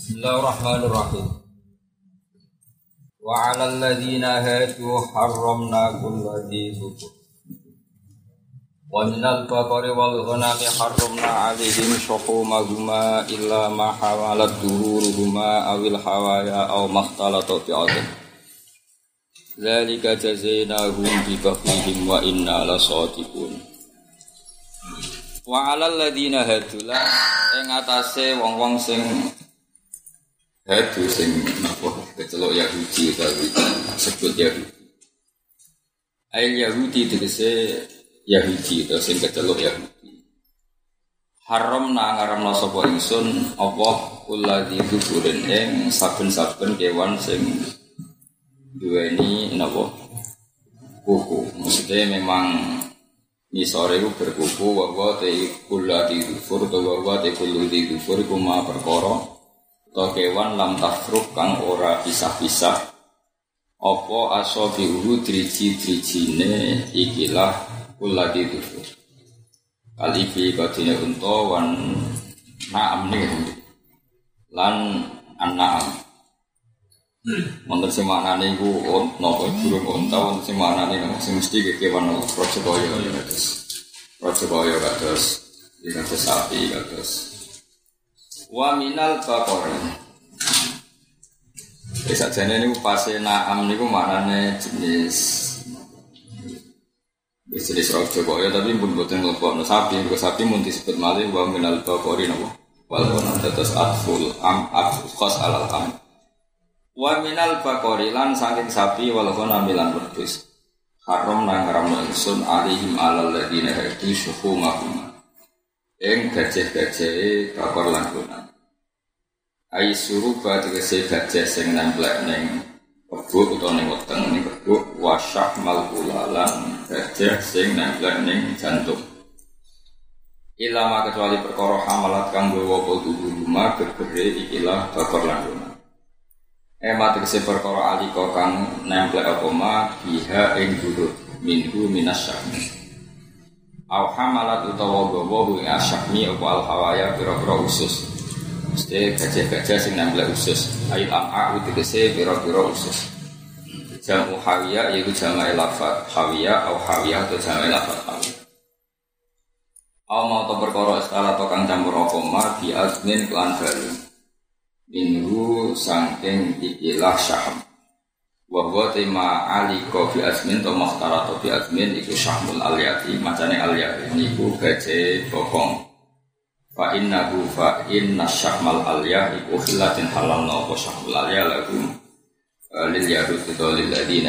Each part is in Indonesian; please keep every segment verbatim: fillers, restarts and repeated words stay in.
Bismillahirrahmanirrahim. Wa 'alal ladzina hadu harramna kulla dhi dzufur. Wa minal baqari wal ghanami harramna 'alaihim shuhumahuma illa ma hawalat duhuruhuma awil hawaya aw makhtalata bi'adhin. Dzalika jazainahum bi baghihim wa inna lasadiqun. Wa 'alal ladzina hadu la ing atase wong-wong sing hadu sing napa kecelok Yahudi utawi sebut Yahudi. Ail Yahudi tegese Yahudi atau sing kecelok Yahudi. Haram na ngaramna sapa ingsun apa kulladzi dzukurin ing saben-saben kewan sing duweni napa kuku. Maksudnya memang nisore iku berkuku wa te kulladzi dzufur utawa wa te kulladzi dzufur iku ma perkara to kewan lam tafruk kang ora pisah-pisah apa asabihu driji-drijine ikilah kulladzi dzufur kalifi kadine unta wan na'am niku lan an'am wonten sing maknane iku napa burung unta wonten sing maknane sing mesti kewan raja kaya kados raja kaya kados kados sapi kados wa minal baqari. Wis sajane niku pase na'am niku maknane jenis wis jenis raja kaya tapi pun boten ngelopno sapi, kok sapi mun disebut malih wa minal baqari napa wal qanat tatas atful am atkhas alal am. Wa minal baqari lan saking sapi wal qanat milan wedhus. Haram nang haramno ingsun alihim alal ladina hadu syuhumahum. Eng gajah-gajahe bakor lan kunan. Ai suruba tegese gajah sing nemplek ning kebo utawa ning weteng ning kebo wasyah malkulalan gajah sing nemplek ning jantung. Ilama kecuali perkara hamalat kang gawa kudu rumah gegere ikilah bakor lan kunan. Ema tegese perkara alika kang nemplek apa ma biha ing durut minhu minasyah. Au hamalat utawa gawa ing asyakmi apa al-hawaya pira-pira usus. Mesti gajah-gajah sing nempel usus. Ayat am'a tegese pira-pira usus. Jamu hawiya yaiku jama'i lafaz hawiya au hawiyah atau jama'i lafaz hawiyah. Au mau to perkara istilah to kang campur apa ma bi azmin lan balu. Minhu saking ikilah syaham. Wa huwa tema ali kofi azmin to makhtara to bi azmin iku syahmul aliyati macane aliyati niku gaje bokong fa innahu fa inna syahmal aliyah iku khilatin halal no apa syahmul aliyah lagu lil yahud to lil ladina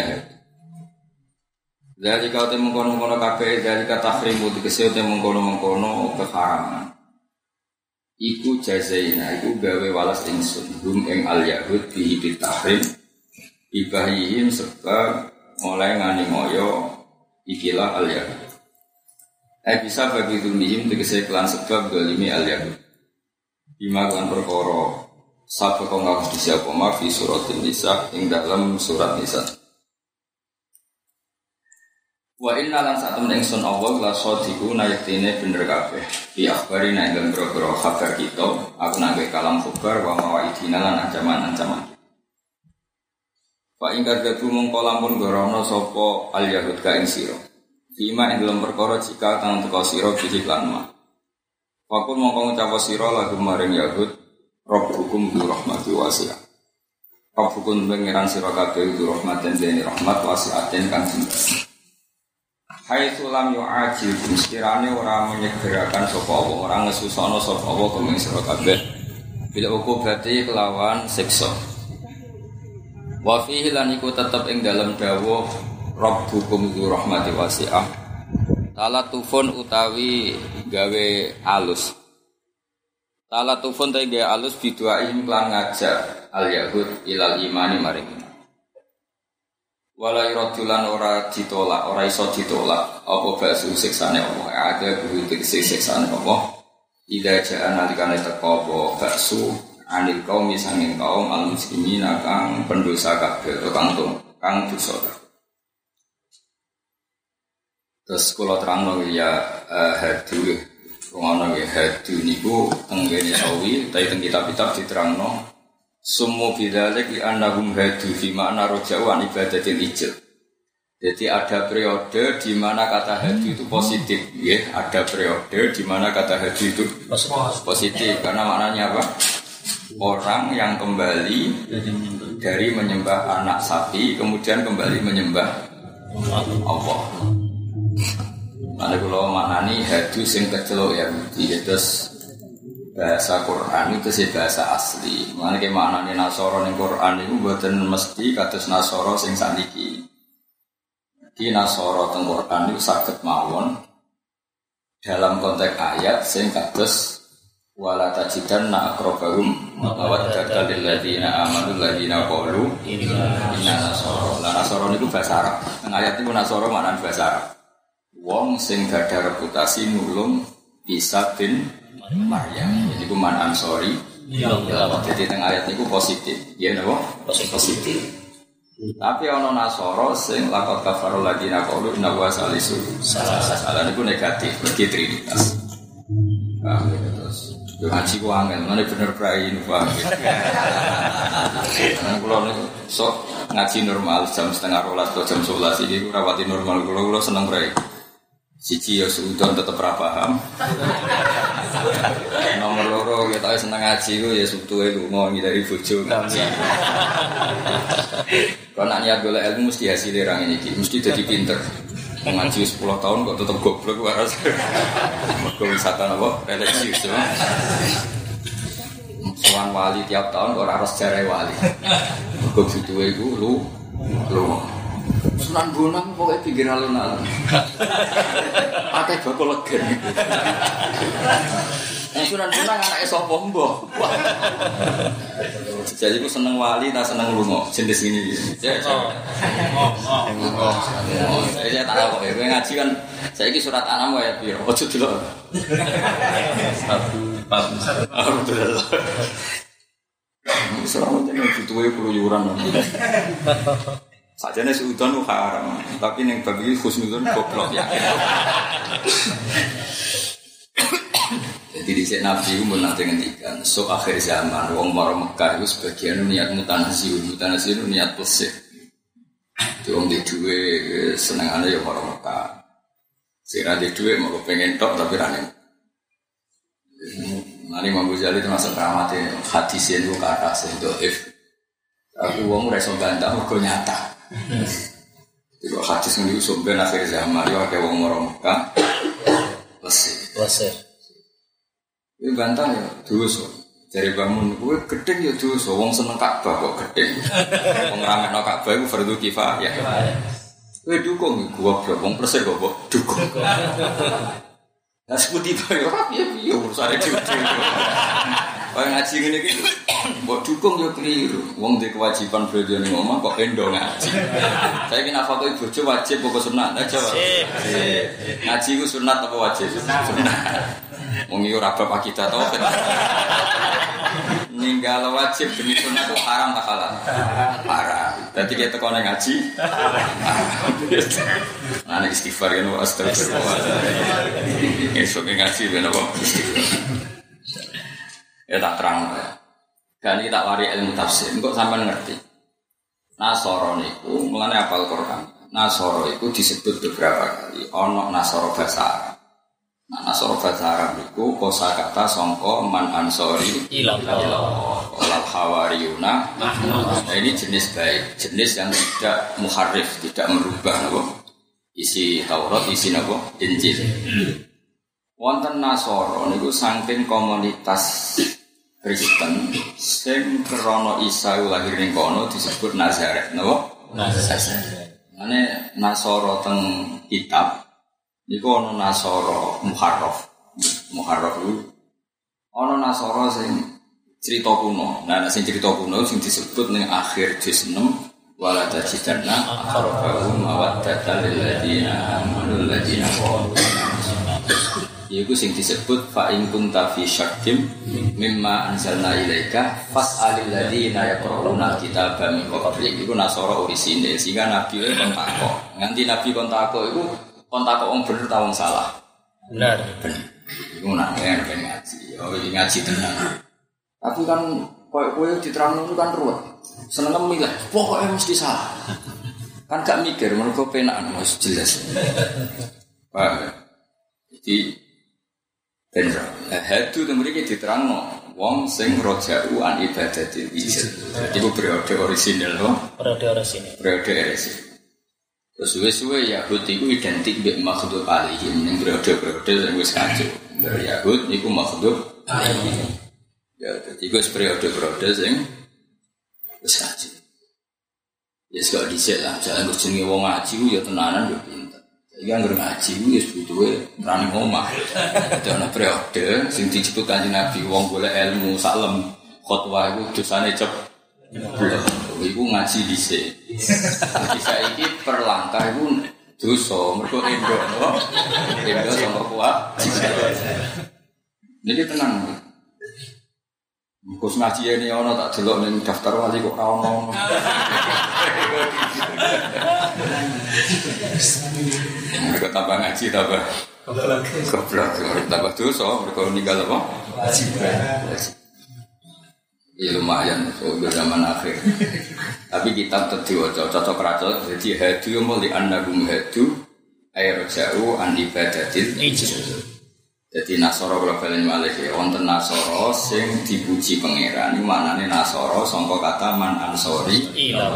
dari kau te mengkono-kono kabeh dari kata tahrimu tegese te mengkono-mengkono keharaman iku jazaina iku gawe walas ingsun hum ing al yahud bihi bit tahrim ibahihim sebab mulai ngani moyo ikilah al-yahud. Eh bisa bagi dunia tegese kelan sebab dolimi al-yahud. Bima kelan perkara sabda kang ngaku disiapa ma fi suratin nisa ing dalam surat nisa. Wa inna lan satem ing sun Allah la sadiqu nayaktine bener kabeh. Bi akhbari nang dalem boro kabar kita aku nang kalam khabar wa mawaidina lan ancaman-ancaman. Pak ingkar gadu mongko lamun gorono sapa al yahud ka ing sira. Bima ing dalem perkara jika kang teka sira bijik lan ma. Fakul mongko ngucap sira lagu maring yahud rabbukum bi rahmati wasi'ah. Rabbukum pangeran sira kabeh bi rahmatin dene rahmat wasi'atin kang jembar. Haitsu lam yu'ajil sekirane ora menyegerakan sapa Allah, ora ngesusana sapa Allah kang sira kabeh. Bila uku berarti kelawan siksa. Wa fihi lan iku tetep ing dalem dawuh rabbukum dzur rahmati wasi'ah talatufun utawi gawe alus talatufun ta gawe alus biduaim lan ngajak al yahud ilal imani maring wala iradulan ora ditolak ora iso ditolak apa basu siksane Allah ada kudu siksane Allah ida jaa nalikane teko apa basu anil kaum sanging kaum al muslimin kang pendosa kabeh kang kang dosa. Terus kula terangno ya uh, hadu ngono nggih hadu niku teng kene sawi ta teng kitab-kitab diterangno Summu bidzalik li annahum hadu fi ma'na raja'u an ibadatil ijil. Jadi ada periode di mana kata hadu itu positif, ya. Ada periode di mana kata hadu itu positif karena maknanya apa? Orang yang kembali dari menyembah anak sapi kemudian kembali menyembah Allah. Mana kalau maknani hadu sing kecelok ya, terus bahasa Quran itu sih bahasa asli. Mana ke maknani Nasoro ning Quran itu mboten mesti kados Nasoro sing saniki. Di Nasoro teng Quran itu saged mawon dalam konteks ayat sing kados wala tajidanna aqrabahum mawaddatan lil ladzina amanu ladzina qalu inna nasara. Lah Nasara niku bahasa Arab. Teng ayat niku Nasara maknane bahasa Arab. Wong sing gadah reputasi nulung Isa bin Maryam. Jadi ku man ansori. Jadi teng ayat niku positif. Ya napa? Positif. Tapi ana Nasara sing laqad kafarul ladzina qalu inna huwa salisu. Salah niku negatif, berarti trinitas. Ah, terus yo ngaji ku angel, ngene bener prai niku paham. Nang kula niku sok ngaji normal jam setengah rolas atau jam sebelas iki ku rawati normal kula kula seneng prai. Siji ya suudon tetep ra paham. Nomor loro kita seneng ngaji ku ya subtuhe lunga ngidari bojo ngaji. Kalau nak niat golek ilmu mesti hasilnya orang ini, mesti jadi pinter. Mengaji sepuluh tahun kok tetap goblok waras. Mergo wisata apa? Religius ya. Sowan wali tiap tahun kok ora sejarah wali. Mergo butuhe iku lu lu. Sunan Bonang pokoke pinggir alun-alun. Akeh bakal legen. Nah, Sunan Bonang anake sapa mbah? Jadi aku seneng wali, tak seneng lunga. Jenis ini. Saya oh. Oh. Oh. Saya tak tahu kok. Kowe ngaji kan saiki surat An'am wae piro? Ojo delok. Satu, empat, alhamdulillah. Selama ini butuhe keluyuran. Sajane suudon haram, tapi ning bagi khusnudon goblok ya. Jadi di sini Nabi pun nanti ngendikan, so akhir zaman wong maro Mekah itu sebagian niat mutanasiun, mutanasiun niat pesik. Di wong di duwe senengane ya maro Mekah. Sira di duwe mau pengen tok tapi rane. Nari Imam Ghazali itu masuk rahmatnya hadis itu ke atas itu if aku wong ora iso bantah mergo nyata. Jadi hadis ini sampai akhir zaman yo akeh wong maro Mekah pesik. Pesik. Ini bantah ya, dosa. Dari bangun gue gedeng ya dosa. Wong seneng Ka'bah kok gedeng. Wong ramekno Ka'bah iku fardhu kifayah. Kowe dukung gue blok wong persir kok dukung. Lah seputi bae ora piye-piye urusane dhewe. Kaya ngaji ngene iki mbok dukung yo keliru. Wong duwe kewajiban belajar ning omah kok endo ngaji. Saiki nafakoi bojo wajib apa sunat? Nah jawab. Ngaji ku sunat apa wajib? Sunat. Wong iki ora bab kita to. Ninggal wajib demi sunat itu haram tak halal? Haram. Dadi kita tekone ngaji. Nah nek istighfar kan astagfirullah. Esuk ngaji ben apa? Ya tak terang ya. Dan kita wari ilmu tafsir. Engkau sampai ngerti. Nasoro niku mulane hafal Quran. Nasoro itu disebut beberapa kali. Ono Nasoro bahasa Arab. Nah, Nasoro bahasa Arab niku kosakata sangka man ansori ilallah. Wal hawariyuna. Nah, ini jenis baik, jenis yang tidak muharrif, tidak merubah apa? Isi Taurat, isi apa? Injil. Wonten Nasoro niku saking komunitas Kristen sing krana Isa lahir ning kono disebut Nazaret, napa? Nazaret. Ane Nasoro teng kitab niku ana Nasoro Muharraf. Muharraf iku ana Nasoro sing cerita kuno. Nah, sing cerita kuno sing disebut ning akhir juz enam wala tajidanna aqrabahum mawaddatan lil ladzina amanu ladzina qalu yaitu sing disebut fa in kunta fi syakkim mimma anzalna ilaika fas'alil ladzina yaqra'una kitaba min qablik. Iku Nasara orisine sehingga nabi e kon takok nganti nabi kon takok iku kon takok wong bener ta wong salah bener bener iku nak ben ngaji ya iki ngaji tenan tapi kan Kowe kowe diterangno kan ruwet. Seneng milih, pokoknya mesti salah. Kan gak mikir mergo penakan wis jelas. Paham. Jadi bener. Hadu itu mriki diterangno wong sing roja'u an ibadatil ijad. Iku periode orisinal loh. Periode orisinal. Periode orisinal. Terus suwe-suwe Yahud itu identik dengan makhluk alihim. Yang periode-periode yang wis kacau. Dari Yahud itu makhluk alihim. Ya, jadi itu periode-periode yang wis kacau. Ya, sekali disek lah. Misalnya berjengi wong ngaji, ya tenanan, ya pintar. Jadi yang ngaji, ya sebetulnya berani ngomah. Itu ada periode, yang disebut kanjeng Nabi, wong boleh ilmu, salam, khotbah itu dosanya cep. Ibu ngaji disek. Jadi saya ini perlangkah itu dosa, mereka Indo, Indo sama kuat. Jadi tenang. Kus ngaji ini ono tak delok ning daftar wali kok ora ono. Mereka tambah ngaji tambah goblok, tambah dosa, mereka ninggal apa? Wajib. Ya lumayan, so zaman akhir. Tapi kitab terdiwaca, cocok racok. Jadi hadu muli annagum hadu air jauh an ibadatil ijaz. Jadi nasoro kalau kalian malik ya, wonten nasoro sing dipuji pangeran. Ini maknane nasoro sangka kata man ansori.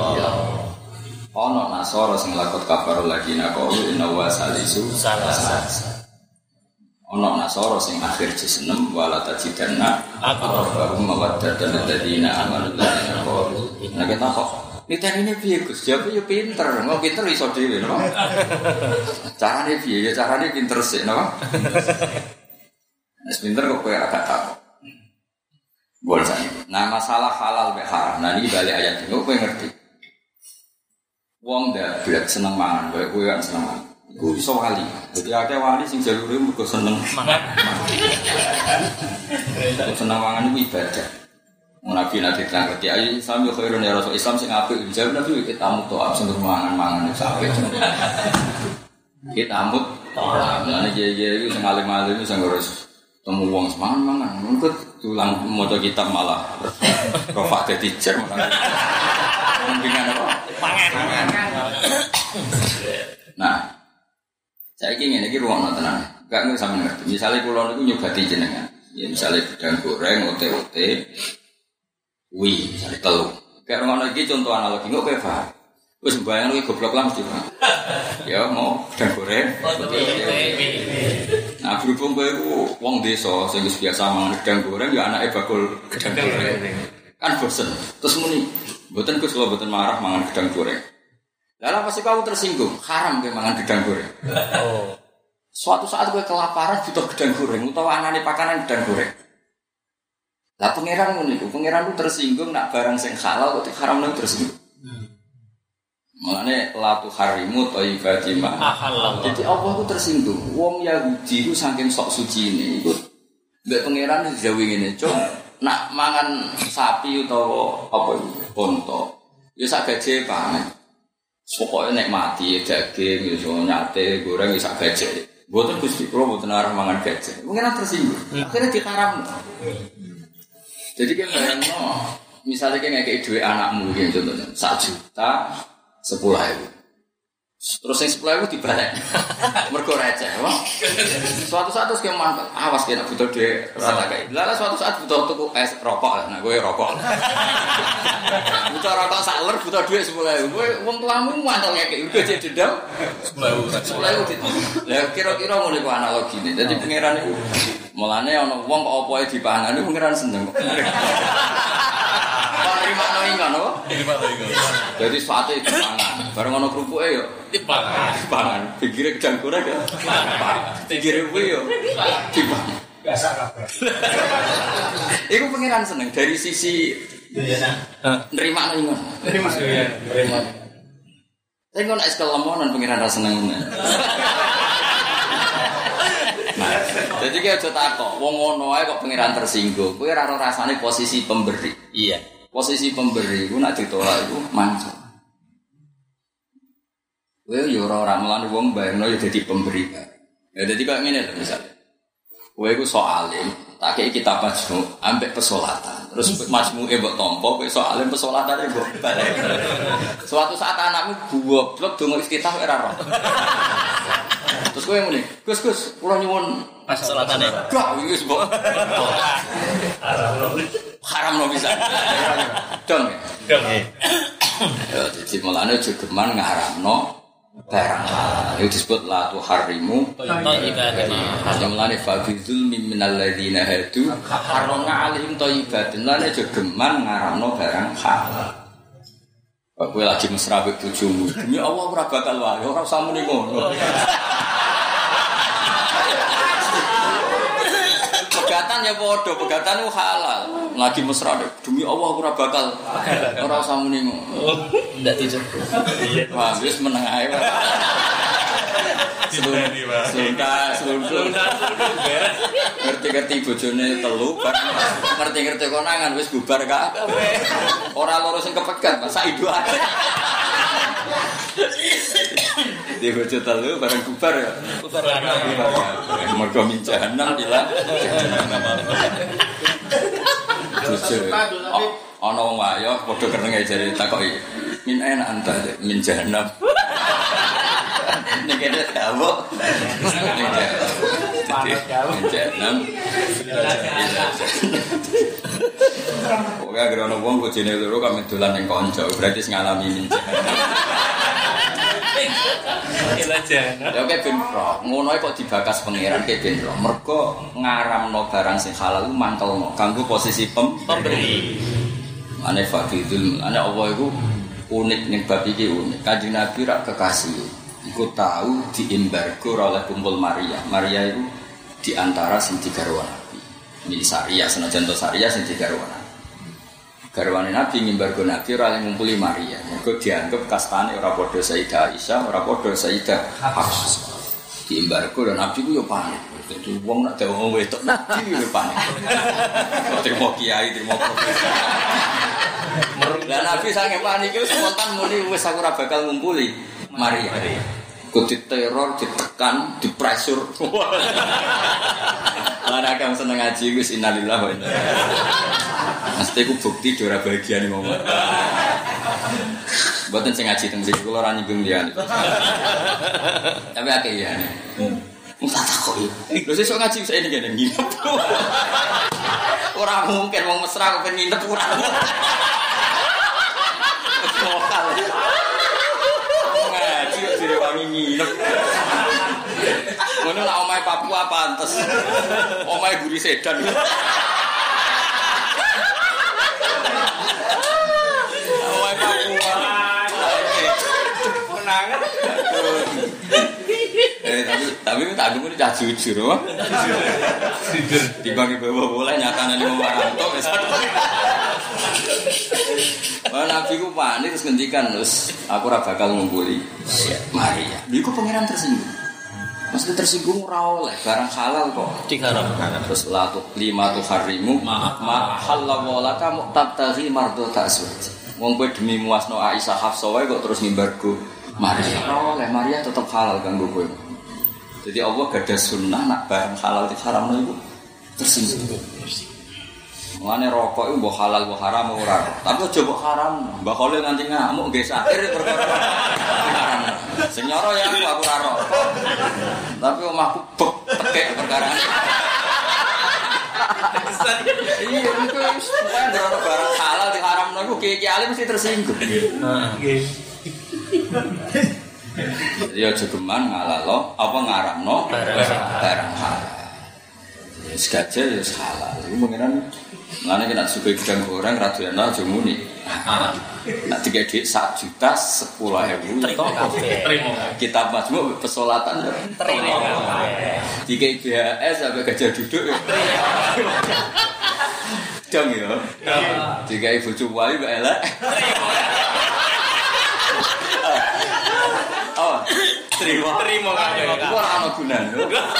Ono nasoro sing lakot kafarul lagi nakaulu inna wa salisu salasa. Ono nasoro sing akhir juz enam wala tajidanna aqrabahum mawaddatan alladziina amanu alladziina qalu. Nek kita kok niteni piye Gus? Jawab yo pinter, mau pinter iso dhewe no. Carane piye? Ya carane pinter sik no. Nek pinter kok kowe agak takok. Boleh saja. Nah masalah halal be haram. Nah ini balik ayat ini kowe ngerti. Wong dak blek seneng mangan, kowe kowe kan seneng mangan. Iku iso wali. Jadi ada wali sing jalure mergo seneng mangan. Seneng mangan iku ibadah. Nabi nanti terang kerja ayi sami khairun ya Rasul Islam sing apik jawab Nabi kita amut to'ab sing mangan-mangan iku apik. Kita amut to'ab. Lan iki iki sing alim-alim sing ngurus temu wong mangan-mangan. Mengko tulang maca kitab malah rofa dadi jer malah. Mendingan apa? Mangan. Nah, saya ingin ini ruang tenan, gak ngerti sama ngerti. Misalnya pulau itu nyobati jenengan, ya misalnya gedang goreng, ote-ote, wih, misalnya telur. Kayak orang lagi contoh analogi, nggak kayak paham. Terus bayang lagi goblok lah mesti paham. Ya mau gedang goreng, ote-ote. Nah berhubung gue itu wong desa, saya biasa mangan gedang goreng, ya anaknya bakul gedang goreng. Kan bosen. Terus muni, boten gus kalau boten marah mangan gedang goreng. Lalu pasti kamu tersinggung, haram kayak mangan gedang goreng. Oh. Suatu saat gue kelaparan butuh gedang goreng, utawa anane pakanan gedang goreng. Lah pangeran ngono iku, pangeran ku tersinggung nak barang sing halal kok haram nang tersinggung. Hmm. Mulane la tu harimu thayyibati ma. Jadi Allah ku tersinggung. Wong Yahudi ku saking sok sucine iku mbek pangeran dijawi ngene, "Cuk, nak mangan sapi utawa apa iku, onta, ya sak gaje pangan." Pokoknya nek mati daging, iso nyate, goreng iso gajah. Mboten Gusti kula mboten arep mangan gajah. Mungkin ana tersinggung. Akhirnya diharamno. Jadi kan bayangno, misalnya kayak ngekek duit anakmu gitu contohnya, satu juta sepuluh ribu. Terus yang sepuluh ribu dibalik, mergo receh. Suatu saat terus keman, awas kena butuh duit rata kayak. Lalu suatu saat butuh tuku es rokok, nah gue rokok. Butuh rokok saler, butuh duit sepuluh ribu. Gue uang tuamu mantap ngekek, udah jadi dendam. Sepuluh ribu, lah kira-kira mulai ku analogi nih. Jadi pangeran itu, mulanya ono uang kok opoe dipangan itu pangeran seneng. Terima noingan, apa? Terima noingan. Jadi suatu itu pangan, bareng ono kerupuk yo. Dipangan, dipangan. Pikirnya gedang goreng ya. Pikirnya gue yo. Dipangan. Biasa kabeh. Iku pangeran seneng dari sisi nerima noingan. Nerima, nerima. Tapi kalau es kelemonan pangeran rasa seneng. Nah, jadi kayak aja takok, wong ngono ae kok pangeran tersinggung. Kowe ora rasane posisi pemberi. Iya. Posisi pemberi ku nek ditolak iku manca. Kowe yo ora ora melani wong bayangno yo dadi pemberi. Ya dadi kok ngene lho misale. Kowe iku sok alim, tak kei kitab majmu ambek pesolatan. terus majmuke mbok tampa, besok alim pesolatane mbok balik. Suatu saat anakmu goblok donga iftitah ora roh. Terus kowe muni, Gus Gus, kula nyuwun pesolatane. Gak wis mbok. Haram lo bisa. Dong. Dong. Ya, jadi mulane aja geman ngaramno barang halal. Itu disebut la tuharrimu thayyibatin. Ya mulane fabizul minal ladzina hadu harramna alaihim thayyibatin. Lan aja geman ngaramno barang halal. Kowe lagi mesra mbek bojomu. Demi Allah ora bakal wae, ora usah muni ngono. Pegatan ya padha, pegatan ku halal. Lagi mesra demi Allah ora bakal ora usah muni ngono. Ndak tidur. Wah, wis meneng ae. Selunta, selunta. Ngerti-ngerti bojone telu, ngerti-ngerti konangan wis bubar kabeh. Ora loro sing kepegat, sak idu ae. Di bojo telu bareng bubar ya. Bubar ana. Mergo min jahanam bilang. Bojo. Ana wong wayo padha kenenge jare takoki. Min enak anta min jahanam. Nek ada tahu, jangan. Pokoknya gerono wong bojone loro kami dolan ning kanca, berarti ngalami minjak. Ya oke ben pro, ngono kok dibakas pangeran ke ben pro. Mergo ngaramno barang sing halal ku mangkelno kanggo posisi pem pemberi. Ane fadidul, ane Allah iku unik ning bab iki unik. Kanjeng Nabi rak kekasih. Iku tahu diembargo oleh kumpul Maria. Maria itu diantara sing digarwa Nabi. Ini Saria, senajan to Saria sing digarwa Nabi. Garwane Nabi ngimbargo Nabi ora ngumpuli Maria. Mergo dianggap kastane ora padha Sayyidah Aisyah, ora padha Sayyidah Hafsah. Diembargo dan Nabi ku yo panik. Dadi wong nek dewe wedok Nabi yo panik. Terima kiai, terima profesor. Dan Nabi sange panik iku spontan muni wis aku ora bakal ngumpuli Maria, kok diteror, ditekan, dipresur. Mana kamu seneng ngaji, gus innalillah wa inna ilaihi raji'un. Mesti ku bukti dora bahagia nih momen. Buatan saya ngaji tentang sini, kalau orang nyinggung dia. Tapi akeh ya nih. Muka takut ya. Lo sih so ngaji saya ini gak ada nginep. Orang mungkin mau mesra kok nginep kurang. Lokal. Wangi nginep. Ngono lah omahe Papua pantes. Omahe Guri Sedan. Omahe Papua. Menangan. Eh tapi tapi tak ngomong cah jujur, wah. Jujur. Dibagi bawa boleh nyatane ning Maranto wis. Wah Nabi ku panik terus ngendikan terus aku ora bakal ngumpuli Maria. Iku pangeran tersinggung. Maksudnya tersinggung ora oleh barang halal kok diharamkan. Terus la tu lima tu harimu ma halal laka muqtabi mardota aswaj. Wong kowe demi muasno Aisyah Hafsah wae kok terus ngimbargo Maria. Ora oleh Maria tetap halal kanggo kowe. Jadi Allah gadah sunnah nak barang halal diharamno iku tersinggung. Mane rokok iku mbok halal mbok haram ora. Tapi aja mbok haram. Mbak Khalil nganti ngamuk nggih sakir perkara haram. Sing nyoro ya aku aku ora rokok. Tapi omahku bek tekek perkara. Iya itu supaya ada barang halal diharamno iku kiai alim mesti tersinggung. Nggih. Ya aja geman ngalalo apa ngaramno barang halal. Wis gaje ya halal. Iku mengenan Mulane kena suka gedang goreng radiono aja muni. Nek tiga duit satu juta sepuluh ribu. Terima. Kitab majmuk pesolatan terima. Tiga B H S sampai gajah duduk ya. Dong ya. Tiga ibu cuwali mbak elek. Oh, terima. Terima kan. Iku ora ana gunane.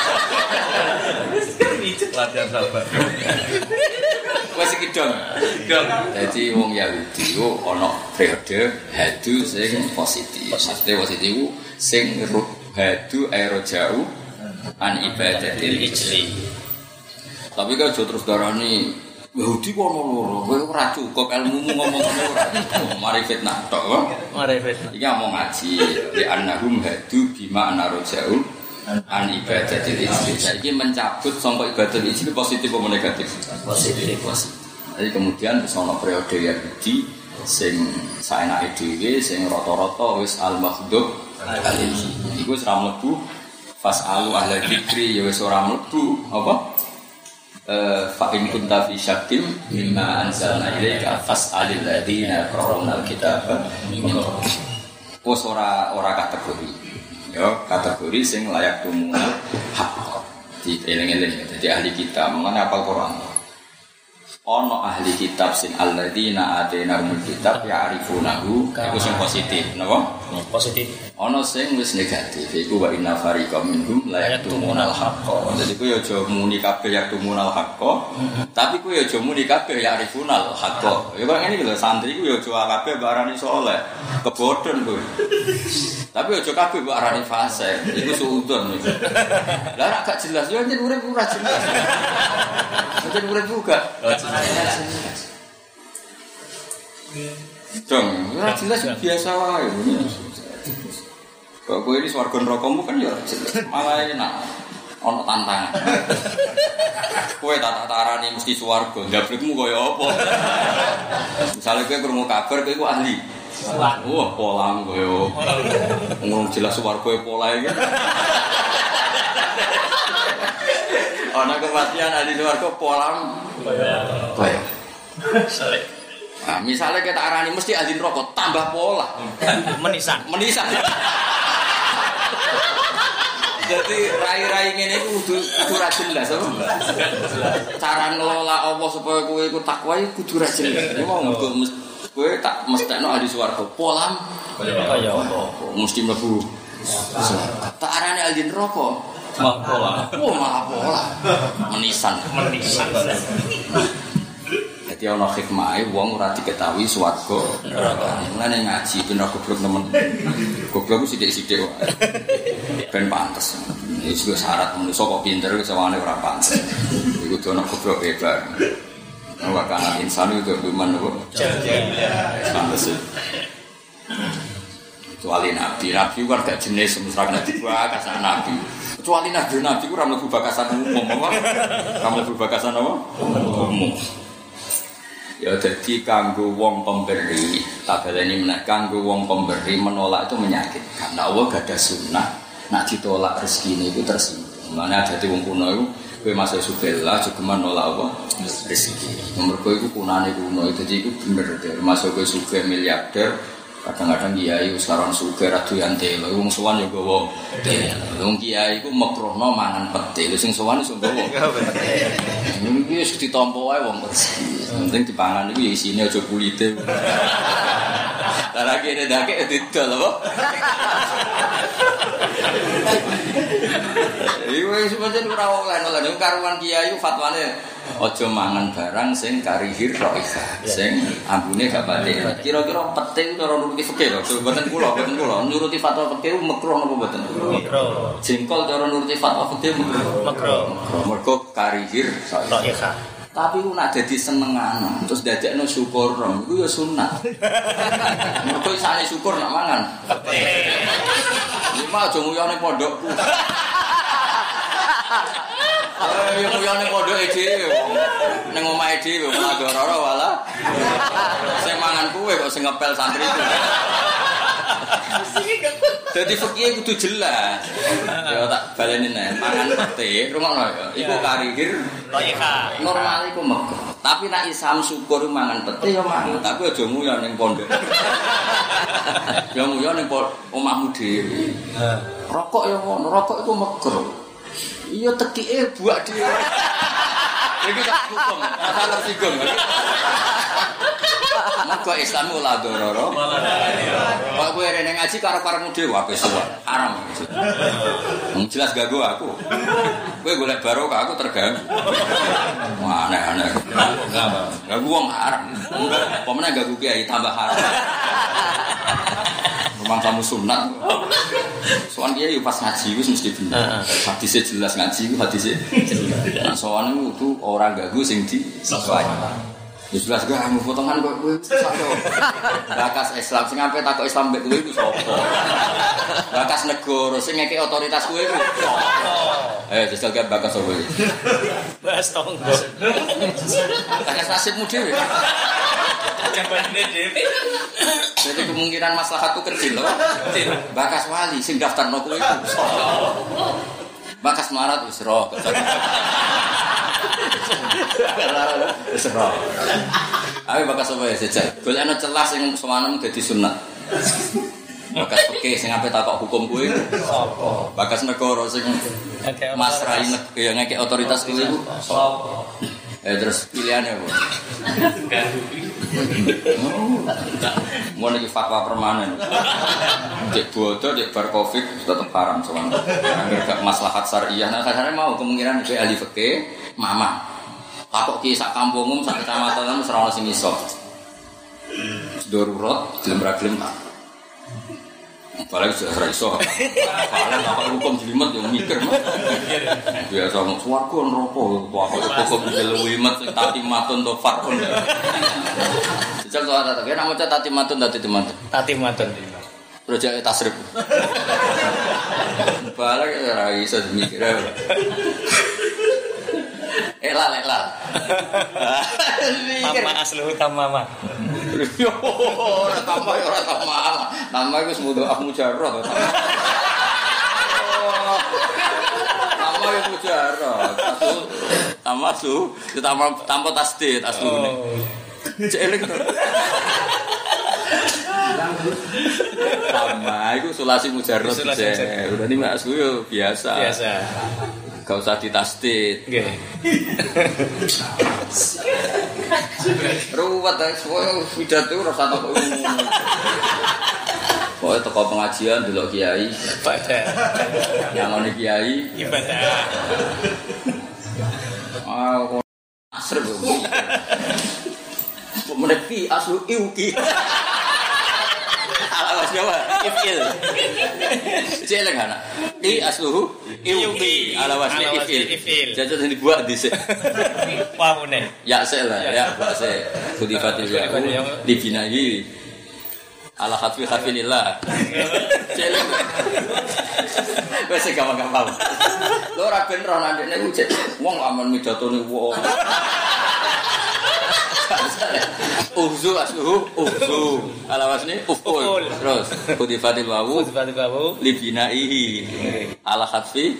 Latihan sabar. Wes iki dong. Dong. Dadi wong Yahudi ku ana periode hadu sing positif. Maksudnya positif ku sing hadu aerojau an ibadatil ijli. Tapi kan terus darani Yahudi kok ono loro, kowe ora cukup ilmumu ngomong ngono ora. Mari fitnah tok kok. Mari fitnah. Iki ngomong ngaji, li annahum hadu bima anarujau an ibadatil ijtihad. Saiki mencabut sangka ibadah ijtihad positif apa negatif? Positif, positif. Jadi kemudian wis ana periode Yahudi sing saenake dhewe sing rata-rata wis al-maghdub alaihi. Iku wis ra mlebu fasalu ahla dzikri ya wis ora mlebu apa? Fa in kunta fi syakkin mimma anzalna ilaika fas'alil ladzina yaqra'una al-kitaba min qablik. Wis ora ora kategori. Ya, kategori sing layak tumunal hak. Di eling-eling dadi ahli kitab, mengenai apal Quran. Ono ahli kitab sing alladzina atainahumul kitab ya'rifunahu, iku sing positif, napa? Positif. Ono sing wis negatif, iku wa inna fariqam minhum la yaktumunal haqqa. Dadi ku yo aja muni kabeh yaktumunal haqqa, tapi ku yo aja muni kabeh ya'rifunal haqqa. Ya kok ngene iki lho, santri ku yo aja kabeh mbok arani saleh, kebodhon kuwi. Tapi aja kabeh mbok arani fasik, iku suudon iki. Lah gak jelas yo njen urip ora jelas. Njen urip juga. Dong, ora jelas biasa wae. Kok kowe ini swarga nerakamu kan ya malah enak. Ono tantangan. Kowe tak tarani mesti swarga, ndablekmu kaya apa? Misale kowe krungu kabar kowe iku ahli. Wah, polang koyo. Ngomong jelas swarga pola iki. Ana kepastian ahli swarga polang koyo. Saleh. Nah, misalnya kita arani mesti ahli neraka tambah pola. Menisan. Menisan. Jadi rai-rai ngene iku kudu kudu ra jelas apa? Cara ngelola Allah supaya kowe iku takwa iku kudu ra jelas. Ya mau kowe tak mestekno ahli swarga polam kaya apa? Mesti mlebu. Tak arani ahli neraka malah pola. Oh, malah pola. Menisan. Menisan. Jadi ana hikmahe wong ora diketahui swarga neraka. Mulane ngaji ben ora goblok nemen. Goblok ku sithik-sithik wae. Ben pantes. Iki juga syarat manusa kok pinter sawane ora pantes. Iku dono goblok hebat. Wa kana insanu itu duman kok. Pantes. Kecuali nabi, nabi kan gak jenis semisal nabi bakasan nabi. Kecuali nabi nabi ku ora mlebu bakasan umum apa? Ora mlebu bakasan apa? Umum. Ya jadi kanggo wong pemberi, tak baleni meneh kanggo wong pemberi menolak itu menyakitkan. Nah, Allah gak ada sunnah, nak ditolak rezekine itu tersinggung. Mane ada wong kuno iku kowe masuk subhanallah juga menolak apa? Rezeki. Mergo iku kunane kuno, dadi iku bener masuk kowe sugih miliarder. Kadang-kadang kiai sekarang sugih ra doyan telo, wong sowan yo gawa telo. Wong kiai iku mekruhno mangan pete, lho sing sowan iso gawa. Iki wis ditampa wae wong rezeki. Penting dipangan iku ya isine aja kulite. Lah lagi nek dake didol apa? Iku wis pancen ora oleh lho karuan kiai fatwane aja mangan barang sing karihir raihah, sing ambune gak batik. Kira-kira pete cara nuruti fikih lho, mboten kula, mboten kula. Nuruti fatwa fikih makruh napa mboten? Makruh. Jengkol cara nuruti fatwa fikih makruh. Makruh. Mergo karihir raihah. Tapi ku nak dadi senengan, terus dadekno syukur, iku ya sunah. Mergo isane syukur nak mangan. Iki mah aja nguyone pondokku. Ayo nguyone pondoke dhewe. Ning omahe dhewe malah dororo wala. Sing mangan kuwe kok sing ngepel santri itu. Jadi fikih kudu jelas. Ya tak baleni neh, mangan pete, rungokno ya. Iku karihir raihah. Normal iku mekruh. Tapi nek isam syukur mangan pete ya mangan, tapi aja nguyon ning pondok. Ya nguyon ning omahmu dhewe. Rokok ya ngono, rokok iku mekruh. Iya tekike buak dhewe. Iki tak hukum, asal tersinggung. Mergo Islam ora dororo. Kok kowe rene ngaji karo-karemu dhewe wae suwe. Haram. Wong jelas ganggu aku. Kowe golek barokah aku terganggu. Wah, aneh-aneh. Ganggu wong haram. Apa meneh ganggu kiai tambah haram. Memang kamu sunat. Soalnya dia pas ngaji wis mesti bener. Hadisnya jelas ngaji, hadisnya jelas. Soalnya itu orang gagu sing di sesuai. Ya jelas gak anu potongan kok kowe sapa. Bakas Islam sing ampe takok Islam mbek kowe iku sapa? Bakas negara sing ngeke otoritas kowe iku sapa? Eh jajal gak bakas sapa iki? Bahas tonggo. Bakas nasibmu dhewe. Jambane dhewe. Jadi kemungkinan maslahat itu kecil loh. Bakas wali sing daftarno kowe iku sapa? Bakas marat wis roh. Serah. Ayo bakas apa ya sejak. Golekno celah sing semanem dadi sunat. Bakas peke sing ape takok hukum kuwi sapa? Bakas negara sing masrai ya ngeke otoritas kuwi sapa? Eh terus pilihannya apa? Mau lagi fatwa permanen. Cek bodoh, cek bar covid tetap haram soalnya. Gak maslahat syariah. Nah kadang mau kemungkinan itu ahli fikih, mama. Takok ki sak kampungmu, sak kecamatan ora ono sing iso. Darurat, gelem-gelem tak. Apalagi sudah raiso. Apalagi apa hukum jelimet yang mikir mah. Biasa mau swarga neraka, apa hukum jelimet tati matun to farun. Jajal to ada tapi namanya tati matun tati matun. Tati matun. Projek tasrif. Balik ora iso mikir. Elal elal. Mama asluhu tamama. Yo ora tambah ora tamama. Nama iku semudo mujarrad. Nama iku mujarrad. Aslu nama su ditambah tanpa tasdid aslune. Celek to. Nama iku sulasi mujarrad. Udah ini Mas yo biasa. Biasa. Gak usah ditasdid. Nggih. Ruwet ae pidato ora usah takok umum. Pokoke teko pengajian delok kiai, Ibadah. nyangone kiai, Ibadah. ah asrep. Kok meneki aslu iuki. Alas Jawa, ifil. Jelek anak. I asluhu iuki. Alas ifil. Jajal sing dibuat dhisik. Pamune. Ya sel lah, ya bahasa kudifatil ya. Dibinai ala khatfi khafilillah. Jelek. Wes gampang-gampang. Lho ora ben ro nang ndekne ku wong aman midatone wong. Uhzu asluhu uhzu ala wasni uful terus kudifatil wawu Kudifatil wawu libinaihi ala khatfi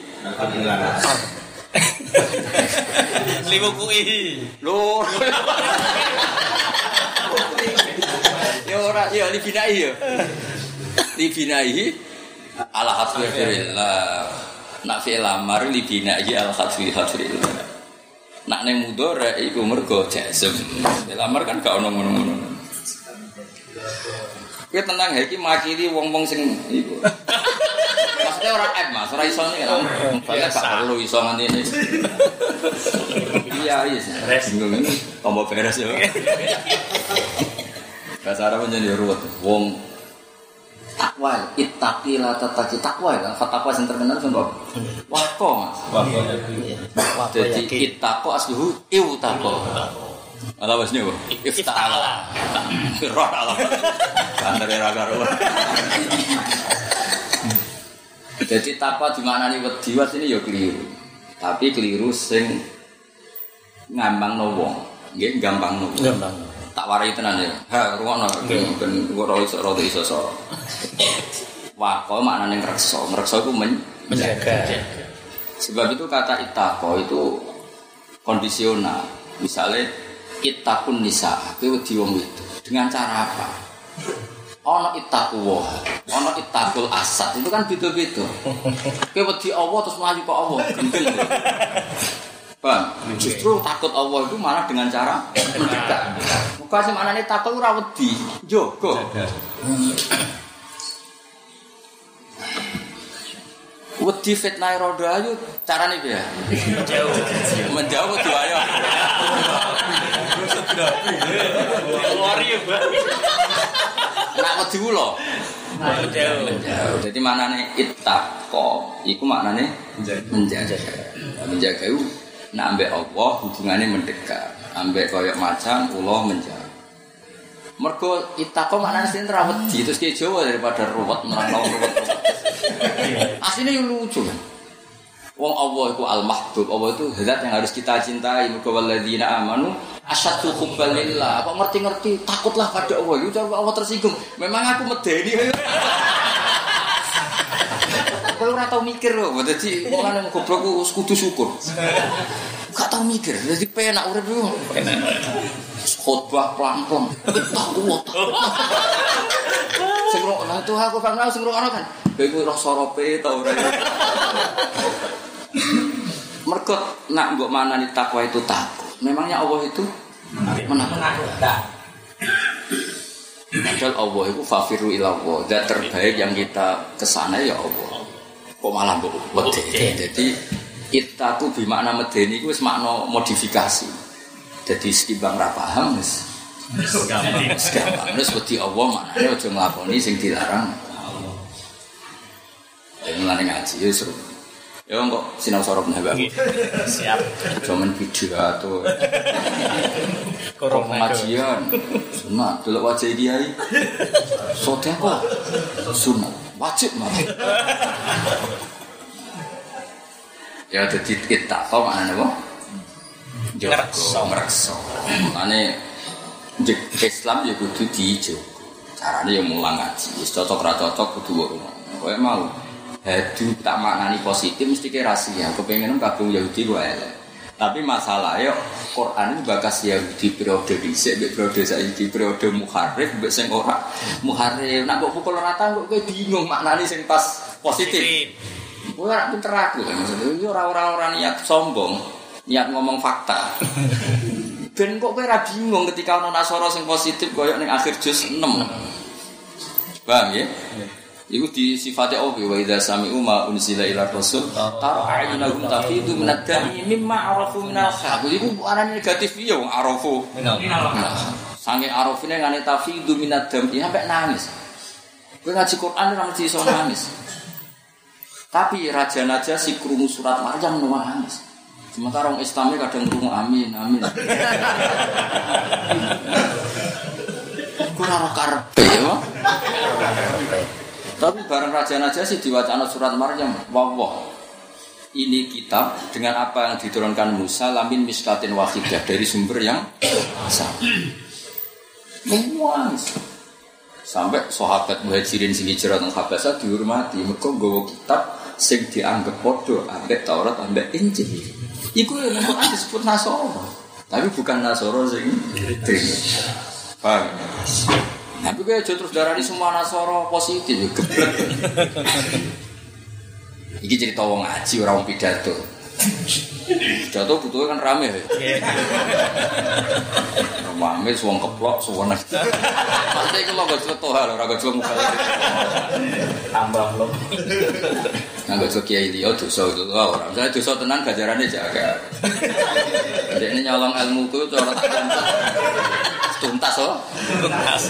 liwukuhi lho ya ora ya libinaihi ya libinaihi ala khatfi fillah nak fi'il amar libinaihi ala khatfi fillah. Nak neng mudhara iku mergo jazm. Lamar kan gak ono ngono-ngono. Kowe tenang iki makili wong-wong sing iku. Maksudnya ora app Mas, ora iso nek kan. Gak perlu iso ngene. Iya, iya. Bingung ini tombol beres ya. Bahasa Arab menjadi ruwet. Wong takwa, ittaqi la tataqi takwa kan fatwa sing terkenal sing kok. Waqo Mas. Waqo. Jadi ittaqo asluhu iwtaqo. Ala wasne kok. Iftala. Roh ala. Kandare ra karo. Jadi takwa dimaknani wedi was ini ya keliru. Tapi keliru sing ngambangno wong. Nggih gampangno. gampang. Tak warai tenan ya. Ha, rungono ben ora iso ora iso soro. Waqo maknane ngrekso. Ngrekso iku Menjaga. Sebab itu kata ittaqo itu kondisional. Misalnya ittaqun nisa, kowe wedi wong itu. Dengan cara apa? Ana ittaqwa, ana ittaqul asad. Itu kan beda-beda. Kowe wedi Allah terus mlayu kok Allah. Gendeng. Bang, justru takut Allah itu malah dengan cara mendekat. Bukan sih maknanya takut ora wedi, njogo. Wedi fitnah rodo ayu carane piye? Menjauh. Menjauh wedi ayo. Lori ya, Bang. Nak wedi ulo. Menjauh. Menjauh. Jadi maknane ittaqo iku maknane menjaga. Menjaga itu nak ambek Allah hubungannya mendekat. Ambek koyok macan ulah menjauh. Mergo ittaqo maknane sing ra wedi terus ki Jawa daripada ruwet nerangno ruwet. Asline yo lucu. Wong Allah itu al-mahbub, Allah itu zat yang harus kita cintai. Mergo walladzina amanu asyaddu hubban lillah. Kok ngerti-ngerti takutlah pada Allah. Yo coba Allah tersinggung. Memang aku medeni. Kalau ora tau mikir lho, dadi wong lanang goblok ku kudu syukur. Gak tau mikir, dadi penak urip yo. Penak. Khotbah pelan-pelan. Takut. Sing ngono tuh aku kan sing ngono kan. Kowe ora sorope ta ora. Mergo nak mbok manani takwa itu takut. Memangnya Allah itu menakut. Padahal Allah itu fafiru ila Allah. Zat terbaik yang kita kesana ya Allah. Kok malah mbok wedi. Jadi kita tuh bermakna medeni itu wis makna modifikasi. Jadi setimbang ra paham wis gampang. Gampang. Wis wedi Allah maknane aja nglakoni sing dilarang. Ya mulane ngaji ya seru. Ya kok sinau sorop nambah. Siap. Zaman video atau Korong pengajian. Sunat delok wajah kiai. Sedekah. Sunat wajib mati. Ya dadi kita kok maknane apa? Ngrekso. Ngrekso. Maknane Islam ya kudu dijogo. Carane ya mulang ngaji. Wis cocok ra cocok kudu wae. Kowe mau hadu tak maknani positif mesti ke rahasia. Kepengin kabung Yahudi ku elek. Tapi masalah yo Quran itu bakas Yahudi periode dhisik mek periode saiki periode muharrif mek sing ora muharrif. Nek kok pukul rata kok kowe bingung maknani sing pas positif. Kowe ora pinter aku maksudnya yo ora-ora niat sombong, niat ngomong fakta. Ben kok kowe ora bingung ketika ana nasara sing positif koyo ning akhir juz enam. Paham ya? Iku disifati Allah wa idza sami'u ma unzila ila rasul tara a'yunahum tafidu minad dami mimma arafu minal haq. Iku arane negatif ya wong arafu minal haq. Sange arafine ngene tafidu minad dami sampai nangis. Kowe ngaji Quran ora mesti iso nangis. Tapi Raja Najasyi krungu surat Maryam nangis. Sementara orang Islamnya kadang krungu amin amin. Kurang karepe yo. Tapi bareng Raja Najasyi diwacana surat Maryam, wawah. Ini kitab dengan apa yang diturunkan Musa lamin miskatin wahidah dari sumber yang sama. Memuas. Sampai sahabat Muhajirin sing hijrah nang Habasah dihormati mergo nggawa kitab sing dianggap padha ambek Taurat ambek Injil. Iku yang Quran disebut Nasara. Tapi bukan Nasara sing diterima. Paham? Tapi kaya aja terus darani semua Nasara positif ya geblek. Iki cerita wong ngaji ora wong pidato. Pidato butuhnya kan rame ya. Rame wong keplok suwene. Pasti iku lho gak ceto hal ora gak muka. Tambah lho. Nggak gak kiai liya dosa itu ora. Saya dosa tenan gajarane jaga. Dekne nyolong ilmuku cara tak tuntas oh tuntas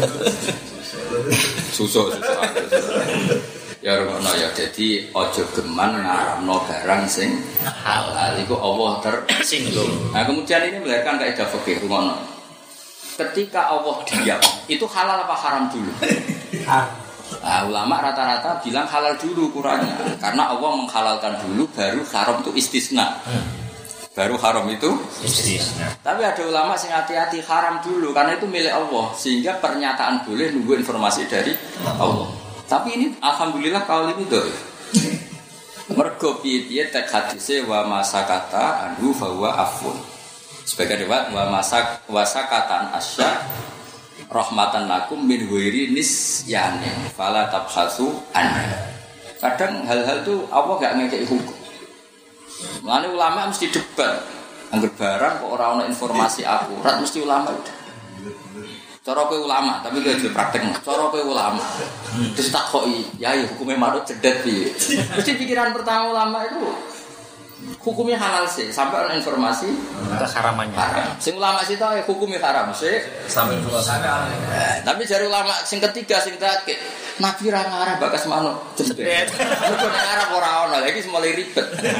susu susu ya ngono ya jadi aja geman ngaramno barang sing halal iku Allah tersinggung. Nah kemudian ini melahirkan kaidah fikih ngono. Ketika Allah diam itu halal apa haram dulu? Nah, ulama rata-rata bilang halal dulu kurangnya karena Allah menghalalkan dulu baru haram itu istisna. Baru haram itu istisna. Tapi ada ulama sing hati-hati haram dulu karena itu milik Allah sehingga pernyataan boleh nunggu informasi dari Allah. Tapi ini alhamdulillah kaul ini doh. Mergo piye-piye tek hadise wa masakata anhu fa huwa afun. Sebagai riwayat wa masak wasakatan asya rahmatan lakum min ghairi nisyani fala tabhasu an. Kadang hal-hal itu Allah enggak ngekeki hukum. Mulane ulama mesti debat. Angger barang kok ora ana informasi akurat mesti ulama. Cara kowe ulama, tapi kowe aja praktekno. Cara kowe ulama. Terus takoki, ya hukume manut cedet piye? Mesti pikiran pertama ulama itu hukumnya halal sih, sampai ada informasi keharamannya. Haram. Sing ulama sih tahu hukumnya haram sih. Sampai puasa. Tapi dari ulama sing ketiga sing terakhir Nabi ra ngarep bakas manuk jembet. Mergo nek ngarep ora ono, lha iki mulai ribet.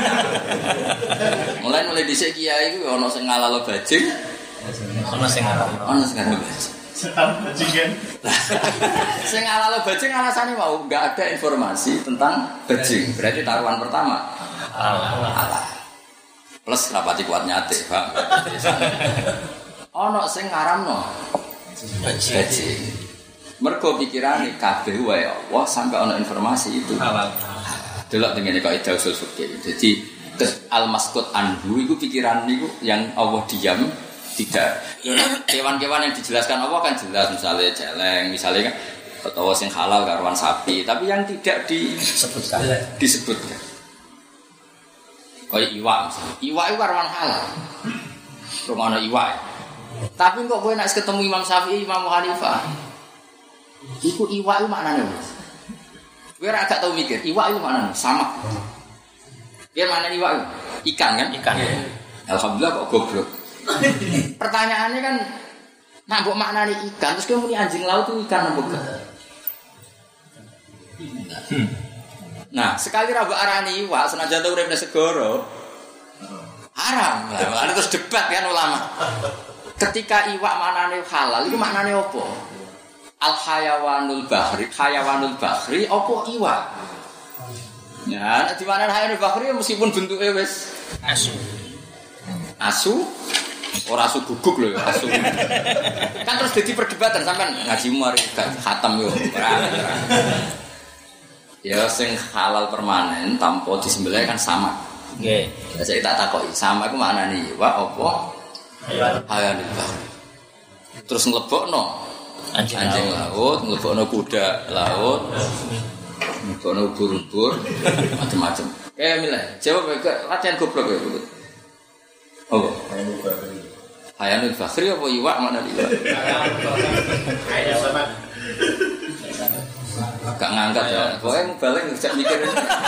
Mulai mulai dhisik kiai iku ono sing ngalalo bajing. Ono sing ngarep. Ono sing ngalalo bajing. Bajingan. Sing ngalalo bajing alasane mau enggak ada informasi tentang bajing. Berarti taruhan pertama. Allah. Plus rapati kuat nyate, Pak. Ono sing ngaramno bajing. Mergo pikirane kabeh wae Allah sampai ana informasi itu halal. Delok tengene kaidah usul fikih. Jadi al-masqut anhu iku pikiran niku yang Allah diam tidak. Kewan-kewan yang dijelaskan Allah kan jelas misalnya celeng, misalnya kan atau sing halal karuan sapi, tapi yang tidak disebutkan disebutkan. Kayak iwak misalnya. Iwak itu karuan halal. Rumana iwak. Tapi kok kowe nek ketemu Imam Syafi'i, Imam Hanifah iku iwak itu maknanya gue agak tahu mikir iwak itu maknanya sama biar mana iwak itu ikan kan ikan ya. Alhamdulillah kok goblok pertanyaannya kan nambah maknanya ikan terus kemudian anjing laut itu ikan nambah hmm. Nah sekali rabu arani iwak senajan tahu urip segoro haram lah terus debat kan ulama ketika iwak maknanya halal itu maknanya apa? Al-hayawanul bahri, hayawanul bahri apa iwak? Ya, di mana hayawanul bahri meskipun bentuknya wis asu. Asu ora asu guguk lho ya, asu. Kan terus jadi perdebatan sampean ngaji mari khatam yo. Ya sing halal permanen tanpa disembelih kan sama. Nggih. Okay. Saya tak takoki, sama iku maknane iwak apa? Hayawanul bahri. Terus nglebokno anjing, anjing laut, ngelebokno kuda laut, ngelebokno ubur-ubur, macam-macam. Eh, milih. Jawab ke latihan goblok ya, Bu. Oh. Hayanul Bakhri apa iwak mana iwak? Hayanul Gak ngangkat ya. Pokoknya mubalek ngejak mikir.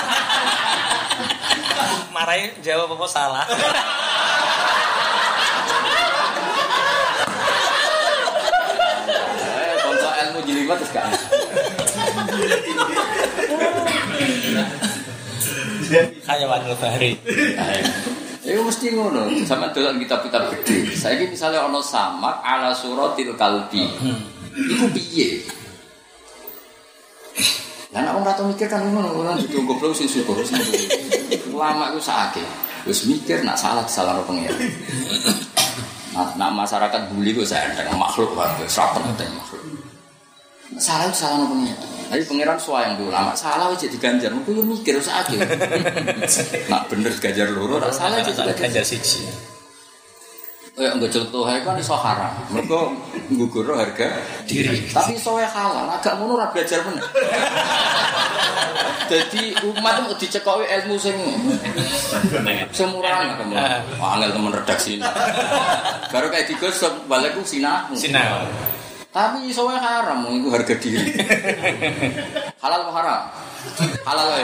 Marahin jawab apa salah. Jilimat terus kan. Hayawanul bahri. Ya mesti ngono, sampeyan delok kitab-kitab gede. Saiki misale ana samak ala suratil kalbi. Iku piye? Lah nek wong ora tau mikir kan ngono, ora dienggo goblok sing syukur sing. Ulama iku sakake. Wis mikir nak salah disalahno pengen. Nah, masyarakat bully ku saya makhluk wae, serapet penting makhluk. Salah itu salah nopo pengiran. Tapi pengiran suayang di ulama salah aja diganjar. Aku yo mikir usah akeh. Nak bener ganjar loro, nak salah aja ganjar siji. Oh ya enggak contoh ae kan iso haram. Mergo nggugurno harga diri. Tapi iso wae halal, agak ngono ora belajar bener. Jadi umat mau dicekoki ilmu sing semurah kamu. Angel temen redaksi. Baru kayak digosok baleku sinah. Sinah. Tapi iso wae haram, iku harga diri. Halal apa haram? Halal wae.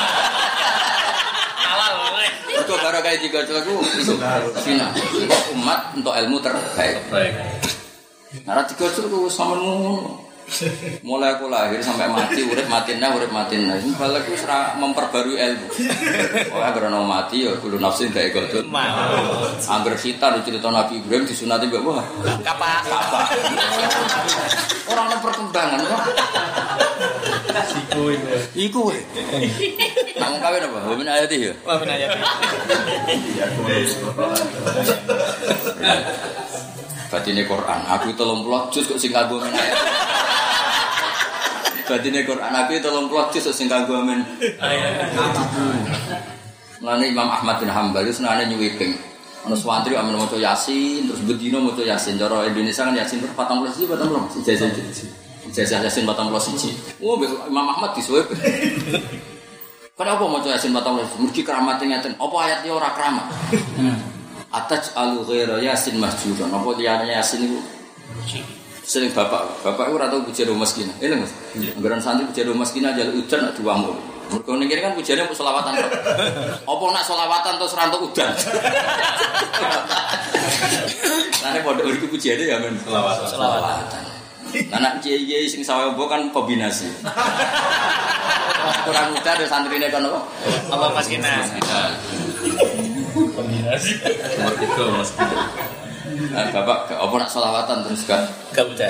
Halal wae. Iku baru kayak digosok iku sinah. Umat untuk ilmu terbaik. Baik. Nah, digosok ku sampean ngono. Mulai aku lahir sampai mati, urip matinna, urip matinna. Ini balik itu memperbarui ilmu. Oh, agar orang mati, ya kudu nafsin gak egodot. Angger hitam di cerita Nabi Ibrahim disunati mbak wah. Kapak, kapak. Orang ada perkembangan kok. Iku itu. Iku. Namun kawin apa? Wamin ayati ya. Wamin ayati. Batine Quran. Aku tolong puluh juz kok sing kanggo men ayat. Batine Quran aku tolong puluh juz kok sing kanggo men ayat. Mulane Imam Ahmad bin Hanbal itu senane nyuwiping. Ana swantri amen maca Yasin terus bedino maca Yasin. Cara Indonesia kan Yasin terus empat puluh siji, empat puluh ijazah ijazah Yasin empat puluh siji. Oh, Imam Ahmad disuwip. Kenapa maca Yasin empat puluh siji? Mergi keramat ngeten. Apa ayatnya ora keramat? Ataj alu ghaira yasin mahjuran. Apa liyane yasin iku? Sering bapak, bapak iku ora tau puji rumah miskin. Eling Mas. Anggaran santri puji rumah miskin aja udan nak duamu. Mergo ning kene kan pujane mung selawatan. Apa nak selawatan terus ora entuk udan. Lah nek pondok iki pujane ya men selawatan. Selawatan. Anak kiai-kiai sing sawe mbok kan kombinasi. Kurang muda ada santrine kan apa? Apa Mas Kina? Kombinasi. Nomor tiga Mas Kina. Nah, Bapak apa nak sholawatan terus kan? Kemudian.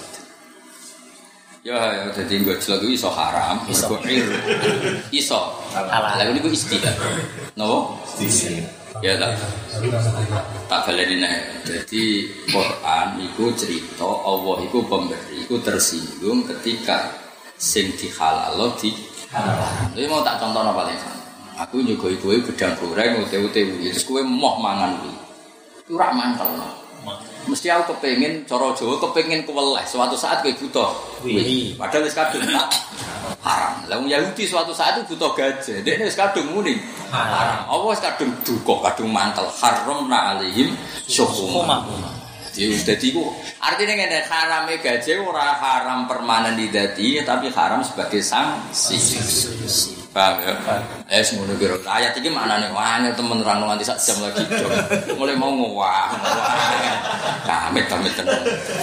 Ya, ya jadi gue celok itu iso haram, iso iso. Lalu ini gue istilah. No? Ya tak. Tak baleni nek. Jadi Quran itu cerita Allah itu pemberi, itu tersinggung ketika sing dihalal di haram. Jadi mau tak contoh apa paling sana. Aku nyugoi kowe gedang goreng ute-ute terus kowe moh mangan kuwi. Itu rak mantel. Mesti aku kepengin cara Jawa kepengin kuweleh suatu saat kowe butuh kuwi. Padahal wis kadung tak haram. Lah wong Yahudi suatu saat itu butuh gajah. Dekne wis kadung muni haram. Apa wis kadung duka, kadung mantel haramna alaihim syuhuma. Jadi itu artinya ngene harame gajah ora haram permanen di dadi tapi haram sebagai sanksi. Paham ya? Eh semono kira ayat iki maknane wah temen ra nganti sak jam lagi dong. Mulai mau ngowah. Kamit-kamit tenan.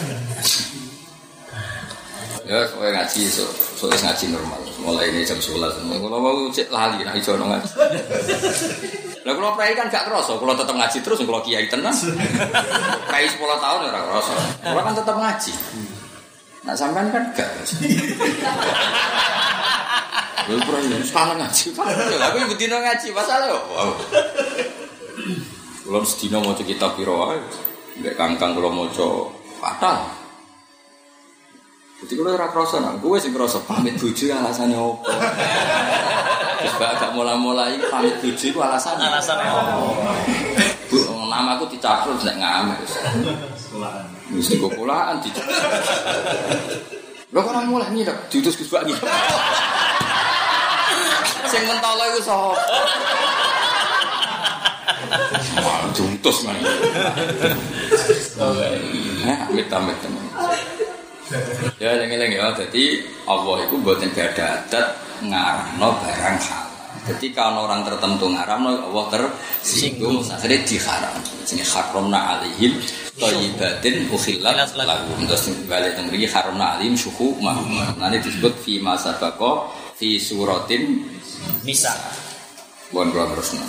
Ya kowe ngaji so, so ngaji normal. Mulai ini jam sebelas. Kalau mau cek lali nek iso ngaji. Lah kula prai kan gak kerasa, kula tetep ngaji terus kula kiai tenan. Prai sepuluh tahun ora kerasa. Kula kan tetep ngaji. Nah sampean kan gak. Lha prai sekarang ngaji. Aku iku dino ngaji, masalah yo. Wow. Kula sedina maca kitab piro wae. Nek kangkang kula maca fatal. Jadi kalau ora kroso nang gue sing kroso pamit bojo alasane opo? Wis gak mula-mula iki pamit bojo iku alasane. Alasane opo? Bu, namaku dicakrut nek ngamek wis. Sekolahan. Wis sekolahan di. Lho kok ora mulai nyidok diutus Gus Bak iki. Sing mentolo iku sapa? Wah, diutus man. Heh, amit-amit teman. Ya lengi-lengi ya, jadi Allah itu buatin gada adat ngaramno barang halal. Jadi kalau orang tertentu ngaramno Allah tersinggung, akhirnya diharam. Jadi haramna alaihim thayyibatin ukhillat lahum. Terus balik tembri haramna alaihim syuhumahum. Nanti disebut fi ma sabaqa fi suratin Nisa. Bukan dua terusnya.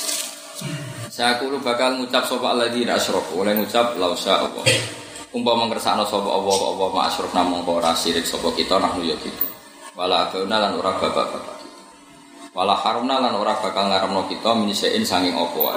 Saya kulo bakal ngucap sapa alladzina asyraku, oleh ngucap lausa Allah. Umpama ngersakno sapa Allah apa ma'asyruf namung ora sirik sapa kita nahnu ya gitu. Wala abauna lan ora bapak-bapak. Wala harumna lan ora bakal ngaramno kita minisein sanging apa wae.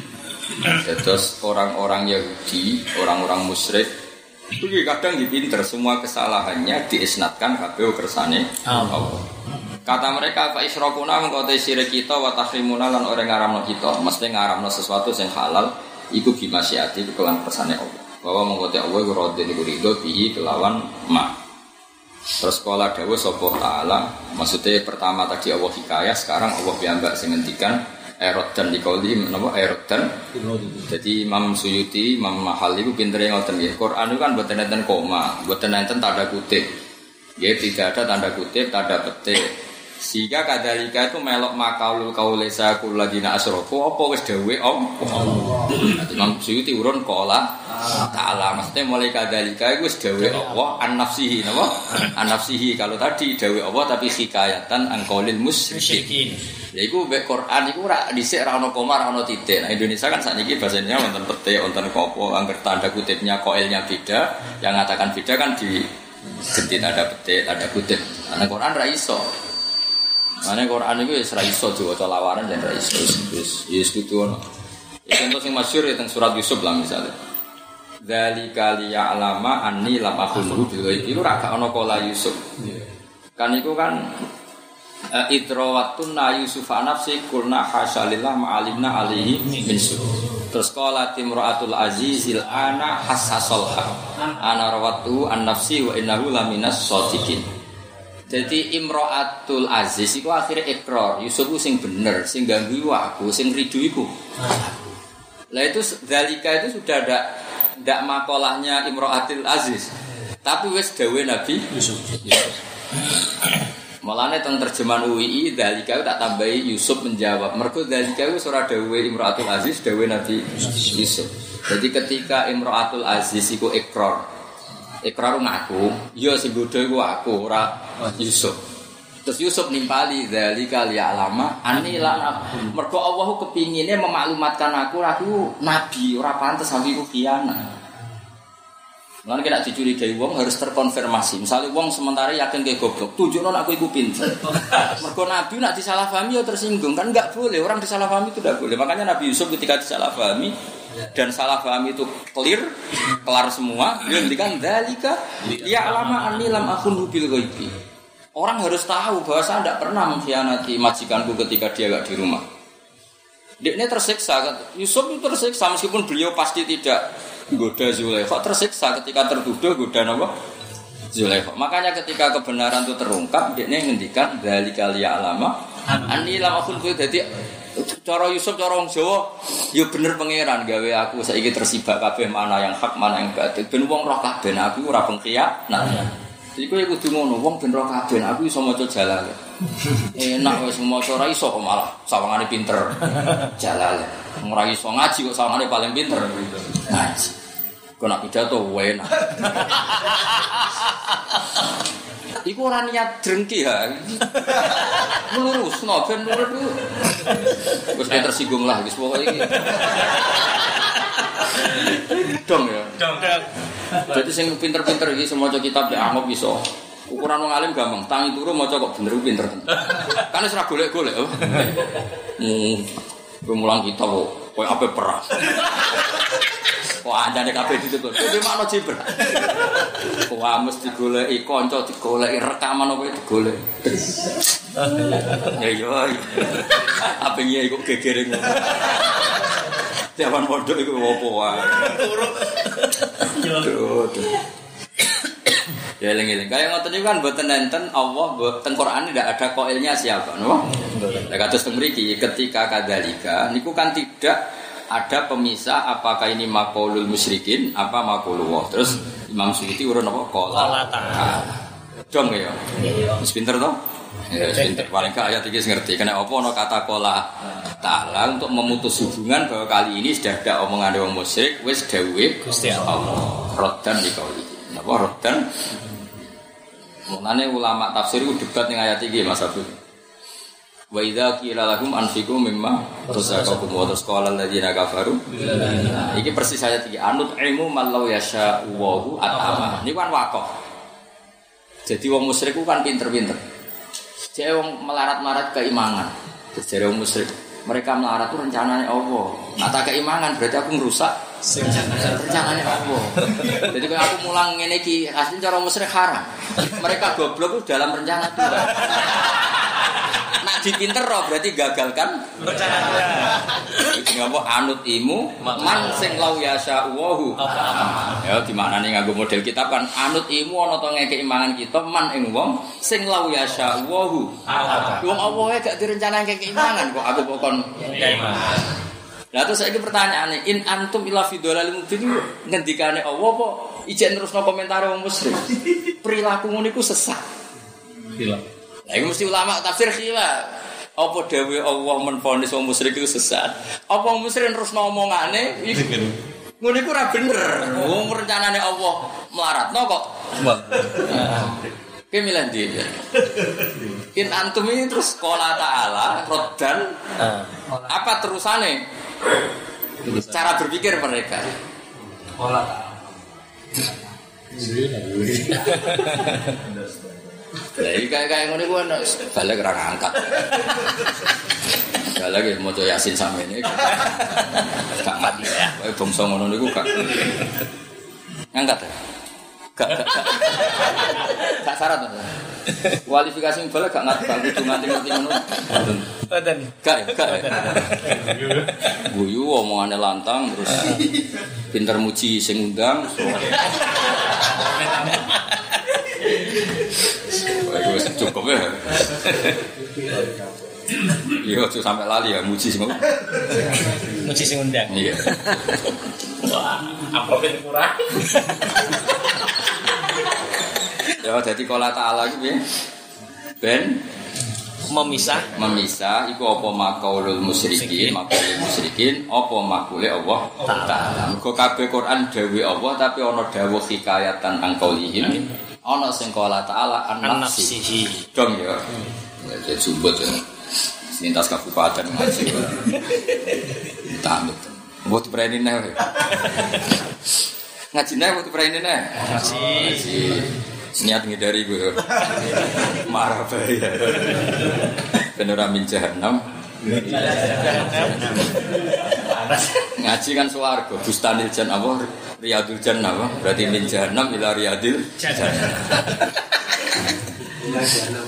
Terus orang-orang Yahudi, orang-orang musyrik itu kadang dipinter semua kesalahannya diisnatkan kabeh kersane Allah. Kata mereka fa isyrokuna mengko te sirik kita wa tahrimuna lan ora ngaramno kita, mesti ngaramno sesuatu sing halal iku bimasyiati kelan kersane Allah. Bahwa mengkote Allah radhiyallahu anhu ridho bihi kelawan ma. Terus kala dawuh sapa taala, maksudnya pertama tadi Allah hikayah, sekarang Allah piyambak sing ngendikan erot dan dikauli menapa erot dan. Jadi Imam Suyuti, Imam Mahal itu pintere ngoten nggih. Quran itu kan mboten enten koma, mboten enten tanda kutip. Nggih, tidak ada tanda kutip, tanda petik. Sehingga kadalika itu melok makaulul kaulesa kulladina asrofu apa wis dawuh Allah. Imam Suyuti urun qala ta'ala maksudnya mulai kadalika itu wis dawuh Allah an nafsihi napa? An nafsihi kalau tadi dawuh Allah tapi hikayatan an qaulil musyrikin. Ya iku mek Quran iku ora dhisik ra ono koma ra ono titik. Nah Indonesia kan sakniki bahasanya wonten petik wonten kopo angger tanda kutipnya koilnya beda, yang mengatakan beda kan di ganti tanda petik, tanda kutip. Ana Quran ra iso. Mane Quran iku wis ra iso diwaca lawaran dan ra iso wis wis kudu ono. Ya contoh sing masyhur teng surat Yusuf lah misalnya. Dzalika liya'lama anni lam akhunhu bil ghaib. Iku ra gak ono kala Yusuf. Kan iku kan idrawatun na Yusuf nafsi kulna hasalillah ma'alimna alaihi min su. Terus qala timra'atul azizil ana hassasalha. Ana rawatu an nafsi wa innahu laminas shadiqin. Jadi Imro'atul Aziz itu akhirnya ikrar Yusuf itu sing bener, sing ganggu aku, sing ridu iku. Lah itu dalika itu sudah ada ndak makolahnya Imro'atul Aziz. Tapi wis dawuh Nabi Yusuf. Malane teng terjemahan U I I dalika tak tambahi Yusuf menjawab. Mergo dalika itu ora dawuh Imro'atul Aziz, dawuh Nabi Yusuf. Jadi ketika Imro'atul Aziz iku ikrar Ikrar ngaku, ya sing bodho iku aku ora Yusuf. Terus Yusuf nimpali dzalika li alama ani lan mergo Allah kepingine memaklumatkan aku aku nabi ora pantes aku iku khianat. Lan kena dicurigai wong harus terkonfirmasi. Misalnya wong sementara yakin ke goblok, tunjukno aku iku pinter. Mergo nabi nak disalahpahami ya tersinggung kan enggak boleh. Orang disalahpahami itu enggak boleh. Makanya Nabi Yusuf ketika disalahpahami dan salah paham itu clear, kelar semua, dia ngendikan dzalika ya alama anni lam akun bil ghaibi. Orang harus tahu bahwa saya tidak pernah mengkhianati majikanku ketika dia enggak di rumah. Dia ini tersiksa, Yusuf itu tersiksa meskipun beliau pasti tidak goda Zulaikha, tersiksa ketika tertuduh goda apa? Zulaikha. Makanya ketika kebenaran itu terungkap, dia ini ngendikan dzalika ya alama anni lam akun bil ghaibi. Cara Yusuf, cara wong Jawa, ya bener pangeran gawe aku saiki tersibak kabeh mana yang hak, mana yang batil. Ben wong roh kabeh aku ora pengkhianat. Nah, iki kowe kudu ngono, wong ben roh kabeh aku iso maca Jalal. Enak wis maca ora iso kok malah sawangane pinter. Jalal. Ora iso ngaji kok sawangane paling pinter. Ngaji. Kok nak pidato enak. Iku ora niat drengki ha. Lurus no ben lurus ku. Wis tersinggung lah wis pokoke iki. Dong ya. Dong. Dadi sing pinter-pinter iki semoco kitab nek angop iso. Ukuran wong alim gampang, tangi turu maca kok bener pinter. Kan wis ora golek-golek. Hmm. Kowe mulang kitab kok koyo ape perang. Wah, andane kabeh ditutur. Kuwi makna jibra. Wah, mesti digoleki kanca, digoleki rekaman apa digolek. Ya yo. Apa iki kok gegere ngono. Jaman pondok iku opo wae. Turu. Ya eling-eling. Kaya ngoten niku kan mboten enten Allah mboten Quran tidak ada qailnya siapa, no? Lah kados teng mriki ketika kadzalika niku kan tidak ada pemisah apakah ini maqaulul musyrikin apa maqaulullah. Terus Imam Suyuti urun apa qala ta'ala. Dong ya. Wis pinter to? Ya pinter. Paling gak ayat iki ngerti. Kena apa ana kata qala ta'ala untuk memutus hubungan bahwa kali ini sudah ada omongan wong musyrik wis dawuhe Gusti Allah. Raddan liqauli. Napa raddan? Mulane ulama tafsir ku debat ning ayat iki Mas Abdul. Wa idza qila lahum anfiqu mimma razaqakum wa tasqala alladziina kafaru. Iki persis ayat iki anut ilmu mallau yasha wa atama. Niku kan waqaf. Jadi wong musyrik ku kan pinter-pinter. Jek wong melarat-marat keimanan. Jare wong musyrik, mereka melarat itu rencananya Allah. Nah tak keimanan berarti aku ngerusak rencananya Allah. Jadi kalau aku mulang ngene iki asline cara musyrik haram. Mereka goblok itu dalam rencana Tuhan. Nak dipinter roh berarti gagalkan rencana Tuhan. Iki apa anut imu man sing lau yasha wahu. Ya di maknane nganggo model kitab kan anut imu ana to ngekeki mangan kita man ing wong sing lau yasha wahu. Wong Allah gak direncanake ngekeki mangan kok aku kok kon iman. Lah terus saiki pertanyaane in antum ila fi dhalal mubin ngendikane Allah apa ijek nerusno komentar wong musyrik. Perilaku ngono iku sesat. Khilaf. Lah iku mesti ulama tafsir khilaf. Apa dawuh Allah menfonis wong musyrik iku sesat? Apa wong musyrik nerusno omongane iku ngono iku ora bener. Wong rencanane Allah melaratno kok. Ki milih ndi? In antum ini terus qala ta'ala raddan apa terusane? Cara berpikir mereka. Qala ta'ala. Lah iki kaya ngene ku ana balik ra ngangkat. Balik iki maca Yasin samene. Gak mati ya. Kowe bangsa ngono niku gak ngangkat. Gak gak. Gak syarat to. Kualifikasi balik gak ngerti bang kudu nganti-ngerti ngono. Mboten. Gak gak. Guyu omongane lantang terus pinter muji sing undang. Wah, cukup ya. Iya, tuh sampai lali ya muji semua. Muji sing undang. Iya. Wah, amplopnya murah. Ya, jadi qala ta'ala iki piye? Ben memisah memisah iku apa makaulul musyrikin makaulul musyrikin apa makule Allah taala. Mergo kabeh Quran dawuh Allah tapi ana dawuh hikayatan angkaulihim. Ana sing kala taala an-nafsihi. Dong ya. Ya jubut ya. Lintas kabupaten ngaji. Tamit. Mbok dipereni neh. Ngaji neh mbok dipereni neh. Ngaji. Niat ngidari gue marah bahaya beneran min jahannam ngaji kan swarga bustanil jannah apa riyadul jannah apa berarti min jahannam ila riyadil jannah ila jahannam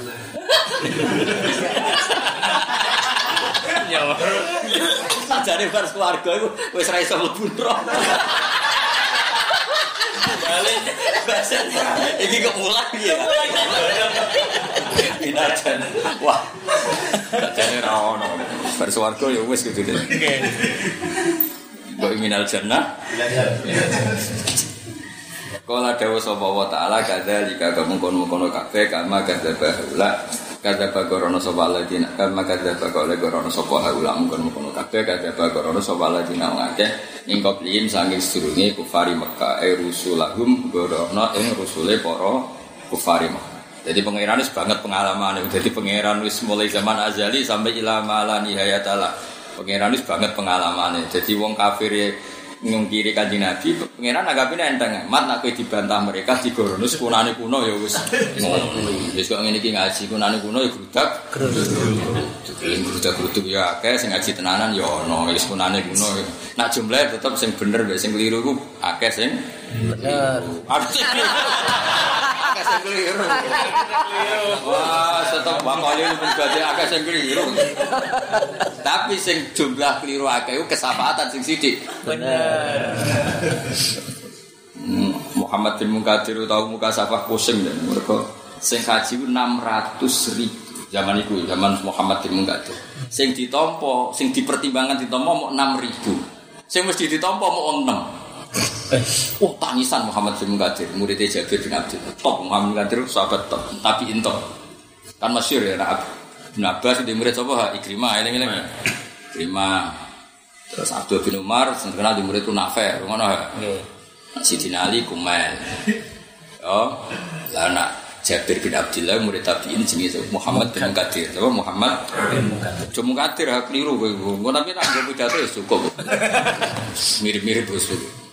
ya sajane bar swarga iku wis ra iso mlebu neraka balik bahasanya ini kemulan ya inajan wah jadi rawono bersuarga ya wes gitu deh kok minal jannah kala dawa sapa wa taala kadzalika kamungkon-mungkon kabeh kama kadzaba haula kadzaba gorono sapa ladina kama kadzaba gorono sapa haula mungkon-mungkon kabeh kadzaba gorono sapa ladina ngakeh ing koplin saking sedurunge kufari Mekah e rusulahum gorono ing rusule para kufari Mekah. Jadi pangeran wis banget pengalaman. Jadi pangeran wis mulai zaman azali sampai ila mala nihayatala. Pangeran wis banget pengalamane. Jadi wong kafir ngungkiri Kanjeng Nabi, pangeran anggapine enteng. Mat nek kowe dibantah mereka digorono kunane kuno ya wis ngono. Wis kok ngene iki ngaji kunane kuno ya grudak. Grudak-gruduk ya akeh sing ngaji tenanan ya ana. Wis kunane kuno. Nak jumlah tetep sing bener mek sing keliru ku akeh sing bener. Akeh sing keliru. Wah, tetep bakale berarti akeh sing keliru. Tapi sing jumlah keliru akeh ku kesapatan sing sithik. Bener. Muhammad bin Munkadir tahu muka safah pusing dan mereka sing haji enam ratus ribu zaman itu zaman Muhammad bin Munkadir sing ditompo sing dipertimbangkan ditompo mau enam ribu sing mesti ditompo mau enam oh tangisan Muhammad bin Munkadir muridnya Jabir bin Abdul top Muhammad bin Munkadir sahabat top tapi intok kan masyhur ya Nabi bin Abbas di murid apa Ikrimah eling-eling Ikrimah. Terus Abdul bin Umar sing terkenal di murid itu Nafi', ngono ha. Nggih. Sidina Ali Kumail. Oh, lah nak Jabir bin Abdullah murid tabi'in jenenge Muhammad bin Munkadir. Apa Muhammad bin Munkadir. Cuma Munkadir ha keliru kowe. Ngono tapi nak nggo pidato ya cukup. Mirip-mirip bos.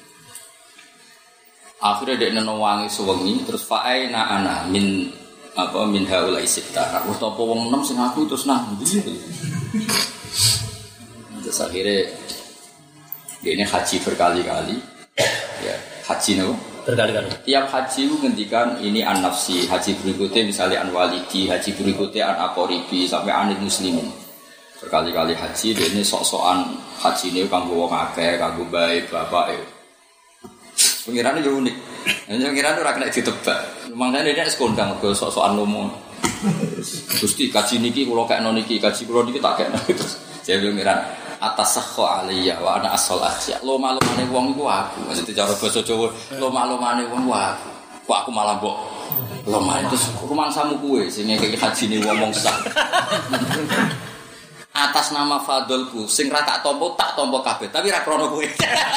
Akhirnya dia neno wangi sewengi terus fa'aina ana min apa min haula isitta. Wis apa wong enam sing aku terus nang ndi. Terus akhirnya dia ini haji berkali-kali ya, haji no? Berkali-kali tiap haji itu ngendikan ini an-nafsi haji berikutnya misalnya an-walidi haji berikutnya an-aqoribi sampai anil muslimin berkali-kali haji dia ini sok-sokan haji ini kanggo wong akeh kanggo baik bapak ya pengirannya juga unik pengirannya itu rakyat ditebak makanya dia sekondang ke sok-sokan ngomong Gusti kaji niki kalau kayak noniki kaji kalau niki tak kayak terus saya bilang pengiran atas sakho aliyah wa ana asal asya lo malumane wong iku aku maksudnya cara basa Jawa lo malumane wong aku kok aku malah mbok lo main terus rumangsamu kuwe sing ngekeki hajine wong sak atas nama fadlku sing ra tak tampa tak tampa kabeh tapi ra krono kowe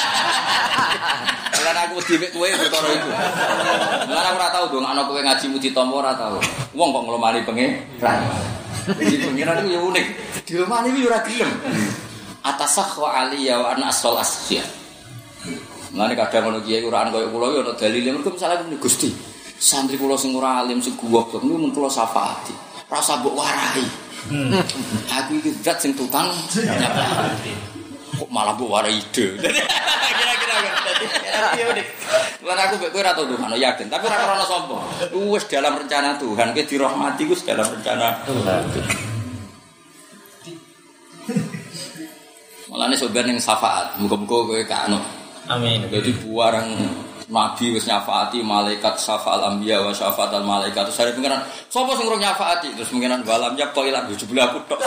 lan aku dhewe kowe perkara iku lan aku ora tau dong ana kowe ngajimu ditampa ora tau wong kok nglomani pengeran iki pengeran iku unik dilomani iki ora gelem atasakh wa aliyah wa ana asal asya. Mulane kadang ngono kiye Quran koyo kula yo ana dalile mergo misale Gusti. Santri kula sing ora alim sing goblok niku mun kula syafaati. Ora usah mbok warai. Aku iki zat sing tutang. Kok malah mbok warai ide. Kira-kira dadi yo dik. Lan aku mbek kowe ora tau ngono yakin, tapi ora krana sapa. Wis dalam rencana Tuhan, kowe dirahmati ku dalam rencana Tuhan. Malah nih sobat yang syafaat, muka-muka kowe kano. Amin. Jadi buarang nabi wis nyafaati malaikat syafaal anbiya wa syafaatal malaikat. Terus ada pengiran, sapa sing ora nyafaati? Terus pengiran balam ya kok ilang jebule aku tok.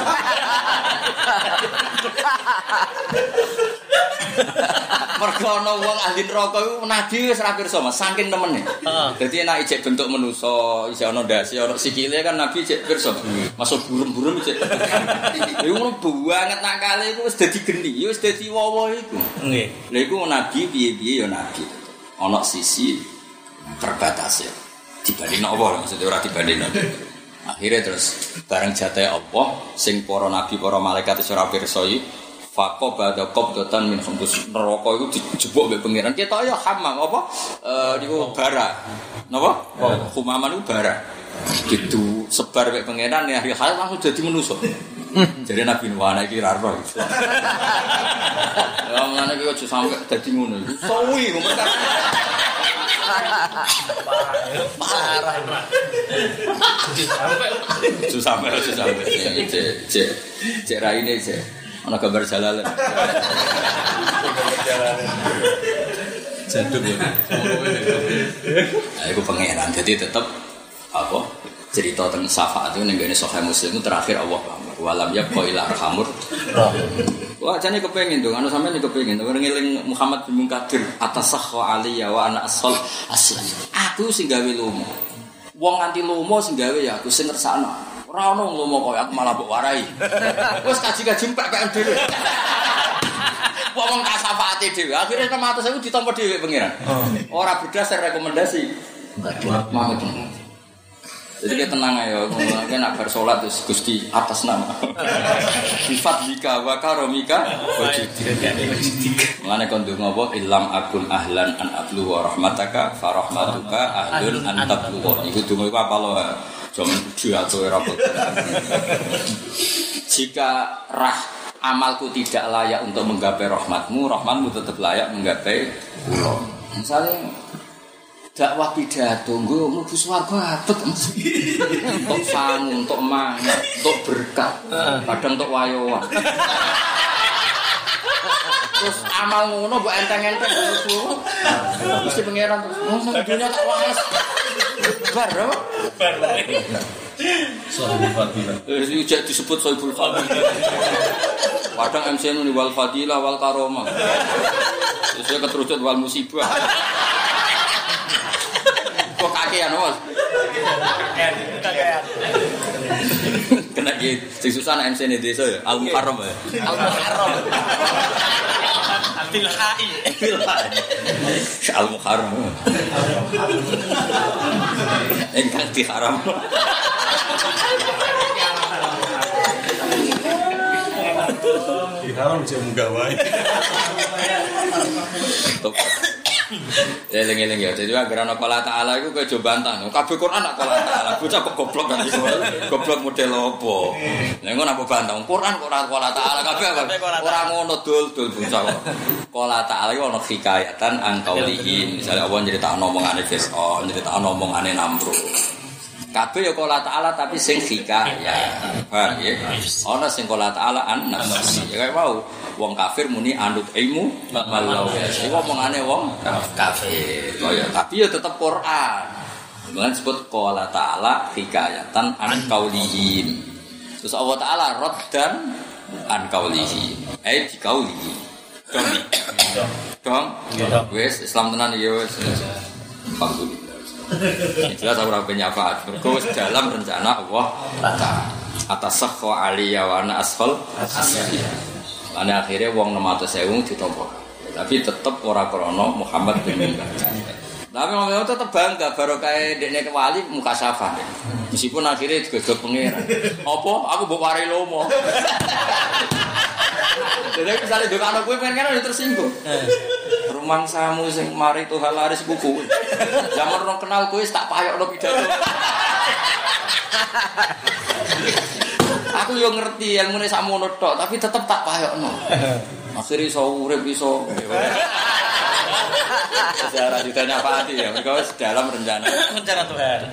Mergo ana wong ahli neraka iku nabi wis ra pirsa Mas, saking temene. Heeh. Dadi nek ijek bentuk manusa, isih ana ndase, ana sikile kan nabi ijek pirsa. Masuk burem-burem ijek. Iku ngono banget nakale iku wis dadi geni, wis dadi wowo iku. Nggih. Lha iku nabi piye-piye ya nabi. Ana sisi terbatas ya. Dibanding apa maksudnya ora dibanding. Akhirnya terus bareng jatahe Allah sing para nabi, para malaikat wis ora pirsa iki Faqo ba'da qabdatan min khamsus neraka iku dijebuk mbek pangeran. Ketok ya hamam apa? Eh niku bara. Napa? Humaman iku bara. Gitu sebar mbek pangeran ya hari hal langsung jadi manusa. Jadi Nabi Nuh ana iki ra roh. Ya ngene iki aja sampe dadi ngono iku. Suwi ngomong. Parah. Sampai sampai sampai. Cek cek cek raine cek. Ana gambar jalalan. Gambar jalalan. Jaduk ya. Nah, itu pangeran. Jadi tetap apa? Cerita tentang syafaat itu nenggane Sahih Muslim itu terakhir Allah pamer. Walam yabqa ila arhamur. Wah, jane kepengin dong. Anu sampeyan kepengin dong ngeling Muhammad bin Munkadir atas sahwa aliyya wa ana asal aslan. Aku sing gawe lomo. Wong nganti lomo sing gawe ya aku sing ngersakno. Ora ono ngomong kok aku malah mbok warai. Wis kaji-kaji mpek-mpek dhewe. Wong kasafaate dhewe. Akhire kematus aku ditampa dhewe pangeran. Ora berdasar rekomendasi. Mahmud. Jadi kita tenang ayo, ngomongnya nak bar sholat terus Gusti atas nama. Sifat bika wa karomika wajibika. Mengenai konduk ngobrol ilam akun ahlan an ablu wa rahmataka farahmatuka ahlun an tablu. Iku dungo apa lo? Jangan dia atau rapot. Jika rah amalku tidak layak untuk menggapai rahmatmu, rahmatmu tetap layak menggapai pulau. Misalnya dakwah pidato, gue mau ke swarga apet, untuk sangu, untuk mangat, untuk berkat, kadang untuk wayoan. Terus amal ngono mbok enteng-enteng ngono. Mesti pangeran terus. Oh, sak dunya tak waras. Bar apa? Bar. Sohibul Fadilah. Eh, iki disebut Sohibul Fadilah. Padang M C nu wal fadilah wal karomah. Terus keterucut wal musibah. Kok kakean, Mas? Kakean. Kakean. Kena iki sing susah nek M C ne desa ya, Al Muharram ya. Al Muharram. Bil Hai. Bil Hai. Al Muharram. Engkang diharam. Diharam jek munggah wae. Top. Eling-eling ya, jadi agar ana Allah Taala iku kowe coba bantah. Kabeh Quran nak Allah Taala, bocah kok goblok kan iso. Goblok model apa? Lah ngono apa bantah? Quran kok ora Allah Taala kabeh ora ngono dul-dul bocah kok. Allah Taala iku ana hikayatan angkaulihin. Misale Allah nyritakno omongane Fir'aun, nyritakno omongane Namrud. Kabeh ya Allah Taala tapi sing hikayat. Paham ya? Ana sing Allah Taala an-nafsi. Ya kaya mau wong kafir muni anut ilmu malau. Iku omongane wong kafir. Oh ya, tapi ya tetep Quran. Mulane disebut qala ta'ala hikayatan an qaulihim. Terus Allah Taala raddan an qaulihim. Eh di qaulihim. Dong. Dong. Wes Islam tenan ya wes. Alhamdulillah. Jelas ora penyafaat. Mergo wis dalam rencana Allah Taala. Atas sakwa aliyya wa ana asfal asfal. Lan akhire wong enam ratus ribu ditampa. Tapi tetep ora krana Muhammad bin Munkadir. Tapi ngomong tetep bangga barokah dekne wali muka syafa. Meskipun akhirnya digegek pangeran. Apa aku mbok wari lomo. Jadi misalnya ndok ana kowe pengen kan tersinggung. Rumang samu sing mari Tuhan laris buku. Zaman orang kenal kowe tak payokno pidato. Aku yo ngerti ilmune sakmono tok, tapi tetep tak payokno. Akhire iso urip iso. Sejarah ditanya apa hati ya, mereka dalam rencana rencana Tuhan.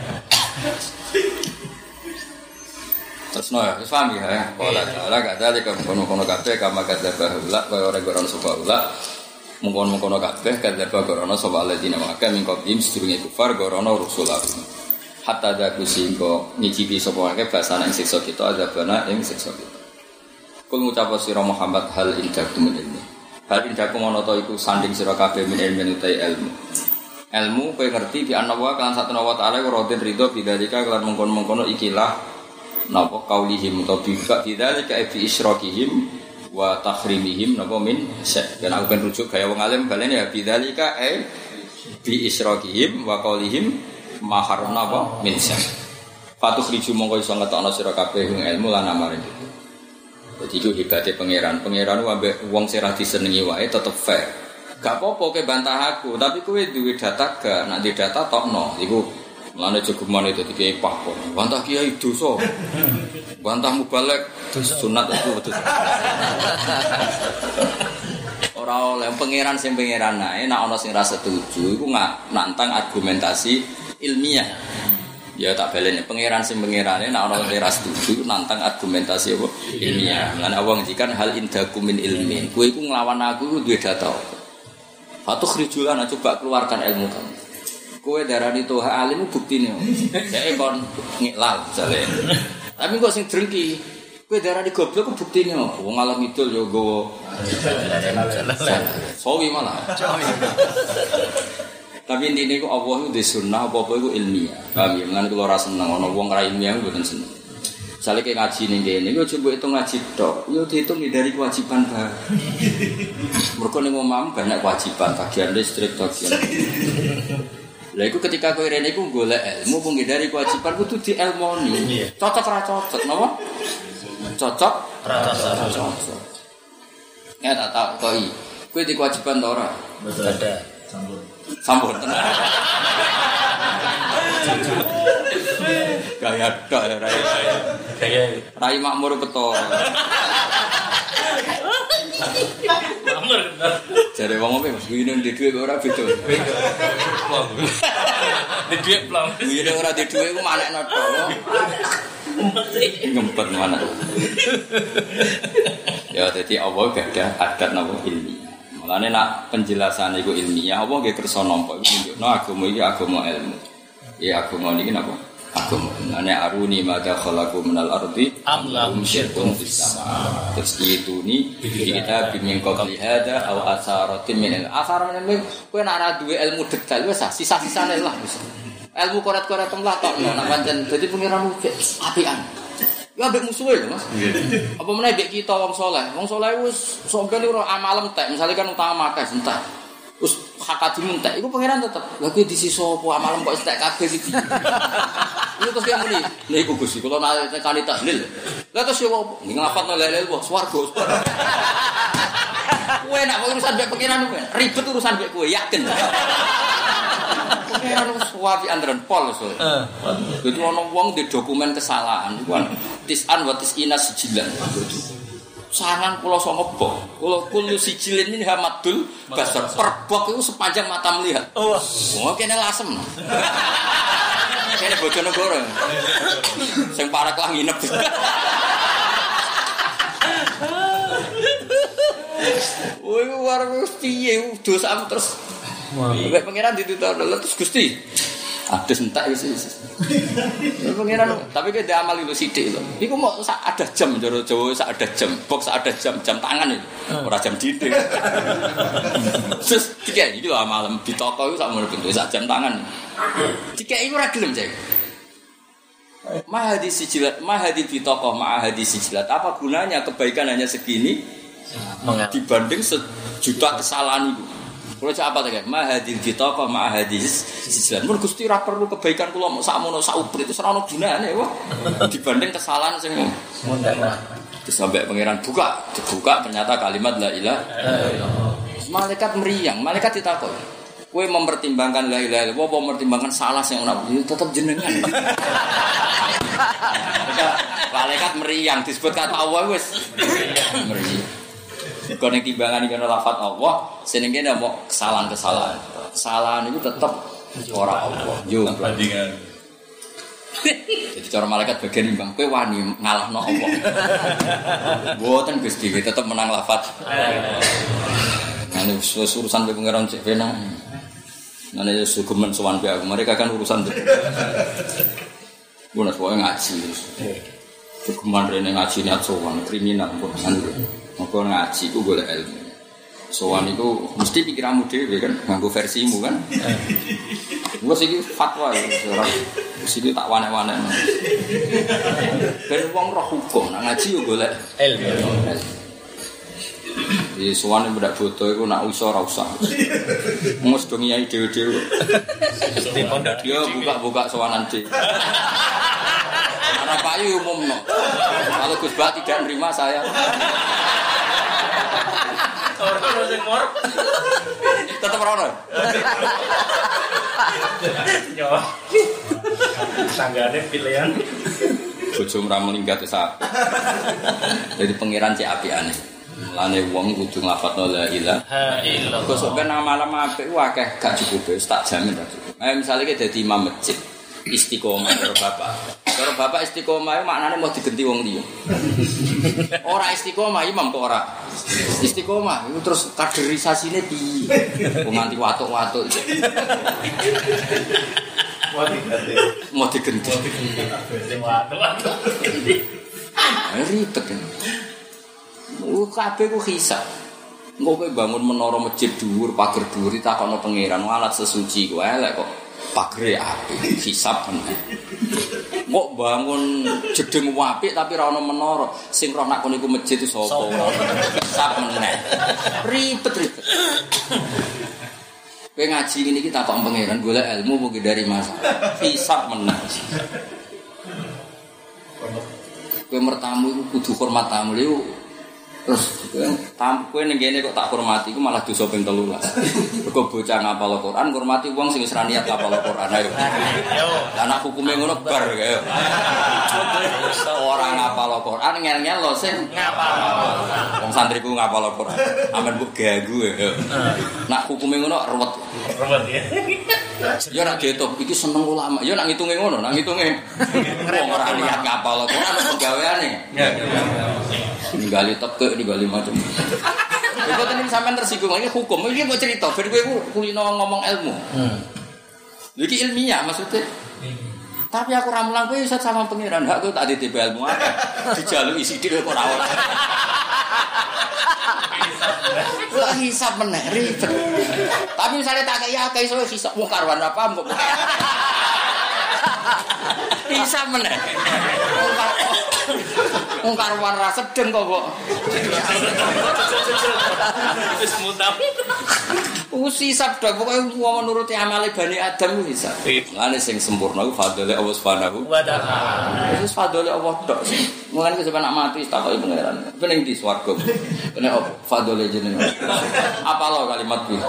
Terus no ya, paham ya? Pola cara gak ada di kono-kono kabeh kama kata bahula, kaya orang goron subahula, mungkon-mungkon kabeh kata bahula soal ladina maka mingkotim sedurunge kufar gorono rusulah. Hatta ada kusingko nyicipi sapa wae basane ing siksa kita ada bana ing siksa kita. Kul ngucap sira Muhammad hal indakum ilmi. Hal indakum ana ta iku sanding sira kabeh min ilmin utai ilmu. Ilmu kowe ngerti di anawa kan satuna wa ta'ala radin ridho bidzalika kelan mengkon-mengkono ikilah napa kaulihim utawa bika bidzalika bi isyrokihim wa tahrimihim napa min syek. Dan aku ben rujuk gaya wong alim balen ya bidzalika e bi isyrokihim wa qaulihim ma haramna apa min syek. Fatukhriju mongko iso ngetokno sira kabeh ing ilmu lan amalan itu. Jadi itu hebate pangeran. Pangeran ku ambek wong sing ra disenengi wae tetep fair. Gak apa-apa ke bantah aku, tapi kowe duwe data gak, nek di data tokno. Iku mlane jogeman itu dikei pakon. Bantah kiai dosa. Bantah mubalek sunat itu betul. Ora oleh pangeran sing pangeran ae nek ana sing ra setuju iku nantang argumentasi ilmiah. Ya tak baleni pangeran sing pangerane nek ana sing ra setuju nantang argumentasi apa ilmiah. Lan Allah ngendikan hal indakum min ilmin. Kowe iku nglawan aku iku duwe data. Fatuh rijulan coba keluarkan ilmu kamu. Kowe darani toha alim buktine. Dek kon ngiklal jale. Tapi kok sing drengki. Kowe darani goblok ku buktine. Wong alam idul yo gowo. Sawi malah. Tapi intine ku Allah itu sunnah apa-apa iku ilmiah. Paham ya? Lan kula ora seneng ana wong ra ilmiah mboten seneng. Misale ke ngaji ning kene yo coba hitung ngaji tok, yo dihitung dari kewajiban bae. Mergo ning omahmu banyak kewajiban, bagian listrik, bagian. Lah iku ketika kowe rene iku golek ilmu pun dari kewajiban kudu dielmoni. Cocok ra cocok, napa? Cocok ra cocok. Ya tak tak koi. Kowe di kewajiban ta ora? Betul ada. Sambut. Sambut tenan. Gaya tok ya rai. Gaya rai makmur beto. Makmur. Jare wong opo Mas kuwi ning dhuwit ora beda. Wong. Di dhuwit plong. Kuwi nek ora di dhuwit ku manekno tok. Ngempet mana. Ya dadi Allah gak ada adat napa ilmiah. Mulane nak penjelasan iku ilmiah apa nggih kersa nampa iku nunjukno agama iki agama ilmu. Ya agama niki napa? Agama. Ane aruni madza khalaqu minal ardi am lahum syirkun fis sama. Terus itu ni kita bimbing kau hada aw asaratin min al-asaran ini kowe nak ra duwe ilmu detail wis sisa-sisane lah wis. Ilmu koret-koret lah tok nek pancen dadi pengiran apian. Ya ambek musuhe lho Mas. Apa meneh mbek kita wong saleh. Wong saleh wis sampeyan ora amalem tek, misale kan utama akeh entek. Terus hak adimu entek, iku pangeran tetep. Lah kowe disisa apa amalem kok entek kabeh iki. Iku terus yang muni. Lha iku Gusti, kula nek kali tahlil. Lah terus yo opo? Nglafatno la ilaha illallah swarga. Kowe nek urusan mbek pangeran kowe, ribet urusan mbek kowe, yakin. Pangeran wis wapi andren pol so. Heeh. Dadi ana wong di dokumen kesalahan iku tisan wa tisina sijilan. Sangan kula songo bok. Kula kulu sijilin ini hamadul basar perbok itu sepanjang mata melihat. Oh, oh kene lasem. Kene Bojonegoro. Sing parek lah nginep. Woi warung piye dosa terus. Nek pangeran ditutur terus Gusti. Adus entek wis wis. Ya pangeran, tapi ke amal itu sithik lho. Iku mau sak ada jam jero Jawa sak ada jam, box sak ada jam, jam tangan itu. Ora jam dinding. Terus tiga iki lho amal di toko iku sak ngono bentuk sak jam tangan. Tiga iku ora gelem cek. Ma hadis sijilat, ma hadis di toko, ma hadis sijilat. Apa gunanya kebaikan hanya segini dibanding sejuta kesalahan itu? Kalau cak apa tak? Ma hadil ditaqah ma hadis sijilan. Mun Gusti ora perlu kebaikan kula mok sakmono sak uprit itu ora ono gunane wae. Dibanding kesalahan sing mundhak. Terus sampai pangeran buka, dibuka ternyata kalimat la ilaha illallah. Malaikat meriang, malaikat ditakok. Kowe mempertimbangkan la ilaha illallah apa mempertimbangkan salah sing ana tetep jenengan. Malaikat meriang disebut kata Allah wis meriang. Kalau yang timbangan ini lafaz Allah, senengnya mau kesalahan-kesalahan. Kesalahan itu tetap orang Allah. Yo perbandingan. Jadi cara malaikat bagian imbang, kowe wani ngalahno Allah. Mboten Gusti, tetap menang lafaz. Ane urusan pengeran cek pena. Ane sugemen sowan be aku, mereka kan urusan itu. Bukan soal ngaji. Sugeman rene ngaji niat sowan kriminal kok. Maka ngaji ku golek ilmu. sowan itu mesti pikiranmu dhewe kan, nganggo versimu kan. Gua sih fatwa ya, ora siki tak wane-wane. Ben wong roh hukum, nak ngaji yo golek ilmu. Di sowan budak bodo iku nak usah ora usah. Mus do ngiyai dhewe-dhewe. Mesti pondok dia buka-buka sowanan dhewe. Karena payu umumno. Kalau Gus Bah tidak nerima saya. Orang sing mor. Tetep ora ono. Yo. Tanggane pilihan. Bojo ora mlinggat sak. Jadi pangeran cek apiane. Mulane wong kudu nglafadzno la ilaha illallah. Kok ben amal apik akeh gak cukup wis tak jamin ra cukup. Ayo misale ki dadi imam masjid istiqomah karo bapak. Karo bapak istiqomah maknane mau digenti wong liya. Ora istiqomah imam kok ora. Istiqomah itu terus kaderisasine piye? Wong nganti watuk-watuk. Mau digenti. Watuk-watuk. Ribet kan. Uh, kabeh ku hisab. Engko kowe bangun menara masjid dhuwur, pager dhuwur ditakokno pangeran, alat sesuci ku elek kok pagere apik, hisab men. Kok bangun jedeng apik tapi ora ono menara, sing roh nak kono iku masjid itu sapa? Hisab meneh. Ribet-ribet. Kowe ngaji ngene iki takok pangeran golek ilmu mungkin dari masalah. Hisab meneh. Kowe mertamu iku kudu hormat tamu lho. Terus tamu kowe ning kene kok tak hormati iku malah dosa ping telulas. Kok bocah ngapal Al-Qur'an hormati wong sing wis ra niat ngapal Al-Qur'an ayo. Lah nek hukume ngono bar kaya. Ora ngapal Al-Qur'an ngel-ngel lho sing ngapal. Wong santriku ngapal Al-Qur'an. Amen mbok ganggu ya. Nek hukume ngono ruwet. Ruwet ya. Ya nek diitung iki seneng ulama. Ya nek ngitunge ngono, nek ngitunge wong ora niat ngapal Al-Qur'an penggaweane. Ninggali teke ninggali macam. Iku tenan sampean tersinggung iki hukum. Iki mau cerita ben kowe kulino ngomong ilmu. Hmm. Iki ilmiah maksudnya. Tapi aku ra mulang kowe iso sama pangeran. Hak kowe tak ditib ilmu akeh. Dijaluki sithik kok ora ora. Lah hisab meneh ribet. Tapi misalnya tak kaya akeh iso hisab wong karwan apa mbok. Hisab meneh. Wong karwan ra sedeng kok kok. Wis mutam. Usi sabda pokoke wong nuruti amale Bani Adam ku bisa. Lane sing sempurna ku fadhole Allah Subhanahu wa taala. Wis fadhole Allah tok. Mulane sampe nak mati takoki pangeran. Pening di swarga. Kene apa fadhole jenengan. Apalo kalimat kuwi.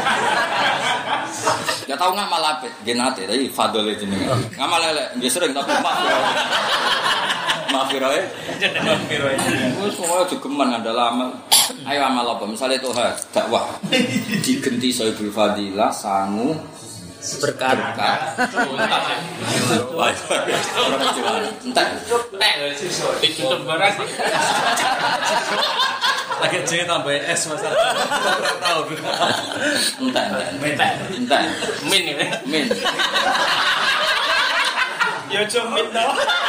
Ya tau ngamal apik, genate tapi fadhole jenengan. Ngamal elek, nggih sering tapi maaf. Maafirae. Maafirae. Wis pokoke jogeman ngandel amal. Ayo amal apa? Misalnya toha dakwah digenti Sohibul Fadilah sangu berkah. Wah, ora percuma. Entek. Nek ditutup barang. Lagi J tambah S masalah. Tahu. Entek, entek. Entek. Min ya. Min. Yo jomin to.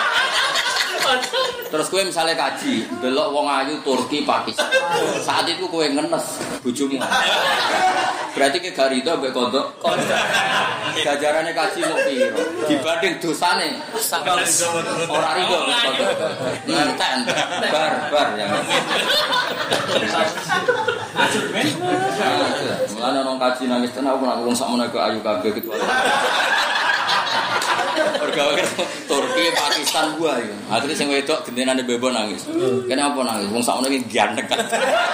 Terus kowe misale kaji, delok wong ayu Turki, Pakistan. Saat itu kowe ngenes bojomu. Berarti ke garido mbek kondok. Gajarane kaji kok piro? Dibanding dosane ora rido kondok. Entek, bar bar ya. Mulane nang kaji nangis tenan aku nak wong sakmono kok ayu kabeh kecuali pergawe Turki, Pakistan gua iki. Akhire sing wedok gentenane bebo nangis. Kene apa nangis? Wong sakmono iki ganteng kan.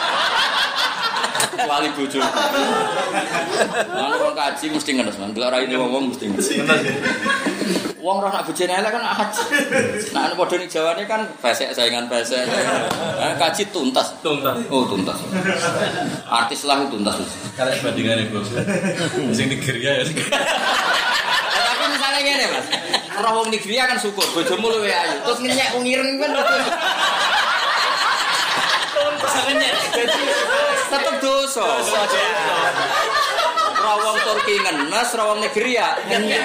Wali bojo. Lan wong kaji mesti ngenes, Mas. Delok raine wong mesti ngenes. Wong roh nak bojone elek kan haji. Nah nek padha ning Jawane kan pesek saingan pesek. Nah, kaji tuntas. Tuntas. Oh, tuntas. Artis lah tuntas. Kalau bandingane bos. Sing Nigeria ya. Tapi misalnya ngene, Mas. Roh wong Nigeria kan syukur bojomu luwe ayu. Terus ngenyek wong ireng kan. Tuntas ngenyek. Jadi tetep dosa. Roh wong Turki ngenes, roh wong Nigeria ngenyek.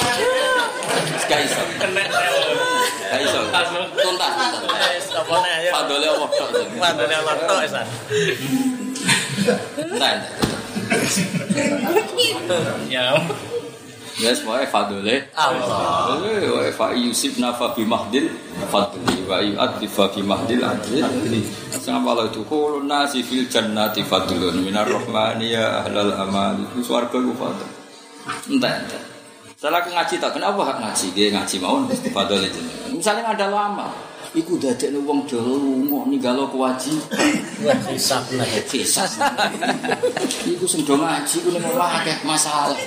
Gak iso. Kena. Gak iso. Tuntas. Apa nek ayo. fadole Allah tok. Fadole Allah tok esan. Nah. Ya. Yes, wa fadole Allah. wa fa yusibna fa bi mahdil fadli wa yu'adhi fa bi mahdil adli. Sama Allah itu qulun nasi fil jannati fadlun minar rahmani ya ahlal amal. Swarga ku fadl. Entah entah. Salah aku ngaji tak kenapa hak ngaji dia ngaji mau fadl itu. Misalnya ada lama, iku dadekne wong Jawa lunga ninggalo kewajiban. Wah, hisab lah. Hisab. Iku sing do ngaji ku ning omah akeh masalah.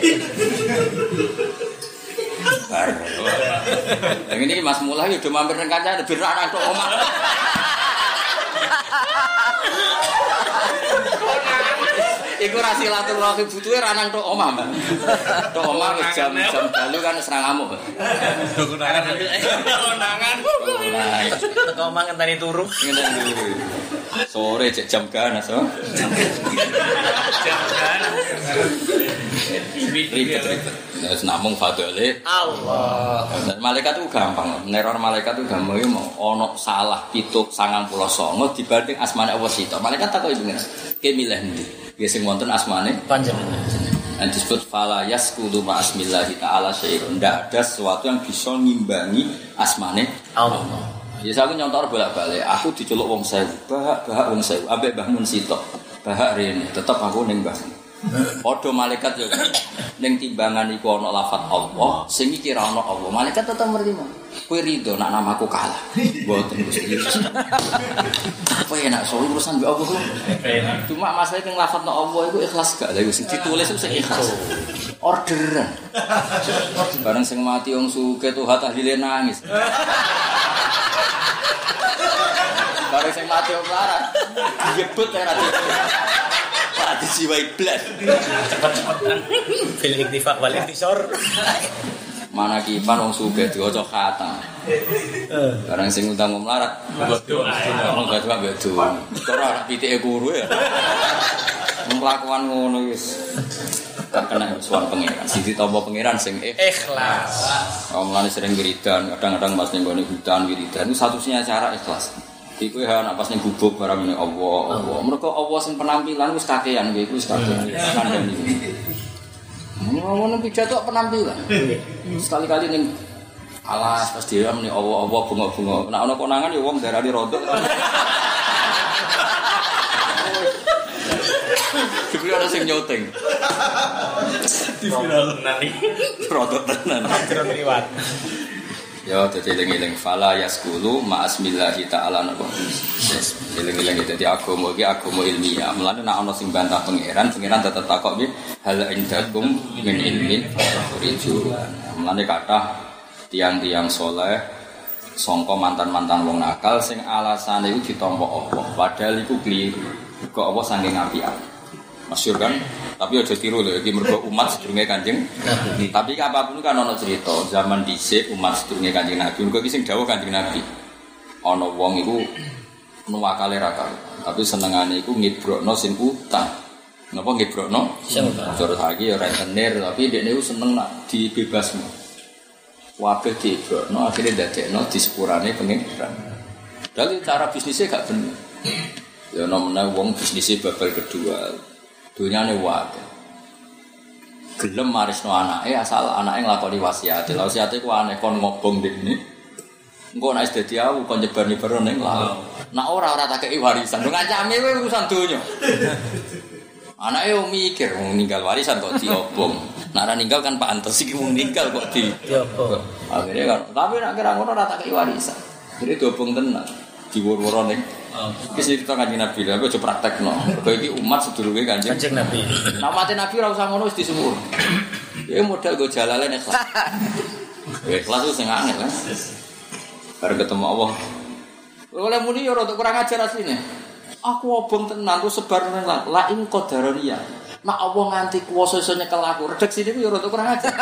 Bar. Lah ngene iki Mas Mullah yo do mampir nang kancane ben ra nang tok omah. Iku ra silaturahmi butuhe ra nang tok omah, Mbak. Tok omah wis jam-jam dalu kan wis ra ngamuk. Konangan. Konangan. Teko omah ngenteni turu. Ngene iki. Sore cek jam ganas, so. Jam ganas. Ribet-ribet. Wis namung fadole Allah. Malaikat itu gampang, neror malaikat itu gampang iki mau ana salah pituk sangang puluh songo dibanding asmane Allah sito. Malaikat takoki pengen. Ki milih ndi? Ya sing wonten asmane Panjenengan. dan disebut fala yaskudu ma asmillahi ta'ala syai'un. Ndak ada sesuatu yang bisa ngimbangi asmane Allah. Ya aku nyontor bolak-balik, aku diceluk wong sewu, bahak-bahak wong sewu, ambek Mbah Mun sitok. Bahak rene, tetep aku ning Mbah. Padha malaikat yo ning timbangan iku ana lafaz Allah, sing iki ra ana Allah. Malaikat tetep nerima. Kowe rido nak namaku kalah. Mboten Gusti. Apa enak so urusan mbek Allah. Cuma masalah ning lafaz Allah iku ikhlas gak lha sing ditulis itu sing ikhlas. Orderan. Bareng sing mati wong suke tuh tahlile nangis. Bareng sing mati wong larat. Diyebut ora Ati jiwai blas. Cepet-cepetan. Fil iktifaq wal intisar. Mana kipan wong sugih diwaca khatam. Barang sing utang melarat. Doa. Wong gak doa mbek doa. Ora ora pitike guru ya. Melakukan ngono wis. Tak kena suwan pangeran. Sing ditampa pangeran sing Ikhlas. Wong mulane sering wiridan, kadang-kadang pas ning gone hutan wiridan itu satu-satunya cara ikhlas. Iku ya nak pas ning gubuk barang ning Allah, Allah. Mergo Allah sing penampilan wis kakean iku wis kakean. Kandhani. Ngono pidato penampilan. Sekali-kali ning alas pas dhewe muni Allah Allah bunga-bunga. Nek ana konangan ya wong darani rodok. Dibeli ana sing nyoteng. Di viral Nanti. Rodok tenan. Akhiran riwat. Ya dadi eling-eling fala yaskulu ma asmillahi ta'ala napa. Yes, eling-eling dadi agama iki agama ilmiah. Mulane nek ana sing bantah pangeran, pangeran tetep takok iki hal indakum min ilmin fariju. Mulane kathah tiang-tiang saleh sangka mantan-mantan wong nakal sing alasane iku ditampa Allah, padahal iku kliru. Kok Allah saking apik-apik. Masyhur kan? Tapi aja tiru lho iki mergo umat sedurunge Kanjeng Nabi. Tapi apapun kan ana cerita zaman dhisik umat sedurunge Kanjeng Nabi. Mergo iki sing dawuh Kanjeng Nabi. Ana wong iku nuwakale ra karo. Tapi senengane iku ngibrokno sing utang. Napa ngibrokno? Sing utang. Cara saiki ya rentenir tapi dekne iku seneng nak dibebasno. Kabeh diibrokno akhire dadekno disepurane pengiran. Dadi cara bisnisnya gak bener. Ya namanya wong bisnisnya babal kedua. Dunyane wae. Gelem marisno anake asal anake nglakoni wasiat. Wasiate ku aneh kon ngobong dekne. Engko nek wis dadi aku kon nyebar-nyebar ning laut. Nek ora ora tak kei warisan. Lho ngancame kowe urusan donya. Anake yo mikir wong ninggal warisan kok diobong. Nek ora ninggal kan pantes iki wong ninggal kok di. Diobong. Akhire kan tapi nek kira ngono ora tak kei warisan. Jadi diobong tenan. Diwur-wuro ning iki cerita Kanjeng Nabi lha kok aja praktekno. Kok iki umat sedulure Kanjeng Kanjeng Nabi. Nah mati Nabi ora usah ngono wis disumur. Ya modal go jalalen ikhlas. Ikhlas itu sing angel kan. Bar ketemu Allah. Oleh muni yo rada kurang ajar asline. Aku obong tenan ku sebar nang la ing qadariyah. Nak Allah nganti kuwasa iso nyekel aku. Redaksine ku yo rada kurang ajar.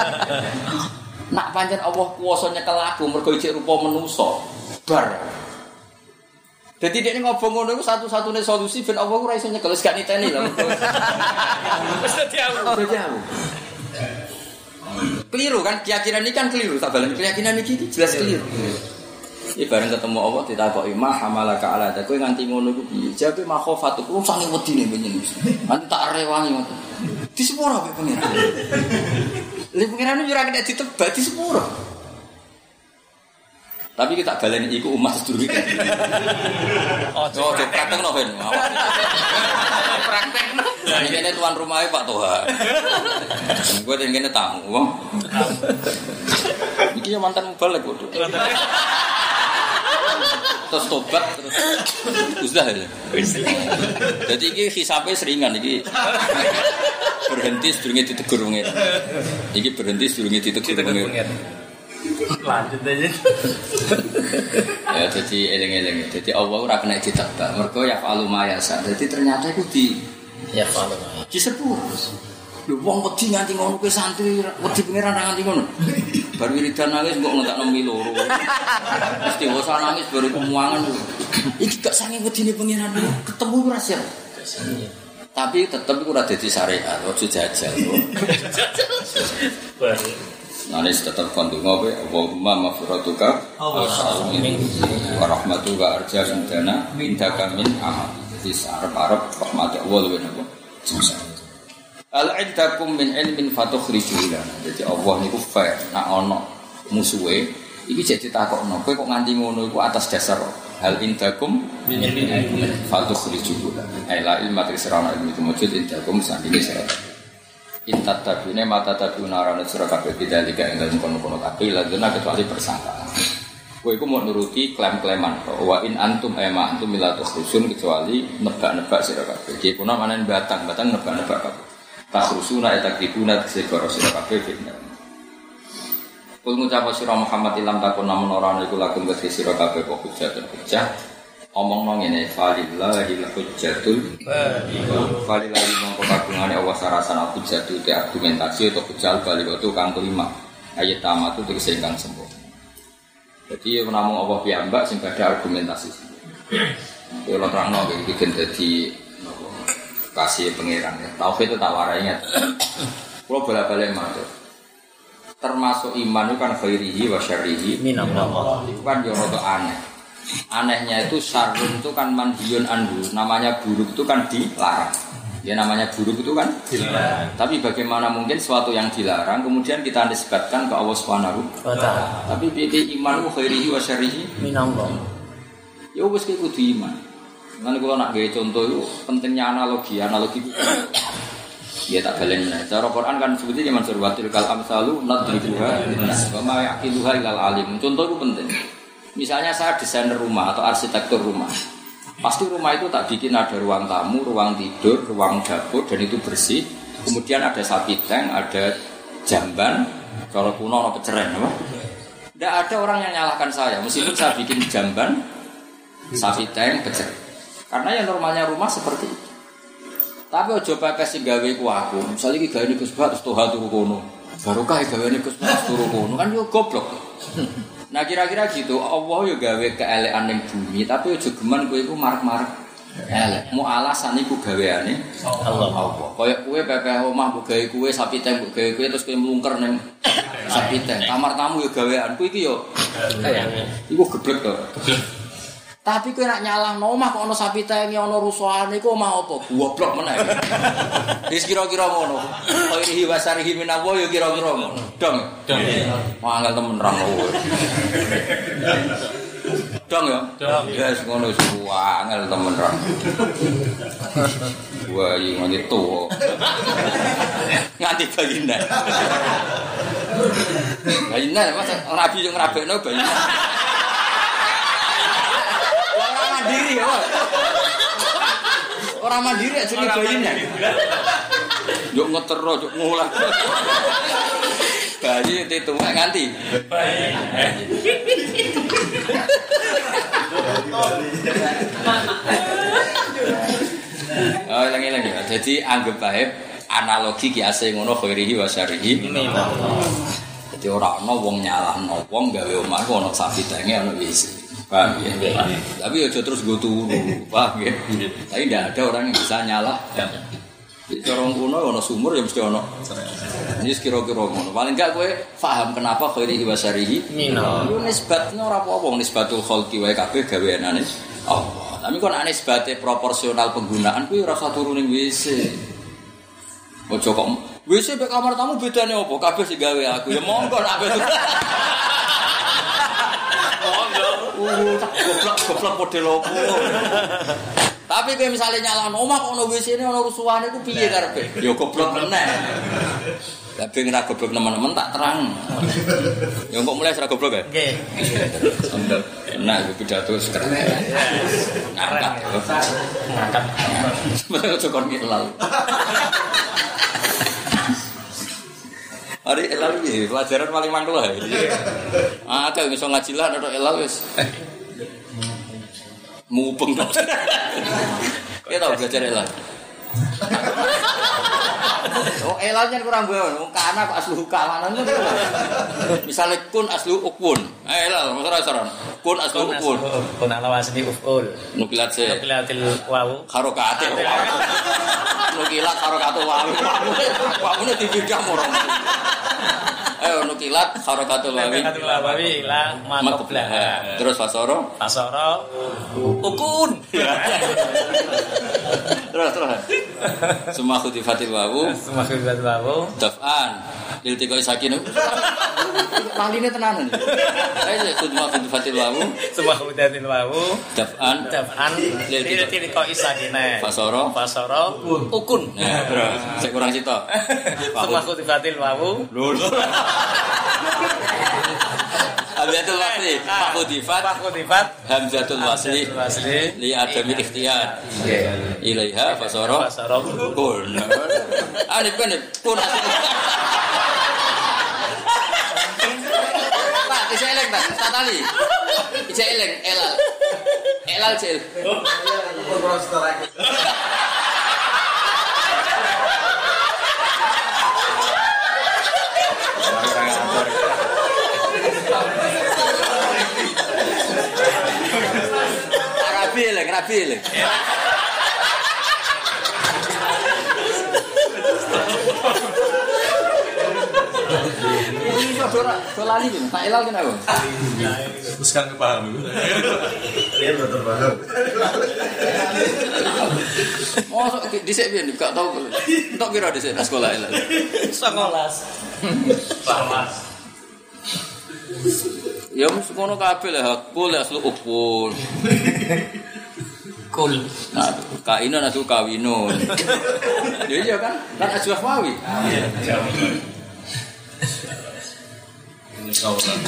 Nak pancen Allah kuwasa nyekel aku mergo ijek rupa manusa. Bar. Jadi dia ngobong ngono iku satu-satunya solusi ben Allah ora iso nyekel wis gak niteni lho. Wis dadi aku. Dadi aku. Keliru kan keyakinan ini kan keliru tak balen keyakinan iki jelas keliru. Iki bareng ketemu Allah ditakoki mah hamalaka ala ta kowe nganti ngono iku piye? Jawabe makhofatu ku sange wedine penyen. Nanti tak rewangi ngono. Di sepuro pe pengiran. Lha pengiran yo ora kena ditebak di sepuro. Tapi kita baleni iku umat sedurunge. Oh, oh praktekno ben. Praktekno. Lah iki tuan rumahe Pak Toha. Gue den kene tamu, wong. Iki yo mantan mubalek kok. Terus tobat terus usdah ya. Jadi iki hisabe seringan iki. Berhenti sedurunge ditegur wong ngene. Iki berhenti sedurunge ditegur wong ngene. Lanjut aja. Ya jadi eling-eling. Jadi Allah ora kena ditebak. Mergo ya falu mayasa. Jadi ternyata iku di Ya falu. di sepur. Lho wong wedi nganti ngono kowe santri wedi pengiran nganti ngono. Bar wiridan nangis kok ngentakno mi loro. Mesti wis nangis baru kemuangan. Iki gak sange wedine pengiran ketemu ora siap. Tapi tetep iku ora dadi syariat, ojo jajal. Nanti tetap kandungan apa? Allahumma maghfiratuka wa salamin wa rahmatuka arja indana indaka min amal. Jadi sarap-arap rahmat Allah lebih apa? Al-indakum min ilmin fatukhrijul lana. Jadi Allah niku fair. Nak ono musuhe iki jek ditakokno, kowe kok nganti ngono iku atas dasar hal indakum min ilmin fatukhrijul lana. Ai la ilma tisrana ilmi mujud indakum sandine sira. Intat tabune mata tabuna arane sira kabeh bidalika ing dalem kono-kono kabeh ladena kecuali persangkaan. Kowe iku mau nuruti klaim-klaiman wa in antum ema antum milatu khusun kecuali nebak-nebak sira kabeh. Iki kuna manen batang, batang nebak-nebak kabeh. Takrusuna etakibuna segoro sira kabeh fitnah. Kul ngucap sira Muhammad ilam takun namun ora ana iku lakum kedhi sira kabeh kok hujjatun hujjah. Omong-omong ngene falillahil hujjatul falillahi mongko kagungane Allah sarasana hujjatu te argumentasi atau hujjal bali itu kang kelima ayat tamatu tegese ingkang sempurna. Jadi namung Allah piyambak sing badhe argumentasi. Kula terangno iki gen dadi kasih pangeran ya. Tauhid itu tak warai ingat. Kalau bolak-balik matur. Termasuk iman itu kan khairihi wa syarrihi minallah. Itu kan yo rada aneh. Anehnya itu syarrun itu kan manhiyun anhu. Namanya buruk itu kan dilarang. Ya namanya buruk itu kan dilarang. Tapi bagaimana mungkin sesuatu yang dilarang kemudian kita nisbatkan ke Allah Subhanahu wa taala. Tapi piye iman itu khairihi wa syarrihi minallah. Ya wis kudu iman. Nanti kalau nak gaya contoh itu pentingnya analogi, analogi itu ya tak balen mana. Cara Quran kan sebutnya zaman surwatil kal amsalu nadribuha wa ma yaqiluha ilal alim. Contoh itu penting. Misalnya saya desainer rumah atau arsitektur rumah, pasti rumah itu tak bikin ada ruang tamu, ruang tidur, ruang dapur dan itu bersih. Kemudian ada sapi tank, ada jamban, kalau kuno ada peceren, apa? Tidak ada orang yang nyalahkan saya, meskipun saya bikin jamban, sapi tank, peceren. Karena yang normalnya rumah seperti itu. Tapi ojo pepes sing gawe ku aku. Misale iki gawe Gus Bat terus toha turu kono. Barokah gawe Gus Bat turu kono kan yo goblok. Nah kira-kira gitu, Allah yo gawe keelekan ning bumi, tapi ojo geman kowe iku marek-marek elek. Mu alasan iku gaweane Allah. Allah. Kaya kowe pepeh omah mbok gawe kowe sapi teng mbok gawe kowe terus kowe mlungker ning sapi teng. Kamar tamu yo gawean. Kowe iki yo iku geblek to. Tapi kowe nak nyalahno omah kok ana sapi tengi ana rusuhane iku omah apa? Goblok meneh. Wis kira-kira ngono. Khairihi wasarihi minawo ya kira-kira ngono. Dong. Dong. Mangkel temen ra ngono. Dong ya? Dong. Ya wis ngono wis angel temen ra. Wah, iki nganti tuwa. Nganti bayine. Bayine Mas rabi yo ngrabekno bayine. Mandiri ya. Orang mandiri aja ngebayine. Yo ngetero, yo ngulah. Bayi itu nganti. Bayi. Oh, lagi-lagi. Jadi anggap baik analogi kiase ngono khairihi wa syarrihi. Jadi ora ana wong nyalahno wong gawe omah ono sapi tenge ono wis. Paham ya? Tapi ya terus gue turu, paham ya? Tapi tidak ada orang yang bisa nyalah. Di corong kuno ono sumur ya mesti ono. Ini kira-kira ngono. Paling enggak kowe paham kenapa khairi wa syarihi Mino. Yo nisbatnya ora apa-apa nisbatul khalqi wae kabeh gaweanane Allah. Tapi kon nisbate proporsional penggunaan kuwi ora usah turu ning W C. Ojo kok W C mek kamar tamu bedane apa? Kabeh sing gawe aku. Ya monggo nak betul. Monggo. Uh, tak goblok-goblok model opo. Tapi kowe misale nyalano omah kok ono W C-ne ono rusuhane iku piye karepe? Ya goblok meneh. Lah ben ora goblok teman-teman tak terang. Ya kok mulai ora goblok ya? Nggih. Enak iku pidato sekeren. Ngangkat. Ngangkat. Betul cokor ngilal. Hari elal iki pelajaran paling mangkel ha. Ah, ada iso ngaji lah nek elal wis. Mupeng tok. Ya tau belajar elal. Oh, elalnya kurang bae. Wong kana kok aslu kalanan. Misale kun aslu ukun. Eh elal masalah kun aslu ukun. Kun ala wasni uful. Nukilat se. Nukilatil wawu. Harokate. Nukilat harokatul wawu. Wawune dibidah morong. Eh nukilat harokatul wawu. Harokatul wawu ila maqblah. Terus fasoro? Fasoro ukun. Terus terus. Semua khutifatil wawu. Semua khutifatil wawu. Daf'an. Lil tiqoi sakinu. Laline tenanan. Ayo khutbah khutifatil wawu. Semua khutifatil wawu. Daf'an. Daf'an. Lil tiqoi sakine. Fasoro. Fasoro ukun. Nah, terus sik kurang sitok. Semua khutifatil wawu. Lur. Hamzatul wasli, fakhudifat, fakhudifat, hamzatul wasli, li adami ikhtiyar. Ilaiha fasara, fasara kun. Alif kan kun. Pak, bisa eleng tak? Tak tali. Bisa eleng, elal. Elal cil. Rabi lek, rabi lek. Ini saudara, solani kan, tak elal kan aku. Terus kan kepaham. Dia belum terpaham. Oh, dhisik piye gak tau. Entuk pira dhisik nang sekolah elal. Sekolah. Pamas. Ya mesti ngono kabeh lah, kul aslu ukul. Kul. Nah, kainun aslu kawinun. Ya iya kan? Kan ajwaf wawi. Iya. Ini kawasan.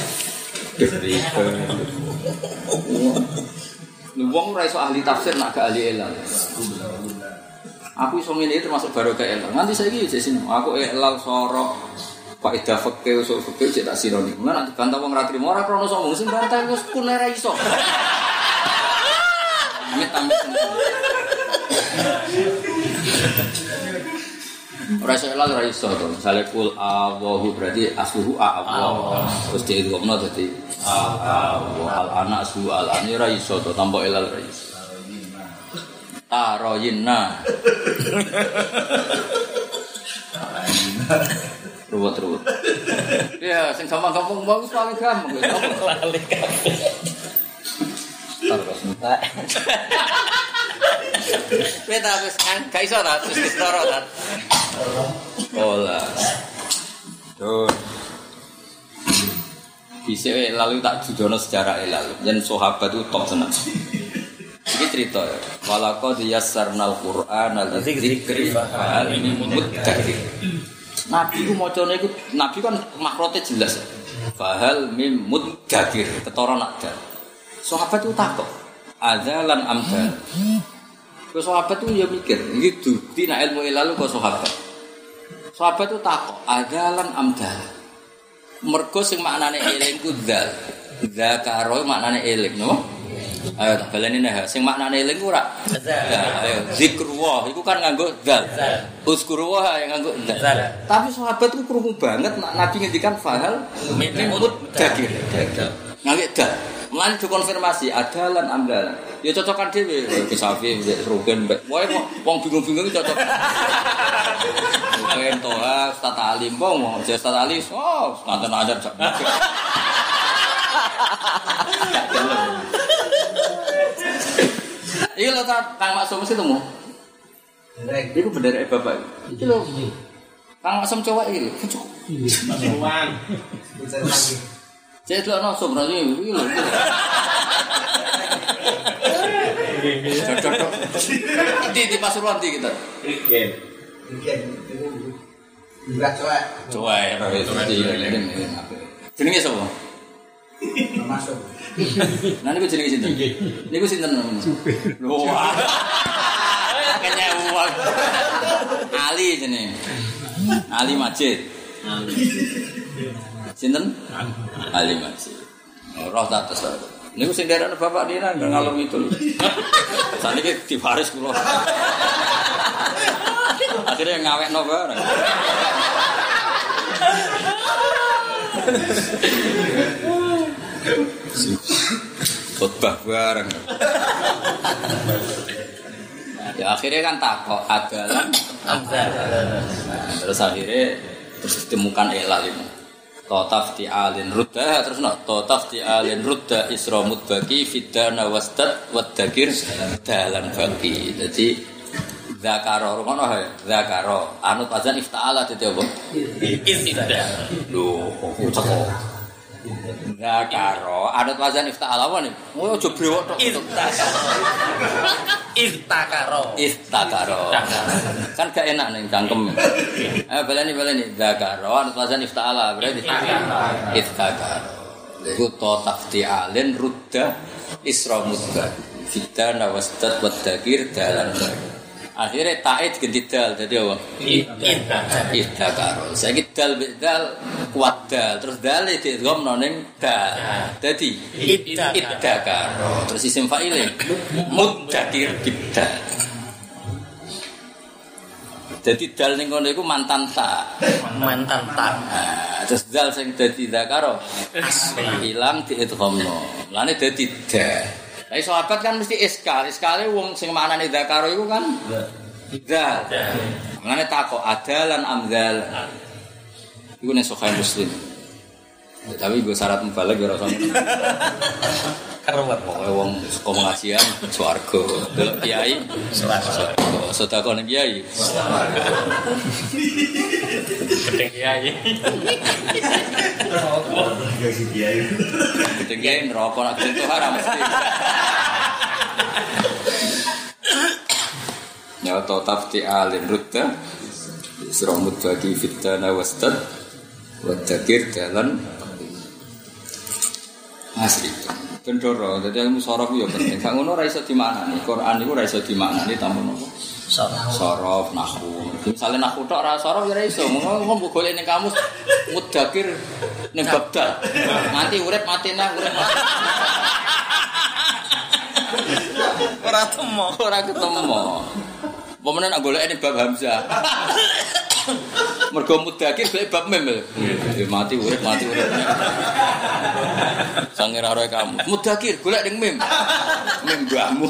Lu wong ora iso ahli tafsir nak gak ahli elal. Aku iso ngene termasuk baru ke elal. Nanti saiki jek sini. Aku elal sorok faedah fikih usul fikih cek tak sironi. Mun nek dibantah wong ra trimo ora krono sombong sing bantah wis kun ora iso. Amit-amit. Ora iso elal ora iso to. Misale kul Allahu berarti asluhu Allah. Terus diidghamna dadi Allah. Al ana aslu al ani ora iso to tanpa elal ora iso. Taroyinna. Ruwet-ruwet. Ya, sing gampang-gampang bagus paling gampang wis apa lali kabeh. Terus entek. Beta wis kan gak iso ta terus ditoro ta. Ola. Tuh. Bisa lalu tak judono sejarah elal. Yen sahabat itu top tenan. Iki cerita ya. Walaqad yassarnal Qur'ana lidzikri fa hal min muddakir. Nabi ku macane iku nabi kan makrote jelas. Fahal mim muddakir, ketara nak dal. Sahabat itu takok, adzalan amdal. Ku sahabat itu ya mikir, iki dukti nek ilmu ilal kok sahabat. Sahabat itu takok, adzalan amdal. Mergo sing maknane eling ku dzal. Zakaro maknane eling, no? Ayo tak baleni nek sing maknane eling ora. Ayo zikrullah iku kan nganggo dzal. Uzkurullah yang nganggo dzal. Tapi sahabat ku krungu banget Nabi ngendikan fahal mimut dagir. Ngangge dzal. Mulane dikonfirmasi adalan amdalan. Ya cocokan dhewe ke Safi, mbek Rugen, mbek wae wong bingung-bingung cocok. Rugen toha Ustaz Alim wong, Ustaz Ali, oh, nonton ajar. Iya lho Kang Maksum mesti temu. Bener. Iku bener bapak. Iki lho. Kang Maksum cowok iki lho. Masukan. Cek lho no sobrane iki lho. Cocok. Di di Pasuruan di kita. Iken. Iken. Enggak cowok. Cowok ya. Jenenge sapa? Masuk. Nah niku jenenge sinten? Niku sinten namanya? Lho. Kayaknya uang. Ali jenenge. Ali Majid. Sinten? Ali Majid. Roh tak tes. Niku sing derek bapak dina ngalor itu. Saniki dibaris kula. Akhirnya ngawekno bareng. Khotbah bareng. Ya akhirnya kan takok adalah amdalan. Terus akhirnya terus ditemukan ilal ini. Totaf ti'alin rudda terus no totaf ti'alin rudda isramud baki fidana wastad wadakir dalan baki. Jadi zakaro ngono ha zakaro anut azan ifta'ala dadi apa? Ifta'ala. Lho kok zakaro anut azan ifta'ala apa nih? Oh aja brewok tok. Iftakaro. Iftakaro. Kan gak enak ning cangkem. Eh baleni baleni zakaro anut azan ifta'ala berarti iftakaro. Iku to tafti'alin rudda isramud fidana wastad wadakir dalan akhirnya ta'id ganti dal jadi apa? Idhakaro saiki dal dal kuat dal terus dal diidgham ning dal dadi idhakaro terus isim fa'ile mudzakir bidal jadi dal ning kono iku mantan ta Mantan tak. terus dal sing dadi dzakaro ilang diidghamno lane dadi dal. Lah sahabat kan mesti iskal, iskale wong sing maknane dzakaro iku kan dzal. Mangane takok adalan amdal. Iku nek Sahih Muslim. Tapi gue syarat mubalagh ya ora usah. Karuwat pokoke wong saka pengajian swarga, delok kiai swarga, sedekah ning kiai. Gedeng kiai. Gaji kiai. Gedeng kiai neraka nek itu haram mesti. Ya tafti alin rudda isramud bagi fitana wastad wa dzakir dalan asli. Bendoro, jadi ilmu sorof itu penting. Gak ngono ra iso dimaknani. Quran iku ra iso dimaknani tanpa napa? Sorof. Sorof nahwu. Misale nahwu tok ra sorof ya ra iso. Ngono mbok golek ning kamus mudzakir ning babdal. Nanti urip mati nang urip. Ora temu, ora ketemu. Pomene nak golek ning bab Hamzah. Mergo mudzakir golek bab mem. Mati urip mati urip. Sange ra roe kamu. Mudzakir golek ning mem. Mem mbahmu.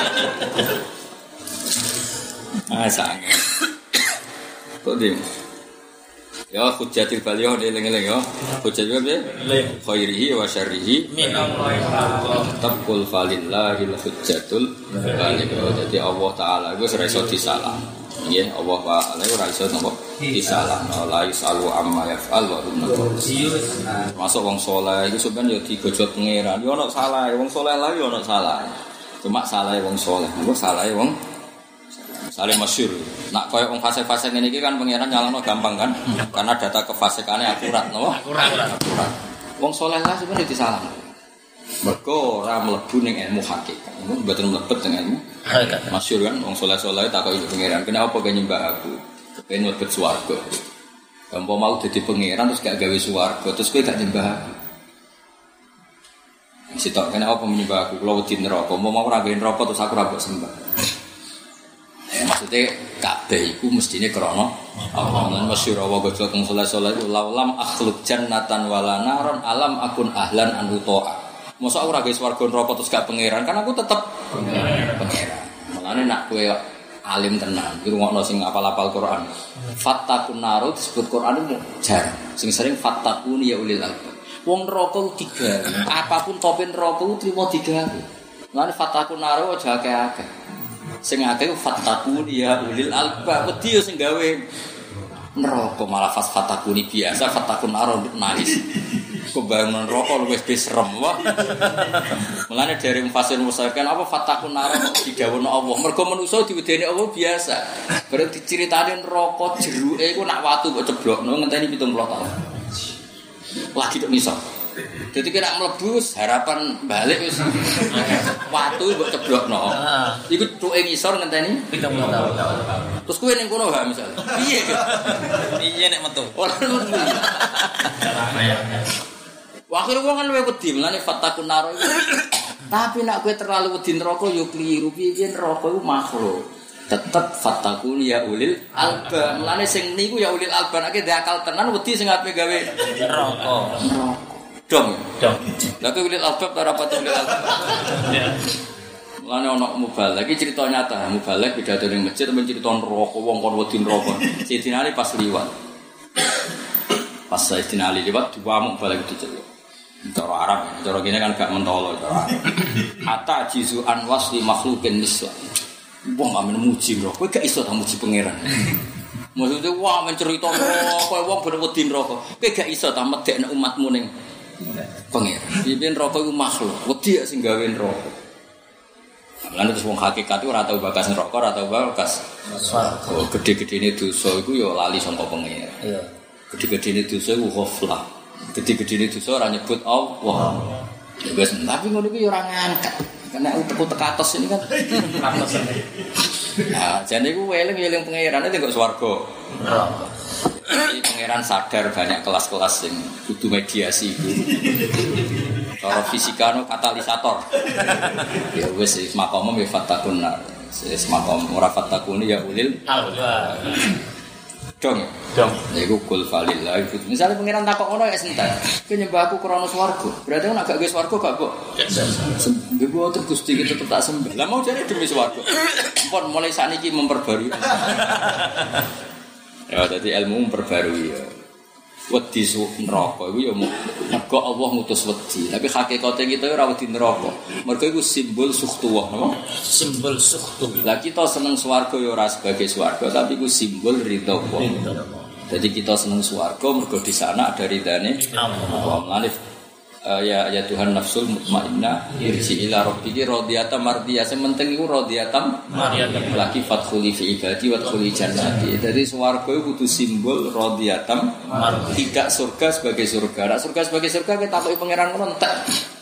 Ah sange. Kok dim. Ya hujjatil baligh eling-eling ya. Hujjat piye? Khairihi wa syarrihi min Allah. Taqul falillahil hujjatul baligh. Jadi Allah taala iku ora iso disalah. Nggih, Allah taala iku ora iso napa disalah. La yasalu amma yaf'al wa hum masuk wong saleh iku sampeyan ya digojot pangeran. Ya ono salah, wong saleh lha ya ono salah. Cuma salah wong saleh. Engko salah wong saling masyhur. Nak koyo wong fase-fase ngene iki kan pangeran nyalahno gampang kan? Karena data kefasikane akurat, no? Akurat. Akurat. Wong saleh lah sebenarnya disalahno. Mergo ora mlebu ning ilmu hakikat. Mun mboten mlebet ning ilmu hakikat. Masyhur kan wong saleh-saleh takoki pangeran, "Kenapa kowe nyembah aku? Kepengin mlebet swarga." Gampo mau dadi pangeran terus gak gawe swarga, terus kowe gak nyembah aku. Sitok kenapa menyembah aku? Kulo wedi neraka, mau mau ora gawe neraka terus aku ora mbok sembah. Maksudnya Ka'bah iku mestine krana Allah. Lan masyhur wa gojol teng saleh-saleh iku laulam akhluk jannatan wala naron alam akun ahlan an uta'a. Mosok aku ora gawe swarga neraka terus gak pangeran, kan aku tetep pangeran. Mulane nak kowe alim tenan, iki rungokno sing apal-apal Quran. Fattakun naru disebut Quran itu jar. Sing sering fattakun ya ulil albab. Wong neraka ku tiga. Apapun topen neraka ku trimo digawe. Mulane fattakun naru aja akeh-akeh. Sing akeh fattakun ya ulil albab. Wedi yo sing gawe neraka malah fas fattakuni biasa, fattakun naru nangis. Kebangun rokok lu wis serem wae. Mulane dari fasir musakan apa fatakun nar didawono Allah. Mergo manusa diwedeni Allah biasa. Bareng diceritani neraka jeruke iku nak watu kok ceblokno ngenteni pitung puluh tahun. Lagi tok misal. Dadi kira mlebu harapan balik wis watu mbok ceblokno. Iku tuke ngisor ngenteni pitung puluh tahun. Terus kowe ning kono gak misal. Piye? Piye nek metu? Ora metu. Akhire wong kan luwih wedi mlane fatakun naro iku. Tapi nek kowe terlalu wedi neraka yo kliru. Piye neraka iku makhluk. Tetep fatakun ya ulil albab. Mlane sing niku ya ulil albab nek akal tenan wedi sing ape gawe neraka. Dong. Dong. Lah kowe ulil albab ora pati ulil albab. Ya. Mlane ana mubalek iki cerita nyata. Mubalek pidato ning masjid men cerita neraka wong kon wedi neraka. Sidina Ali pas liwat. Pas Sidina Ali liwat dua mubalek diceluk. Cara Arab, cara gini kan gak mentolo cara Arab. Hatta jizu an wasli makhlukin misla. Wong amen muji bro, kowe gak iso ta muji pangeran. Maksudnya wah mencerita neraka, wong bener wedi neraka. Kowe gak iso ta medekne umatmu ning pangeran. Piye neraka iku makhluk, wedi sing gawe neraka. Lan terus wong hakikat iku ora tau bakas neraka, ora tau bakas swarga. Oh, gede-gedene dosa iku ya lali saka pangeran. Iya. Gede-gedene dosa iku ghaflah. Gede-gede itu ora nyebut Allah. Ya wis, tapi ngono iki ora ngangkat. Karena utek tekatos ini kan tekatos. Nah, jane iku eling-eling pangerane nek swarga. Iki pangeran sadar banyak kelas-kelas sing kudu mediasi iku. Cara fisika no katalisator. Ya wis makom me fatakun. Wis makom ora fatakun ya ulil albab. Dong, dong. Iku kul falillah. Misalnya pangeran takok ngono ya sentar. Ki nyembah aku krana swarga. Berarti nek gak ge swarga gak kok. Nggih kok terus Gusti iki tetep tak sembah. Lah mau jare demi swarga. Pun mulai saniki memperbarui. Ya dadi ilmu memperbarui ya. Wedi neraka iku ya mergo Allah ngutus wedi. Tapi hakikate kita ora wedi neraka. Mergo iku simbol sukhtuwah, napa? Simbol sukhtu. Lah kita seneng swarga ya ora sebagai swarga, tapi iku simbol ridha Allah. Jadi kita seneng swarga mergo di sana ada ridane Allah. Mulane ya ya Tuhan nafsul mutmainnah irji ila rabbiki radiyatan mardiyah. Sing penting iku radiyatan mardiyah. Lagi fadkhuli fi ibadi wadkhuli jannati. Jadi swarga iku kudu simbol radiyatan mardiyah. Tidak surga sebagai surga. Nek surga sebagai surga kita takoki pangeran ngono entek.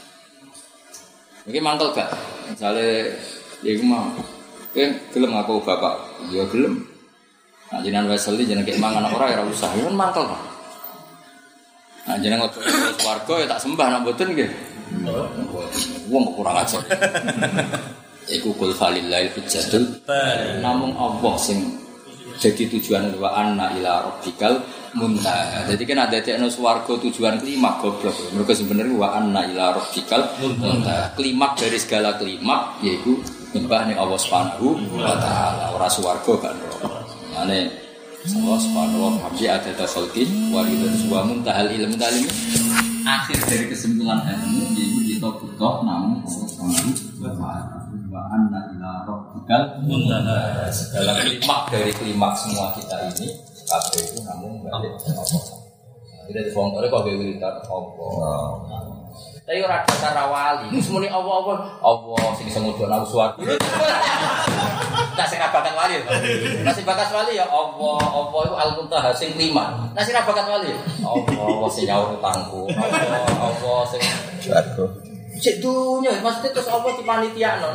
Iki mangkel gak? Misale iku mau kowe gelem aku bapak. Ya gelem. Nah jenengan weseli jenenge mangan ora ora usah. Ya mangkel kok. Nah jeneng lebu swarga ya tak sembah nak mboten nggih. Wong kurang ajar. Iku kul falillahil hujjatul namung Allah sing jadi tujuan wa anna ila rabbikal muntaha. Jadi kan ada tekno swarga tujuan klimak goblok. Mergo sebenarnya wa anna ila rabbikal muntaha. Klimak dari segala klimak yaiku nyembah ning Allah Subhanahu wa taala. Ora swarga kan. Mane Allah subhanahu wa ta'ala ada tasalkin waridan sebuah muntahal ilmu talim akhir dari kesimpulan ilmu yaitu kita butuh namun subhanahu wa ta'ala wa anna ila rabbikal muntaha. Segala klimak dari klimak semua kita ini kabeh itu namun balik ke Allah. Tidak dibongkar kok gawe wiridan Allah. Tapi ora cara wali, semune Allah-Allah, Allah sing iso ngudhon aku swarga. Tak sing bakat wali. Masih bakat wali ya Allah, Allah itu al-muntaha sing lima. Nah sing bakat wali. Allah, Allah sing nyaur utangku. Allah, Allah sing swarga. Cek dunya, maksudnya terus Allah di panitiano.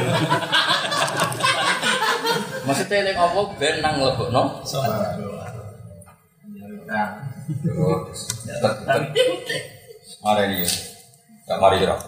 Maksudnya lek Allah ben nang mlebokno swarga. Nah. Mari ini. Gak mari kira.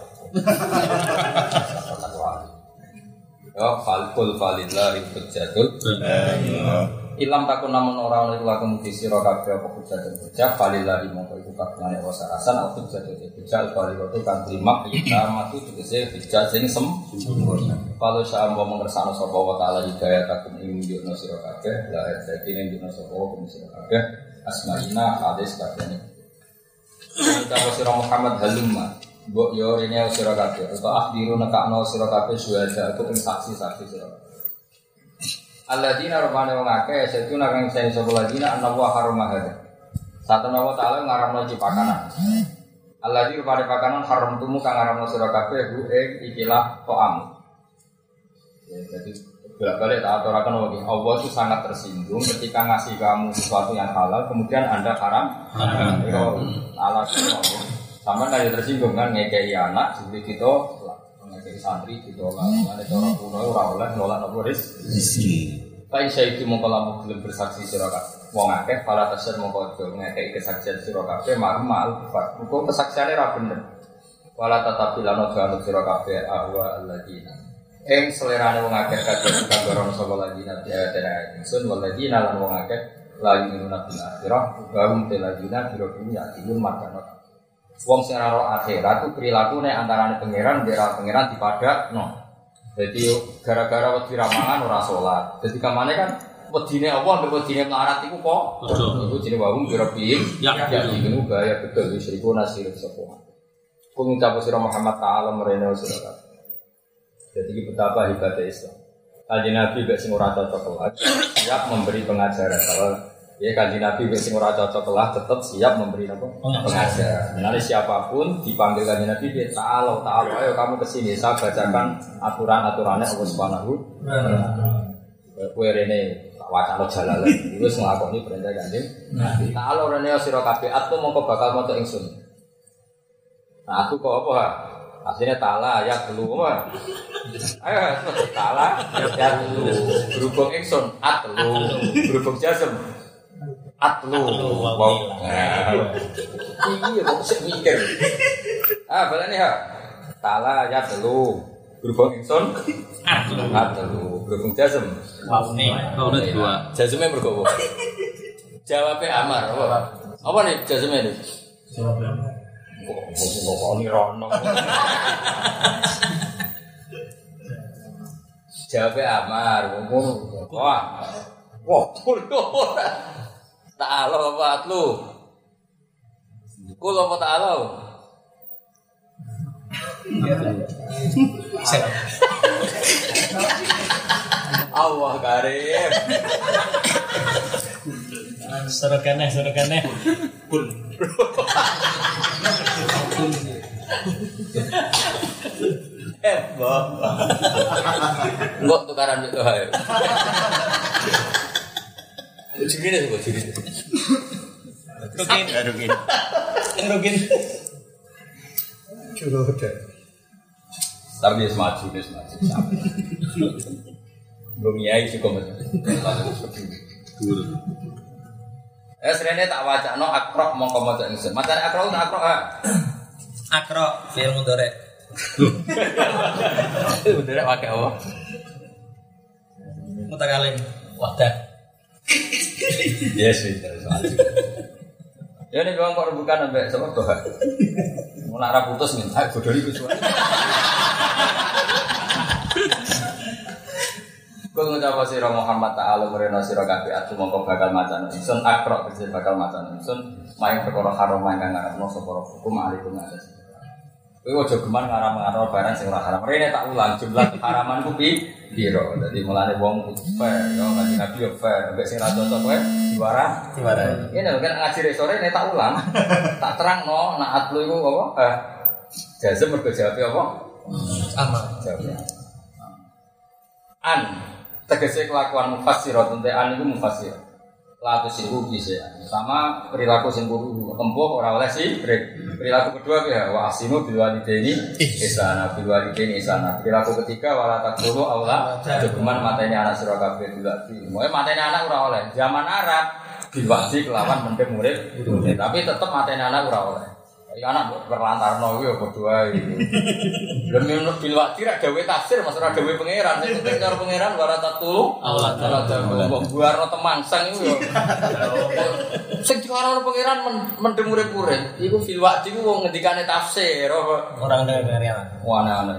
Ya, falkul falillah hujjatul. Ilam takun namun ora ana iku lakum di sira kabeh apa hujjah dan hujjah falillahi mongko iku kabehane wasa rasan apa hujjah dan hujjah bali waktu kan terima kita matu tegese hujjah sing sempurna. Kalau saya mau mengersano sapa wa taala hidayah takun ing yurna sira kabeh la dadi ning yurna sapa wa sira kabeh asmaina hadis kabeh. Kita sira Muhammad halumma mbok yo rene sira kabeh atau akhdiru nekakno sira kabeh suwada aku ing saksi-saksi sira. Alladzina rabbana wong akeh setuna kang sing sapa ladina annahu harama hada. Satana wa ta'ala ngaramno cipakanan. Alladzina pada pakanan haram tumu kang ngaramno sira kabeh hu ing ikilah to'am. Ya jadi bolak-balik tak aturaken wae. Allah itu sangat tersinggung ketika ngasih kamu sesuatu yang halal kemudian Anda haram. Haram. Itu alasan Allah. Sampai kali tersinggung kan ngekei anak jadi kita ngekei santri ditolak. Ada cara kuno ora oleh nolak apa rezeki. Kain saya itu mongko lamun gelem bersaksi sira kabeh. Wong akeh pala tasir mongko ngekei kesaksian sira kabeh marmal kufar. Muga kesaksiane ra bener. Wala tatabilano jangan sira kabeh ahwa alladzina. Ing selerane wong akeh kadhe kabaron sapa ladina ya tera ingsun waladina lan wong akeh lagi nuna bil akhirah bahum teladina biro dunya dilun makana. Wong sing ora ro akhirat ku prilakune antarane pangeran mbek pangeran dipadakno. Dadi gara-gara wedi ramangan ora salat. Dadi kamane kan wedine Allah mbek wedine melarat iku kok iku jenenge wahum biro piye ya diku gaya betul wis iku nasir sapa. Kung ngucap sira Muhammad taala merene sira kabeh. Jadi betapa hebatnya Islam. Kanjeng Nabi mbek sing ora cocok kelas siap memberi pengajaran. Kalau ya Kanjeng Nabi mbek sing ora cocok kelas tetap siap memberi apa? Pengajaran. Nanti siapapun dipanggil Kanjeng Nabi dia ta'ala ta'ala ayo kamu ke sini saya bacakan aturan-aturannya Allah Subhanahu wa taala. Kowe rene tak wacana jalalan wis nglakoni perintah Kanjeng Nabi. Ta'ala rene sira kabeh atu mongko bakal maca ingsun. Nah aku kok apa ha? Aslinya tala ya telu apa? Ayo tala ya telu. Berhubung ingsun at telu. Berhubung jazm at telu. Wow. Iya kok sik mikir. Ah balane ha. Tala ya telu. Berhubung ingsun at telu. At telu. Berhubung jazm. Waune. Waune dua. Jazmnya mergo apa? Jawabnya amar apa? Apa nih jazmnya nih? Jawabnya amar. Kok ini rono. Jawabnya amar. Wah, wah, kulo. Ta'ala apa atlu? Kulo apa ta'ala? Allah karim. Suruh keneh, suruh keneh. Kul. Eh, bapak. Enggak tukaran itu ayo. Jadi ini juga jadi. Rukin, rukin. Rukin. Coba udah. Tapi dia semaju, dia semaju. Belum nyai sih komen. Eh, serene tak wajah no akrok mau kamu tak ingin. Macam akrok tak akrok ah. Akrok, film mundore. Mundore pakai apa? Mutakalim, wadah. Yes, itu. Ya ini bilang kok bukan sampai sama Tuhan. Mau nak putus minta bodoh itu semua. Kau ngucap sira Muhammad taala merena sira kabeh atu mongko bakal macan ingsun akrok kese bakal macan ingsun maing perkara haram kang ngarepno sapa hukum alaikum atas. Kowe aja geman ngaram-ngaram barang sing ora haram. Rene tak ulang jumlah haraman ku piro. Dadi mulane wong kudu fair yo kanjeng Nabi yo fair. Nek sing ra cocok kowe diwara diwara. Ini kan ngaji sore nek tak ulang tak terangno nak atlu iku apa? Eh jazm mergo jawab apa? Amal. Jawab. An tegese kelakuan mufassir tente an iku mufassir. Laku sihu bisa sama perilaku sing kudu tempuh ora oleh sih. Perilaku kedua ya wa asinu bil walidaini ihsana bil walidaini ihsana. Perilaku ketiga wala taqulu aula jogeman mateni anak sira kabeh dilati. Moe mateni anak ora oleh. Zaman Arab diwaji kelawan mendem murid, tapi tetep mateni anak ora oleh. Ya anak berlantarno kuwi ya padha wae. Lha menurut bilwati ra gawe tafsir Mas ora gawe pangeran. Sing penting cara pangeran wara tatulu. Allah taala mbok buarno temangsang iku ya. Sing dikarano pangeran mendem urip-urip. Iku bilwati ku wong ngendikane tafsir ora ngene pangeran. Wah ana.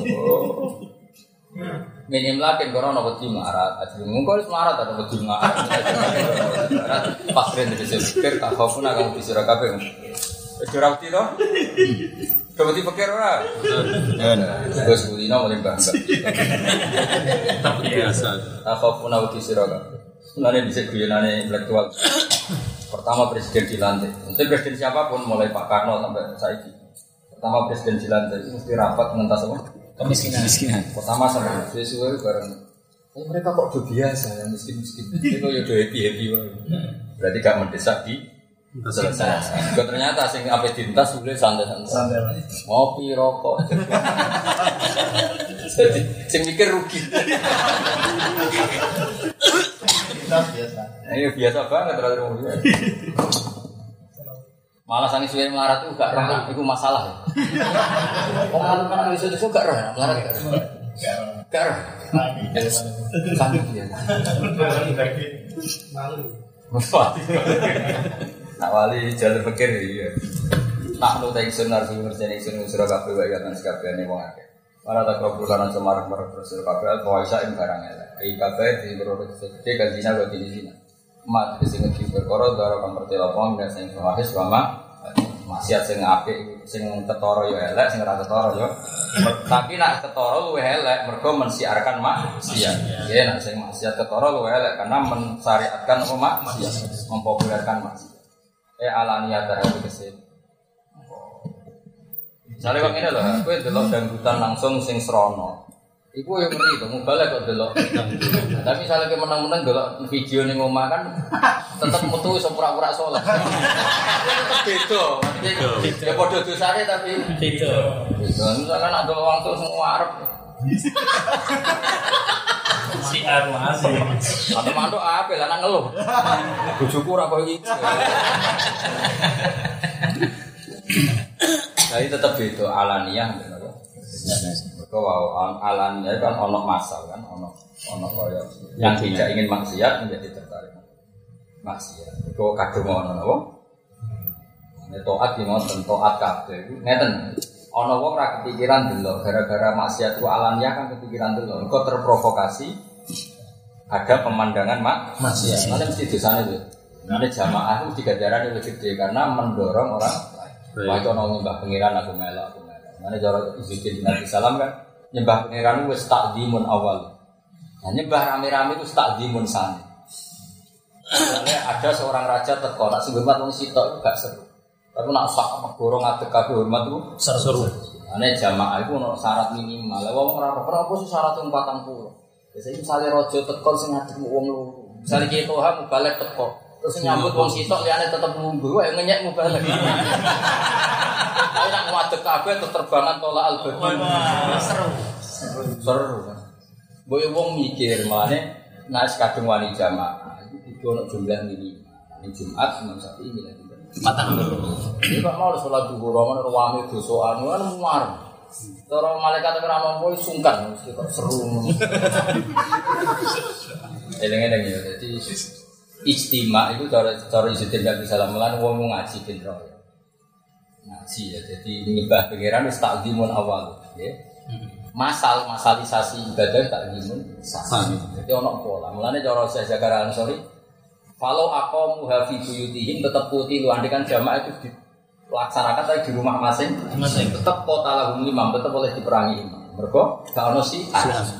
Minim lakin corona wedi marat. Ajeng mungko wis marat ta wedi marat. Pasren dipikir tak khofuna kang disira kabeh. Wis ora wedi to? Coba dipikir ora? Terus kulino paling bangga. Tapi biasa. Apa pun aku disirakan. Sebenarnya bisa guyonane intelektual. Pertama presiden dilantik. Untuk presiden siapapun mulai Pak Karno sampai saiki. Pertama presiden dilantik itu mesti rapat mengentas apa? Kemiskinan. Kemiskinan. Pertama sampai sesuai bareng. Eh, mereka kok udah biasa yang miskin-miskin. Itu ya udah happy-happy wae. Berarti gak mendesak di selesai. Kok ternyata sing ape dintas boleh santai-santai. Ngopi, rokok. Jadi sing mikir rugi. Biasa. Ayo biasa banget terus rugi. Malah sangi suwe melarat itu gak roh, itu masalah ya. Wong anak-anak iso iso gak roh, melarat gak roh. Gak roh. Sangi dia. Malu. Nak wali jalur pikir ya. Nak nu ta ingsun arep ngerjeni ingsun usra kabeh wae kan sakabehane wong akeh. Para tak krobulan semarang marang rasul kabeh kuwasa ing barang elek. Iki kabeh di berorot gede kan dina kok dini dina. Mat sing ngerti perkara daro kang pertelopon dan sing wahis wama maksiat sing apik sing ketara ya elek sing ora ketara ya. Tapi nak ketara luwih elek mergo mensiarkan maksiat. Ya nak sing maksiat ketara luwih elek karena mensyariatkan apa maksiat, mempopulerkan maksiat. Eh alaniyah terhadap kesin. Misalnya kok ini loh, aku delok dangdutan langsung sing srono. Iku yang ngerti tuh, mubalek kok delok dangdutan. Tapi misalnya kayak menang-menang delok video ning omah kan, tetap metu iso pura-pura saleh. Tetep beda, ya padha dosane tapi Beda. beda. Misalkan ada wong tuh semua arep. Si armas. Atau mantuk ape lah nang ngeluh. Bojoku ora koyo iki. Jadi tetap beda alaniyah bener. Mergo wow alaniyah kan ono masal kan ono ono koyo yang tidak ingin maksiat menjadi tertarik maksiat. Mergo kadung ono napa? Nek taat ki ngoten taat kabeh iku ngeten. Ono wong ra kepikiran delok gara-gara maksiat ku alaniyah kan kepikiran delok. Mergo terprovokasi ada pemandangan mak maksiat. Mana mesti dosane itu. Nah, jamaah itu digajaran lebih gede karena mendorong orang wah itu ono nyembah pengiran aku melok aku melok. Mana cara izin Nabi salam kan nyembah pengiran itu takdimun awal. Nah, nyembah rame-rame itu takdimun sani. Misalnya ada seorang raja teko nak sing hormat wong sitok itu gak seru. Tapi nak sak gorong ngadeg kabeh hormat itu seru. Ane jamaah itu ono syarat minimal. Lah wong ora ora apa sih syarat empat puluh. Biasanya misalnya raja teko sing ngadeg wong loro. Misalnya ki toha mubalek teko. Terus nyambut wong sitok liyane tetep munggu wae ngenyek mubalek. Ayo nak ngadeg kabeh terbangan tolak al-badin. Seru. Seru. Boyo wong mikir malane nek kadung wani jamaah iki ono jumlah minimal. Ning Jumat Imam Syafi'i milih patang loro. Iki kok mau salat zuhur ana ruwame dosoan kan muar. Cara malaikat ora mampu sungkan mesti kok seru. Eleng-eleng ya dadi ijtima itu cara cara ijtima bisa lamulan wong ngaji ben ro. Ngaji ya dadi nyembah pangeran wis takdimun awal ya. Masal masalisasi ibadah takdimun sah. Dadi ono pola. Mulane cara Syekh Zakaria Ansori kalau aku muhafi buyutihim tetap putih lu andikan jamaah itu dilaksanakan tapi di rumah masing-masing tetap kota lahum imam tetap boleh diperangi imam mergo gak ono si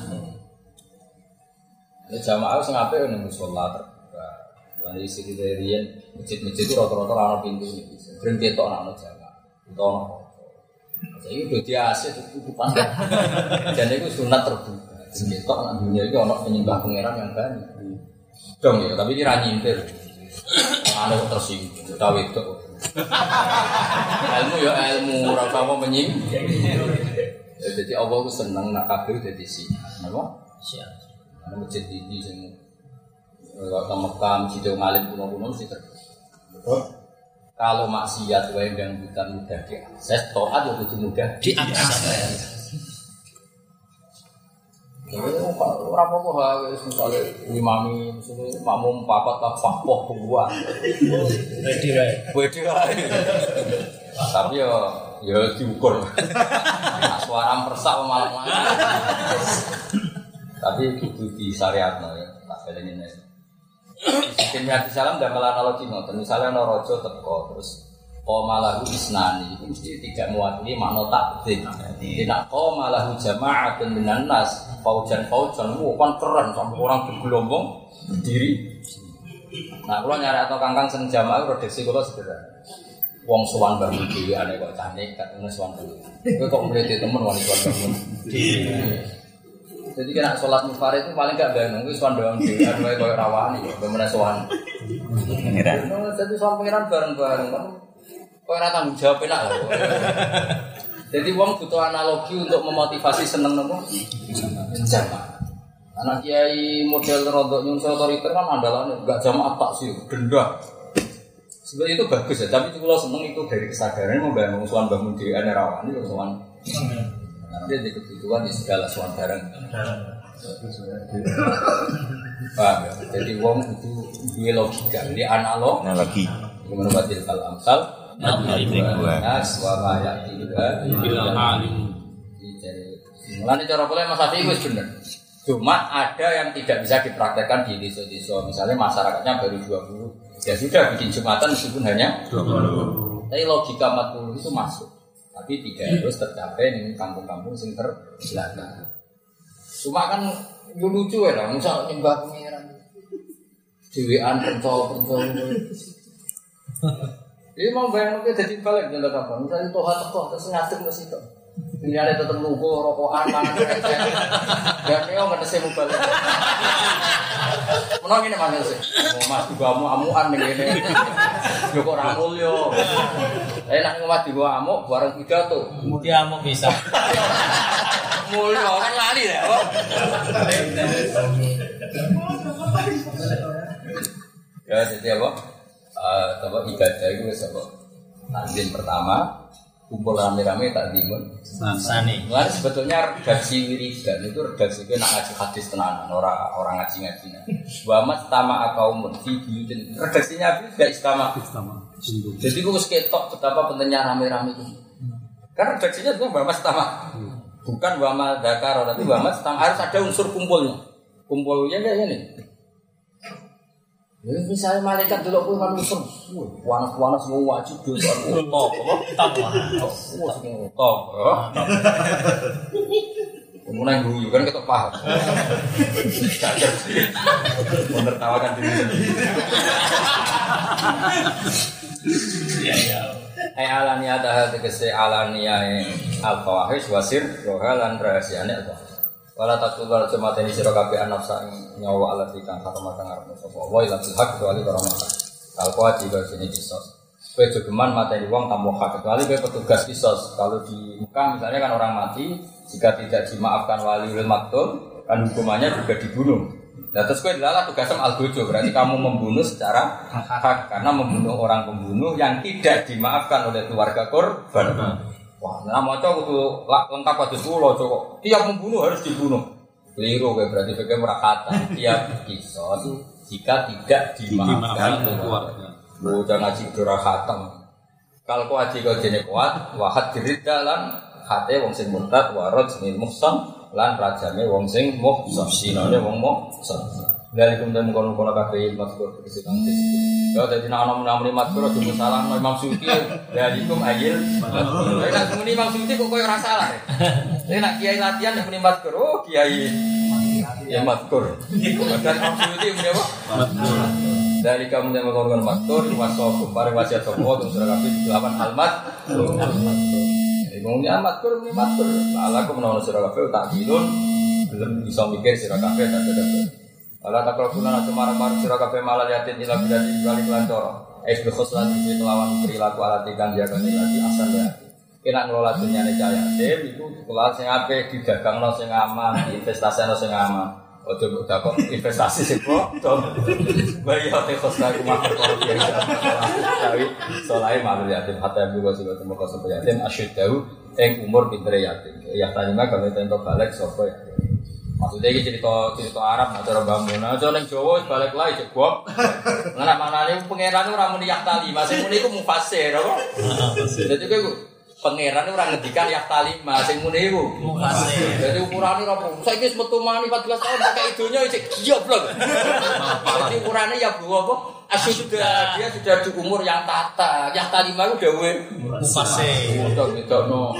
ya jamaah sing apik ning musala terbuka lan isi kriterian masjid-masjid itu rata-rata ana pintu iki sering ketok ana jamaah itu ono jadi itu dia asih itu pandai jadi itu sunat terbuka sing ketok ana dunia iki ono penyembah pangeran yang banyak dong ya, tapi ini nyintir. Ana tersinggung, ta wedok. Ilmu ya ilmu, ora usah apa menying. Ya dadi Allah ku seneng nak kabeh dadi siap. Napa? Siap. Ana masjid iki sing ora Mekah, masjid ngalim kuno-kuno mesti terus. Kalau maksiat wae gangguan mudah diakses, taat yo kudu mudah diakses. Ora apa-apa ha wis misale imami misale makmum papat tak papoh dua. Ready wae. Wedi wae. Tapi yo yo diukur. Suara persak malah malah. Tapi kudu disyariatno ya, tak baleni nek. Sistem hati salam damel analogi ngoten. Misale ana raja teko terus qamalahu isnani itu mesti tidak mewakili makna takdzim. Tidak qamalahu jama'atun minan nas faujan-faujan wah kan keren sampai orang bergelombang berdiri. Nah, kalau nyari atau kangkang sing jamaah redaksi kula sederhana. Wong sowan bangun dhewe ane kok cah nekat ngono sowan dhewe. Kowe kok mrete temen wani sowan bangun dhewe. Jadi kena salat munfarid itu paling gak bangun kuwi sowan doang dhewe ane koyo rawani kok ben sowan. Pengiran. Jadi sowan pengiran bareng-bareng kan. Kok ora tanggung jawab enak lho. Jadi wong butuh analogi untuk memotivasi seneng nopo? Jamaah. Anak kiai model rodok nyun otoriter kan andalane enggak jamaah tak sih, denda. Sebenarnya itu bagus ya, tapi kalau seneng itu dari kesadaran membangun suan bangun di ane rawani atau suan. Nanti di kebutuhan di segala suan bareng. Paham ya? Jadi wong itu dua logika, ini analog. Analogi. Gimana batil kal amsal? Nas wa ma ya'tiha Bila alim. Mulane cara pola Mas Afi wis bener. Cuma ada yang tidak bisa dipraktekkan di desa-desa. Misalnya masyarakatnya baru dua puluh. Ya sudah bikin Jumatan meskipun hanya dua puluh. Tapi logika empat puluh itu masuk. Tapi tidak harus tercapai di kampung-kampung sing terbelakang. Cuma kan yo lucu ya lah, misal nyembah pengiran. Dewean pencol-pencol. Ini mau bayang mungkin jadi balik dengan apa? Misalnya toha teko terus ngadem ke situ. Ini ada tetap lugu rokokan mana kayak dan ini nggak ada semu balik. Menang ini mana sih? Mau mas juga amu amuan nih ini. Joko ramul yo. Enak ngomat juga amuk bareng pidato. Dia amuk bisa. Mulai orang lali ya. Ya jadi apa? Uh, apa ibadah itu sebab takdim pertama kumpul rame-rame takdimun sani. Nah, sebetulnya redaksi wiridan itu redaksi itu nak ngaji hadis tenanan orang orang ngaji ngaji. Wamat tama akaumun fi buyutin redaksinya itu tidak istama. Jadi itu ketok betapa pentingnya rame-rame itu. Karena redaksinya itu wamat tama, bukan wamat dakar tapi wamat tama harus ada unsur kumpulnya. Kumpulnya kayak ini. Ya, misalnya malaikat dulu pun manusia, panas-panas semua wajib dulu, top, apa? Top, wah, semua top, kemudian guyu kan kita paham, menertawakan diri sendiri. Ya ya. Ai alania dah tegese alania al-fawahish wasir rohalan rahasiane apa? Wala taqul jamaatan sira kabeh nafsa nyawa Allah dikang kata matang arep sapa wa ila hak kecuali karo mata. Kalau kuwi juga sini kisos. Kowe jogeman mateni wong tanpa hak kecuali kowe petugas kisos. Kalau di Mekah misalnya kan orang mati jika tidak dimaafkan waliul maktul kan hukumannya juga dibunuh. Nah terus kowe adalah tugasnya al-gojo berarti kamu membunuh secara hak karena membunuh orang pembunuh yang tidak dimaafkan oleh keluarga korban. Wah, nah maca kudu lengkap kados kula kok. Tiap membunuh harus dibunuh. Keliru kowe berarti kowe ora kata tiap kisos jika tidak dimaafkan keluarga. Bocah ngaji ora khatam. Kalau kok aji kok jene kuat, wahat diriddalan hate wong sing murtad warad sing muhsan lan rajane wong sing muhsan sinane wong muhsan. Dari kemudian mengkono-kono kabeh mazkur kesetan disebut. Ya dadi ana menamuni mazkur cuma salah Imam Suyuti dari kum ayil. Nek muni Imam Suyuti kok koyo ora salah. Nek kiai latihan nek muni mazkur, oh kiai ya mazkur. Padahal Imam Suyuti muni apa? Mazkur. Dari kemudian mengkono-kono mazkur waso kumpare wasiat sopo terus ora kabeh delapan almat. Ngomongnya mazkur muni mazkur. Ala ku menawa sira kabeh tak dilun belum bisa mikir sira kabeh tak ada. Ala takrabuna cemar-mar sira kabeh malah yatin ila bidati bali kelancara. Es bikhoslati fi kelawan perilaku alati kang jagane lagi asan ya. Kena ngelola dunyane cahaya dem iku kelas sing apik didagangno sing aman, diinvestasino sing aman. Ojo mbok takok investasi sing bodho. Bayi hote khosta rumah perkara biasa. Tapi solae malu yatim hatta buka sing ketemu kos yatim asyidau ing umur pinter yatim. Ya tanima kalau tento balik sapa ya. Maksudnya ini cerita cerita Arab, cara bangun. Nah, cara yang Jawa balik lagi cekop. Nggak mana nih pangeran itu orang muni yaktali, masih muni itu mufasir, apa? Jadi itu pangeran itu orang ngedikan yaktali, masih muni itu mufasir. Jadi ukurannya apa? Saya ini semetu mani empat belas tahun pakai idonya cek goblok. Jadi ukurannya ya bu apa? Asyik sudah dia sudah di umur yang tata, yaktali itu dewe mufasir. Betul betul no.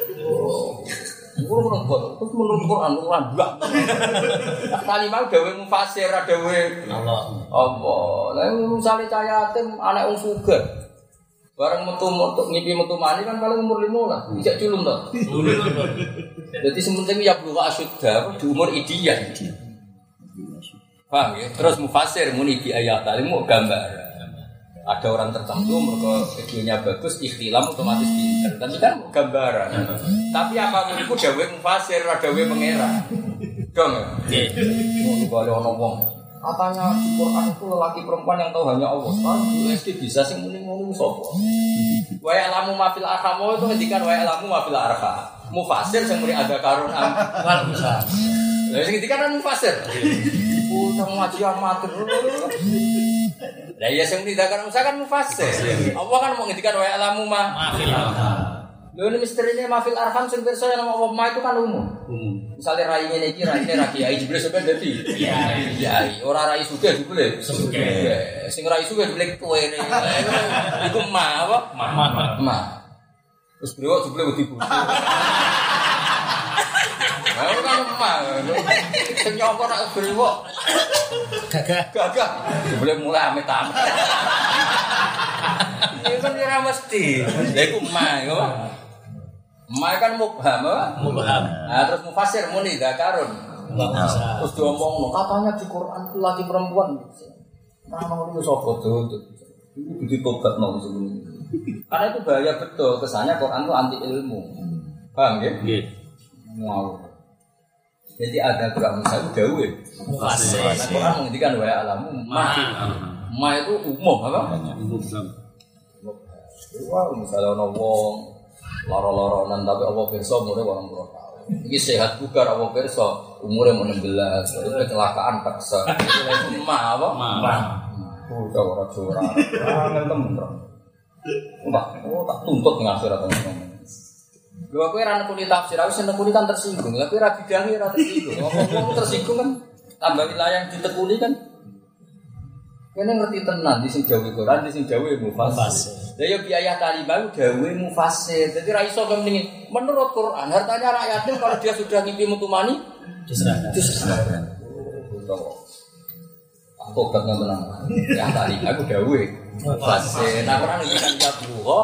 Guru menurut terus menurut Quran Quran enggak. Kalimat dewe mufasir dewe Allah. Allah. Lah misale cah yatim anak wong sugih. Bareng metu untuk ngipi metu mani kan paling umur lima lah. Ijak culun to. Jadi sementing ya bluwa asyuda di umur ideal. Paham ya? Terus mufasir muni di ayat talimu gambar. Ada orang tertentu mereka videonya bagus, ikhtilam otomatis pinter. Tapi kan gambaran. Tapi apapun itu dawe mufasir, dawe mengira. Dong ya? Iya. Kalau orang ngomong, katanya di Quran itu lelaki perempuan yang tahu hanya Allah. Sekarang U S D bisa sih muni-muni sopo. Wa ya'lamu ma fil arham itu ngendikan wa ya'lamu ma fil arham. Mufasir sing muni ada karun am wal bisa. Lah sing ngendikan kan mufasir. Oh, sama ngaji amatir. Lah ya sing tidak kan mufasir. Allah kan mau ngendikan wa ya'lamu ma fil arham. Lho ini misterinya ma fil arham sing pirsa nama Allah ma itu kan umum. Umum. Misale rai ngene iki raine ra kiai jebule sampean dadi kiai. Kiai ora rai sugih jebule sugih. Sing rai sugih jebule kowe. Iku ma apa? Ma. Ma. Terus beliau jebule wedi bojo. Lah kan ma. Sing nyapa nak beliau. Gagah. Gagah. Jebule mulai amit-amit. Ini kan ora mesti. Lha iku ma yo. Ma kan mubham apa? Mubham. Nah, terus mufasir muni zakarun. Terus diomongno katanya di Quran itu laki perempuan. Nah, mau itu sapa tuh? Itu ditobatno sebelum. Karena itu bahaya betul, kesannya Quran itu anti ilmu. Paham ya? Nggih. Mau. Jadi ada Quran misalnya dawe. Mufasir. Nah, Quran menghentikan wa alamu ma. Ma itu umum apa? Umum. Wah, misalnya ono wong loro-loronan tapi apa pirsa umure delapan puluh tahun. Iki sehat bugar apa pirsa umure enam belas. Itu kecelakaan paksa. Itu ma apa? Ma. Oh, ora ora. Ah, ngentem bro. Enggak, oh tak tuntut ngasih teman-teman. Lho aku ora nekuni tafsir, aku seneng nekuni kan tersinggung. Tapi ora bidangi ora tersinggung. Ngomong tersinggung kan tambah wilayah yang ditekuni kan. Kene ngerti tenan di sing Jawa Quran, di sing Jawa mufasir. Lah ya biaya kalimah dawe mufasir. Jadi ra iso kemendingin. Menurut Quran, hartanya rakyatnya kalau dia sudah ngimpi mutumani diserahkan. Diserahkan. Aku gak menang. Ya kalimah aku dawe mufasir. Nah, Quran ngendikan ya buho,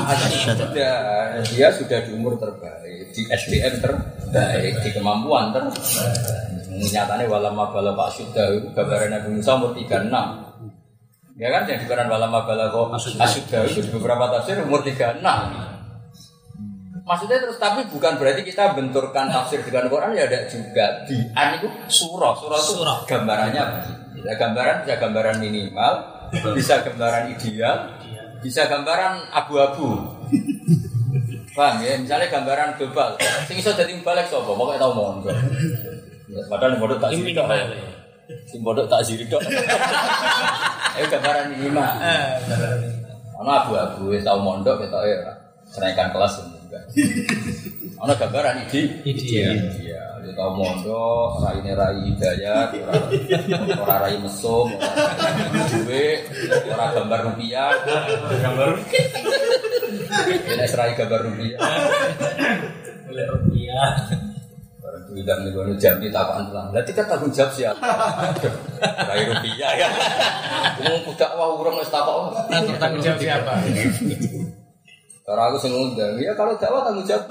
dia sudah di umur terbaik, di S D M terbaik, di kemampuan terbaik. Nyatane walama bala Pak Syuda itu gambaran Nabi Musa umur tiga puluh enam. Ya kan yang dikarenakan walama bala kok Asyuda itu di beberapa tafsir umur tiga puluh enam. Maksudnya terus tapi bukan berarti kita benturkan tafsir dengan Quran ya ada juga di an itu surah surah itu surah. Gambarannya apa? Ya, gambaran bisa gambaran minimal, bisa gambaran ideal, bisa gambaran abu-abu. Paham ya? Misalnya gambaran global. Sing iso dadi balik sapa? Pokoke tau mondok. Padahal bodoh tak siri tok. Sing bodoh tak siri tok. Ayo gambaran minimal. Ana abu-abu wis tau mondok ketoke ora. Kenaikan kelas juga. Ana gambaran ide ideal. Iya, dia tau mondok, raine rai hidayat, ora ora rai mesum, ora duwe, ora gambar rupiah, gambar rupiah. Ini rai gambar rupiah. Oleh rupiah. Tidak nih jam di tapakan pulang. Berarti kan tanggung jawab siapa? Rai rupiah ya. Ngomong budak wah urang wis takok. Tanggung jawab siapa? Cara aku sing ngundang. Ya kalau dakwah tanggung jawab.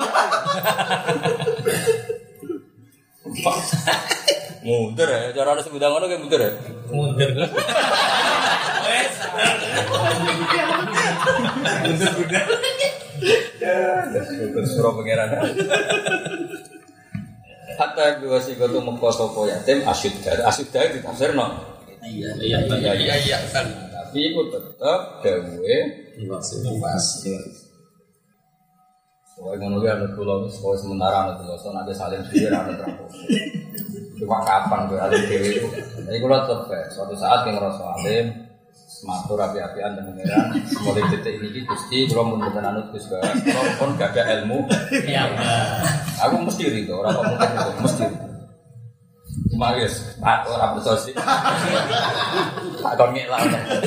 Mundur ya, cara harus ngundang ngono kayak mundur ya. Mundur. Wes. Mundur mundur. Ya, terus suruh pangeran. hatta biwasi goto mengko sapa yatim asyuddar. Asyuddar ditafsirno. Iya, iya, iya, iya, iya. Tapi iku tetep gawe Iwas. Soale ngono ya nek kula wis sementara nek kula sono nek saling suwe ra ono terang. Cuma kapan kowe alim dhewe itu. Jadi kula tetep suatu saat yang ngrasa alim matur api-apian dan pangeran mulai detik ini Gusti kula mun mboten anut Gus Bara kula pun gak ada ilmu. Iya. Aku mesti rito ora kok mungkin itu mesti. Cuma wis Pak ora percaya sih. Tak kon ngelak.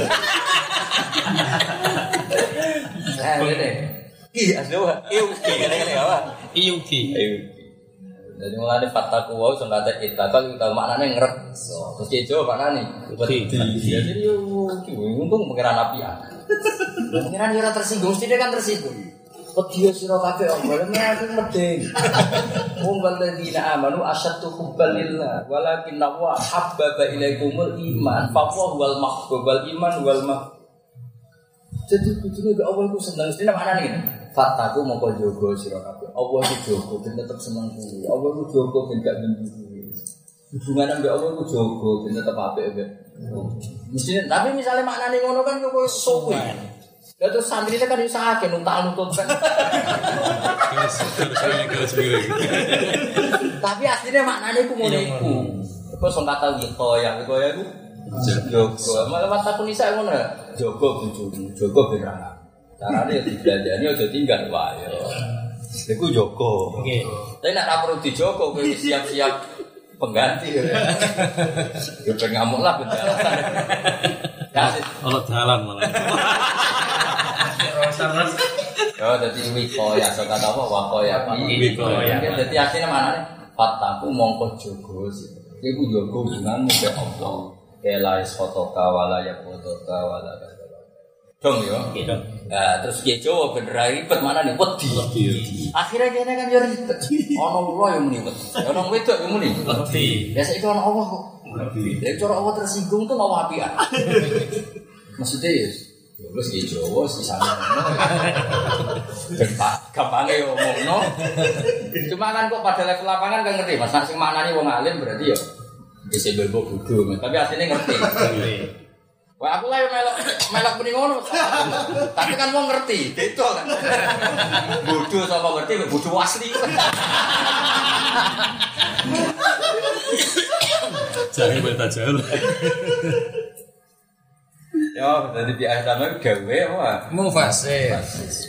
Eh ngene. Iya, asli wae. Iya, ngene-ngene apa? Iyuki. Ayo. Jadi mulane fataku wae sing kate itlaqal kita maknane ngrekso. Terus kejo maknane wedi. Ya jadi yo ki untung pengiran apian. Pengiran ora tersinggung, mesti kan tersinggung. Wedi sira kabeh omong aku medeng. Wong waladina amanu asyaddu hubban lillah walakin wa habbaba ilaikumul iman fa huwal mahbubul iman wal mah. Jadi kudune gak Allah iku seneng mesti maknane ngene. Fataku mongko jogo sira kabeh. Allah iku jogo ben tetep seneng kuwi. Allah iku jogo ben gak benci kuwi. Hubungan ambek Allah iku jogo ben tetep apik ambek. Mesti tapi misalnya maknane ngono kan kok suwe. Lah terus santri kan iso akeh nuntak nuntut kan. Tapi aslinya maknane iku ngono iku. Kok sing kata wiko ya wiko ya iku jogo. Malah wataku nisa ngono. Jogo bojomu, jogo ben ra. Carane ya dibelanjani aja tinggal wae. Iku jogo. Nggih. Tapi nek ora perlu dijogo kowe siap-siap pengganti. Ya ben ngamuk lah ben alasan. Ya Ono dalan malah. yo dadi wiko ya sok kata apa wako ya Wiko ya. Dadi asline manane fataku mongko jogo sih. Iku jogo hubunganmu be Allah. Kelais fotoka wala ya fotoka wala dong yo. Gitu. Nah, terus kiye Jawa ben ra ribet manane wedi. Akhire kene kan yo ribet. Ono wong yo muni wedi. Ono wedok yo muni wedi. Ya saiki ono Allah kok. Wedi. Lek cara Allah tersinggung tuh mau apian. Maksudnya ya wis kiye Jawa sisane ngono. Ben Pak gampange yo ngomongno. Cuma kan kok pada level lapangan kan ngerti Mas, sing maknane wong alim berarti yo bisa belbo bodoh, tapi aslinya ngerti. Wah aku lah yang melok melok muni ngono. Tapi kan mau ngerti, beda kan. Bodoh sama ngerti, bodoh asli. Jangan beta jauh. Ya, jadi biasa sama gawe wah. Mufasir.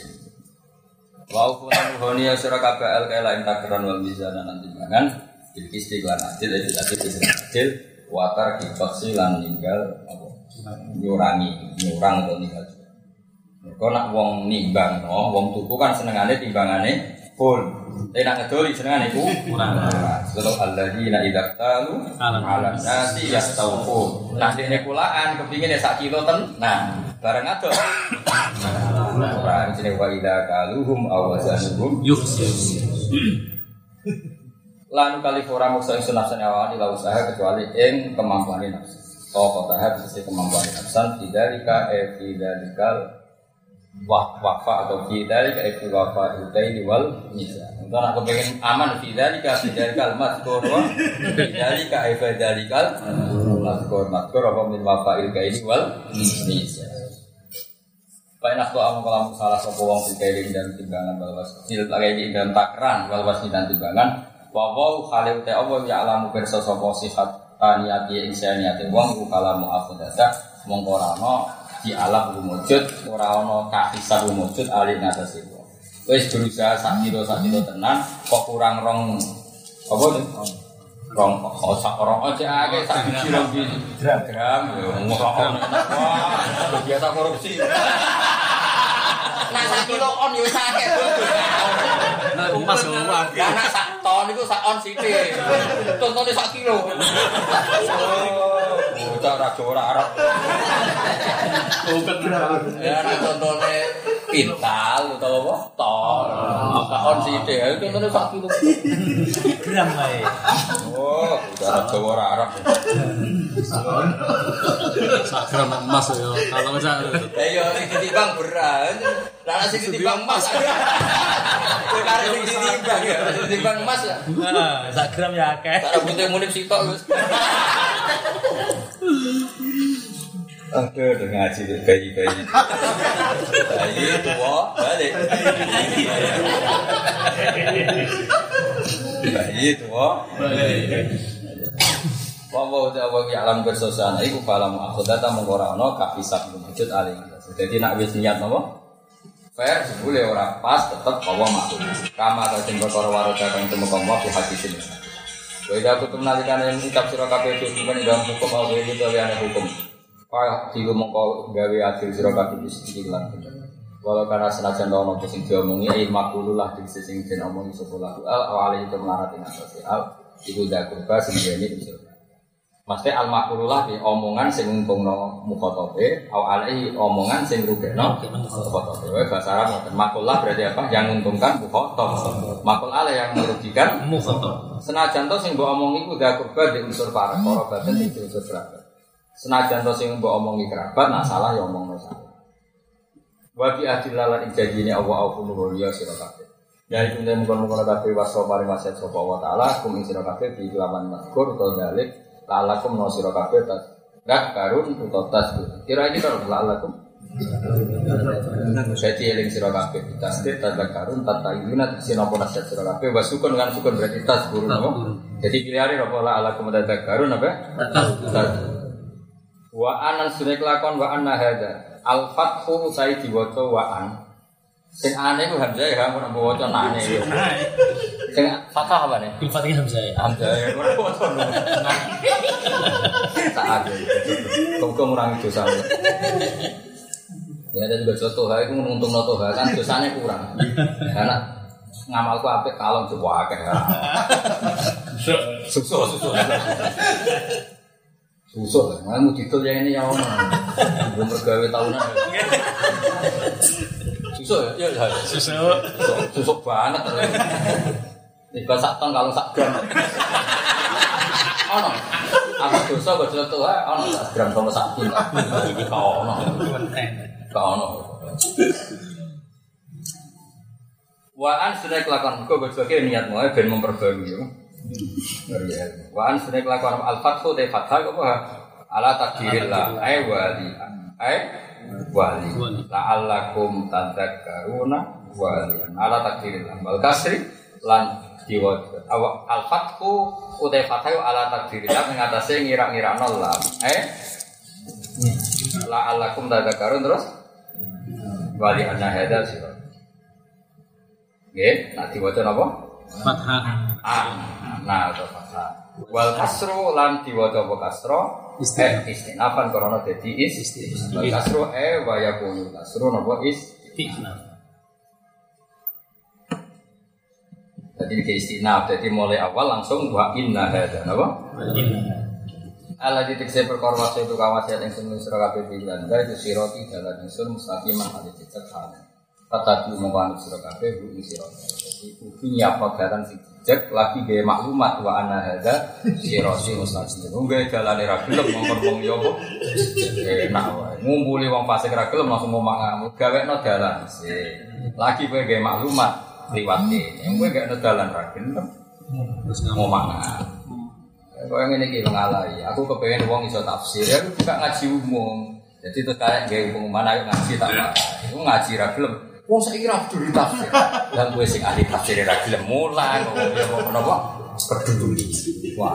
Wa kunanu honiya sira kabeh al kaila intakran wal mizana nanti mangan. Bil istiqlan adil itu adil adil watar kifaksi lan ninggal apa nyurangi nyurang atau ninggal. Kok nak wong nimbang no, wong tuku kan senengane timbangane full. Tapi nak ngedoli senengane iku kurang. Kalau alladzina idza talu ala nasi yastawfu. Nah dene kulaan kepingin sak kilo ten. Nah, bareng ado. Ora jenenge wa idza kaluhum awazanuhum yukhsis. Lan kali ora muksa ing sunah senawani la usaha kecuali ing kemampuan nafsu. Kok tahap sisi kemampuan nafsan tidak e fidalikal wah wafa atau fidalika e wafa utaini wal misa. Untuk nak kepengin aman fidalika fidalikal mazkur wa fidalika e fidalikal mazkur mazkur apa min wafa ilkaini wal misa. Pak enak tuh amu kalau salah sapa wong fikir dan timbangan balwas kecil lagi dan takran balwas dan timbangan. Wa wa khaliu ta Allah ya alamu pirsa sapa sifat niati insaniate wong iku kalamu afdata mongko ora ana di alam wujud ora ana kahisab wujud ali ngatasi wong wis berusaha sak kilo sak kilo tenan kok kurang rong apa nih rong kok sak rong aja akeh sak biji rong biji gram gram yo ngono wah biasa korupsi nah sak kilo on yo akeh Nah, emas lho wae. Ya nak sak ton iku sak on sithik. Contone sak kilo. Oh, ora ra ora arep. Ya nak contone pintal utawa apa? Ton. Sak on sithik. Ya contone sak kilo. Gram wae. Oh, ora Jawa ora arep. Sak gram emas yo. Kalau sak. Ya yo iki ditimbang beras. Lah sing ditimbang emas. Kowe kare sing ditimbang ya, ditimbang emas ya. Nah, sak gram ya akeh. Tak rambutnya munip sitok Gus. Aduh, udah ngaji deh bayi-bayi. Bayi tua, balik. Bayi tua, balik. Wawa udah wawi alam bersosial. Iku falam aku datang mengorano kapisah wujud aling. Jadi nak wis niat nopo? Fair, boleh orang pas tetap bawa makhluk. Kama atau timbul koro waroda kang temu kamu di hati sini. Weda aku tuh menalikan yang kitab surah K P itu bukan dalam hukum atau itu aliane hukum. Pak tilu mongko gawe adil sira kabeh iki lan. Walau karena senajan ana apa sing diomongi ai makulullah di sing den omongi sapa lagu al awale itu melarat ing atase al iku dak kurba sing dene bisa. Maksudnya al makulullah di omongan sing ngumpulno mukhatabe awale omongan sing rugekno mukhatabe. Wae bahasa Arab ngoten. Makulullah berarti apa? Yang menguntungkan mukhatab. Makul ala yang merugikan mukhatab. Senajan to sing mbok omongi ku dak kurba di unsur para karabat di unsur kerabat. Senajan to sing mbok omongi kerabat, nah salah ya omongno salah. Wa bi adillalan ijazine Allah au kullu ya sira kabeh. Ya iku nek mung-mung kabeh waso paring wasiat sapa wa taala kum ing sira kabeh di lawan mazkur utawa dalik lalakum no sira kabeh tas gak karun utawa tas. Kira iki karo lalakum. Saya eling sira kabeh tasbih tanda karun tata yunat sinapa nasihat sira kabeh wasukun kan sukun berarti tas guru napa. Jadi pilihane apa lalakum tanda karun apa? Tas. Wa anan sunek lakon wa anna hada al fathu sai diwaca wa an sing ane ku hamzah ya ora mbok waca nane ya sing fathah apa ne bil fathah hamzah ya hamzah ya ora waca saat kok ngurang dosa ya dan baca toha iku nguntungno toha kan dosane kurang karena ngamalku apik kalong coba akeh susah susah susah lah, mau didol ya ini ya om, belum bergawe tahunan. Susah ya, ya susah, susah banget. Tiga sak ton kalau sak gram. Oh no, apa dosa baca tuh ah, oh no sak gram kalau sak ton. Kau no, kau no. Waan sudah kelakuan, kau berbagai niat mau ben memperbaiki. Waan sudah kelakuan al-fathu de fathah apa? Ala takdirillah ay wali ay wali la'allakum tadzakkaruna wali ala takdirillah wal kasri lan diwaca al-fathu de fathah ala takdirillah ing atase ngira-ngirakno lam ay la'allakum tadzakkarun terus wali anna hadza sira nggih nak diwaca napa fathah ah nah atau fathah wal kasru lan diwaca apa kasra eh istinafan karena dadi is wal kasru eh wa yakunu kasru napa istinaf dadi ke istinaf dadi mulai awal langsung wa inna hadza napa Allah ditekse perkara wase itu kawasiat yang sunu sira kabeh pisan dari sirati dalan ingsun mustaqiman ade cecek hane kata tu mongko sira kabeh bu sira dadi kudu nyapa dalan sing cek lagi gawe maklumat wa ana hadza sirati mustaqim. Nggawe dalane ra gelem ngomong wong yo apa. Enak wae. Ngumpuli wong fasik ra gelem langsung ngomong ngamuk. Gawekno dalan. Lagi kowe gawe maklumat liwate. Yang kowe gak ono dalan ra gelem. Terus ngomong. Kowe ngene iki ngalai. Aku kepengin wong iso tafsir. Aku juga ngaji umum. Jadi terus kayak gawe pengumuman ayo ngaji tak apa. Iku ngaji ra gelem. Wong saiki ra peduli tafsir. Lah kowe sing ahli tafsir ra gelem mulang kok ya menapa peduli. Wah.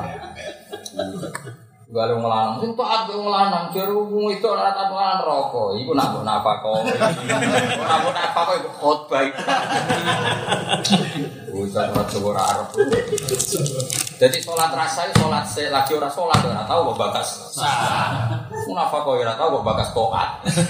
Gale wong lanang sing taat wong lanang jero wong itu ora taat lanang rokok. Iku nak mbok napa kok. Ora mbok napa kok khotbah. Ujar ora coba ora arep. Jadi salat rasa salat lagi ora salat ora tau kok bakas. Napa kok ora tau kok bakas taat.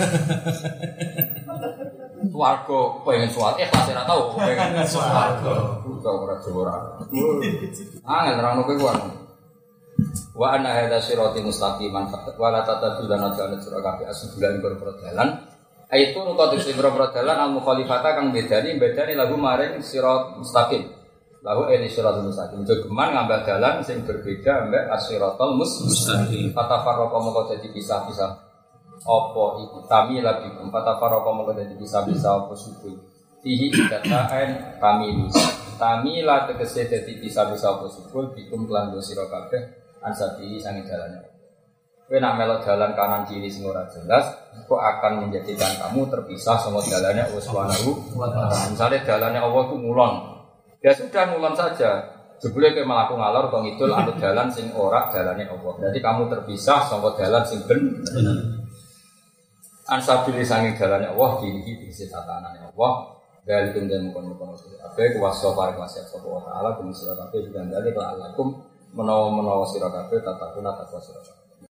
Warga pengen suat, eh pasti ora tau pengen swarga. Uga ora ora. Angel nerangno kowe kuwi. Wa anna hadza sirati mustaqiman wa la tatabi'una jalan sira kabeh asbulan berperdalan. Aitu rukat sing berperdalan al mukhalifata kang bedani bedani lagu maring sirat mustaqim. Lahu ini siratul mustaqim. Jogeman ngambah dalan sing berbeda ambek as-siratal mustaqim. Kata farqa moko dadi pisah-pisah. apa iku tamila bikum fatafarraqa mongko dadi bisa-bisa apa subuh fihi dataen tamil tamila tegese dadi bisa-bisa apa subuh bikum kelan sira kabeh ansabili sange dalane kowe nak melok dalan kanan kiri sing ora jelas kok akan menjadikan kamu terpisah sama dalane Allah Subhanahu wa taala. Misale dalane Allah ku ngulon ya sudah ngulon saja jebule kowe mlaku ngalor kok ngidul anut dalan sing ora dalane Allah. Berarti kamu terpisah sama dalan sing bener. Ansabili sange dalane Allah iki dise tatanane Allah. Dari kemudian mukon-mukon kabeh kuwasa parek wasiat sapa wa taala kuwi sira kabeh digandali kelakum menawa-menawa sira kabeh tatakuna takwa sira kabeh.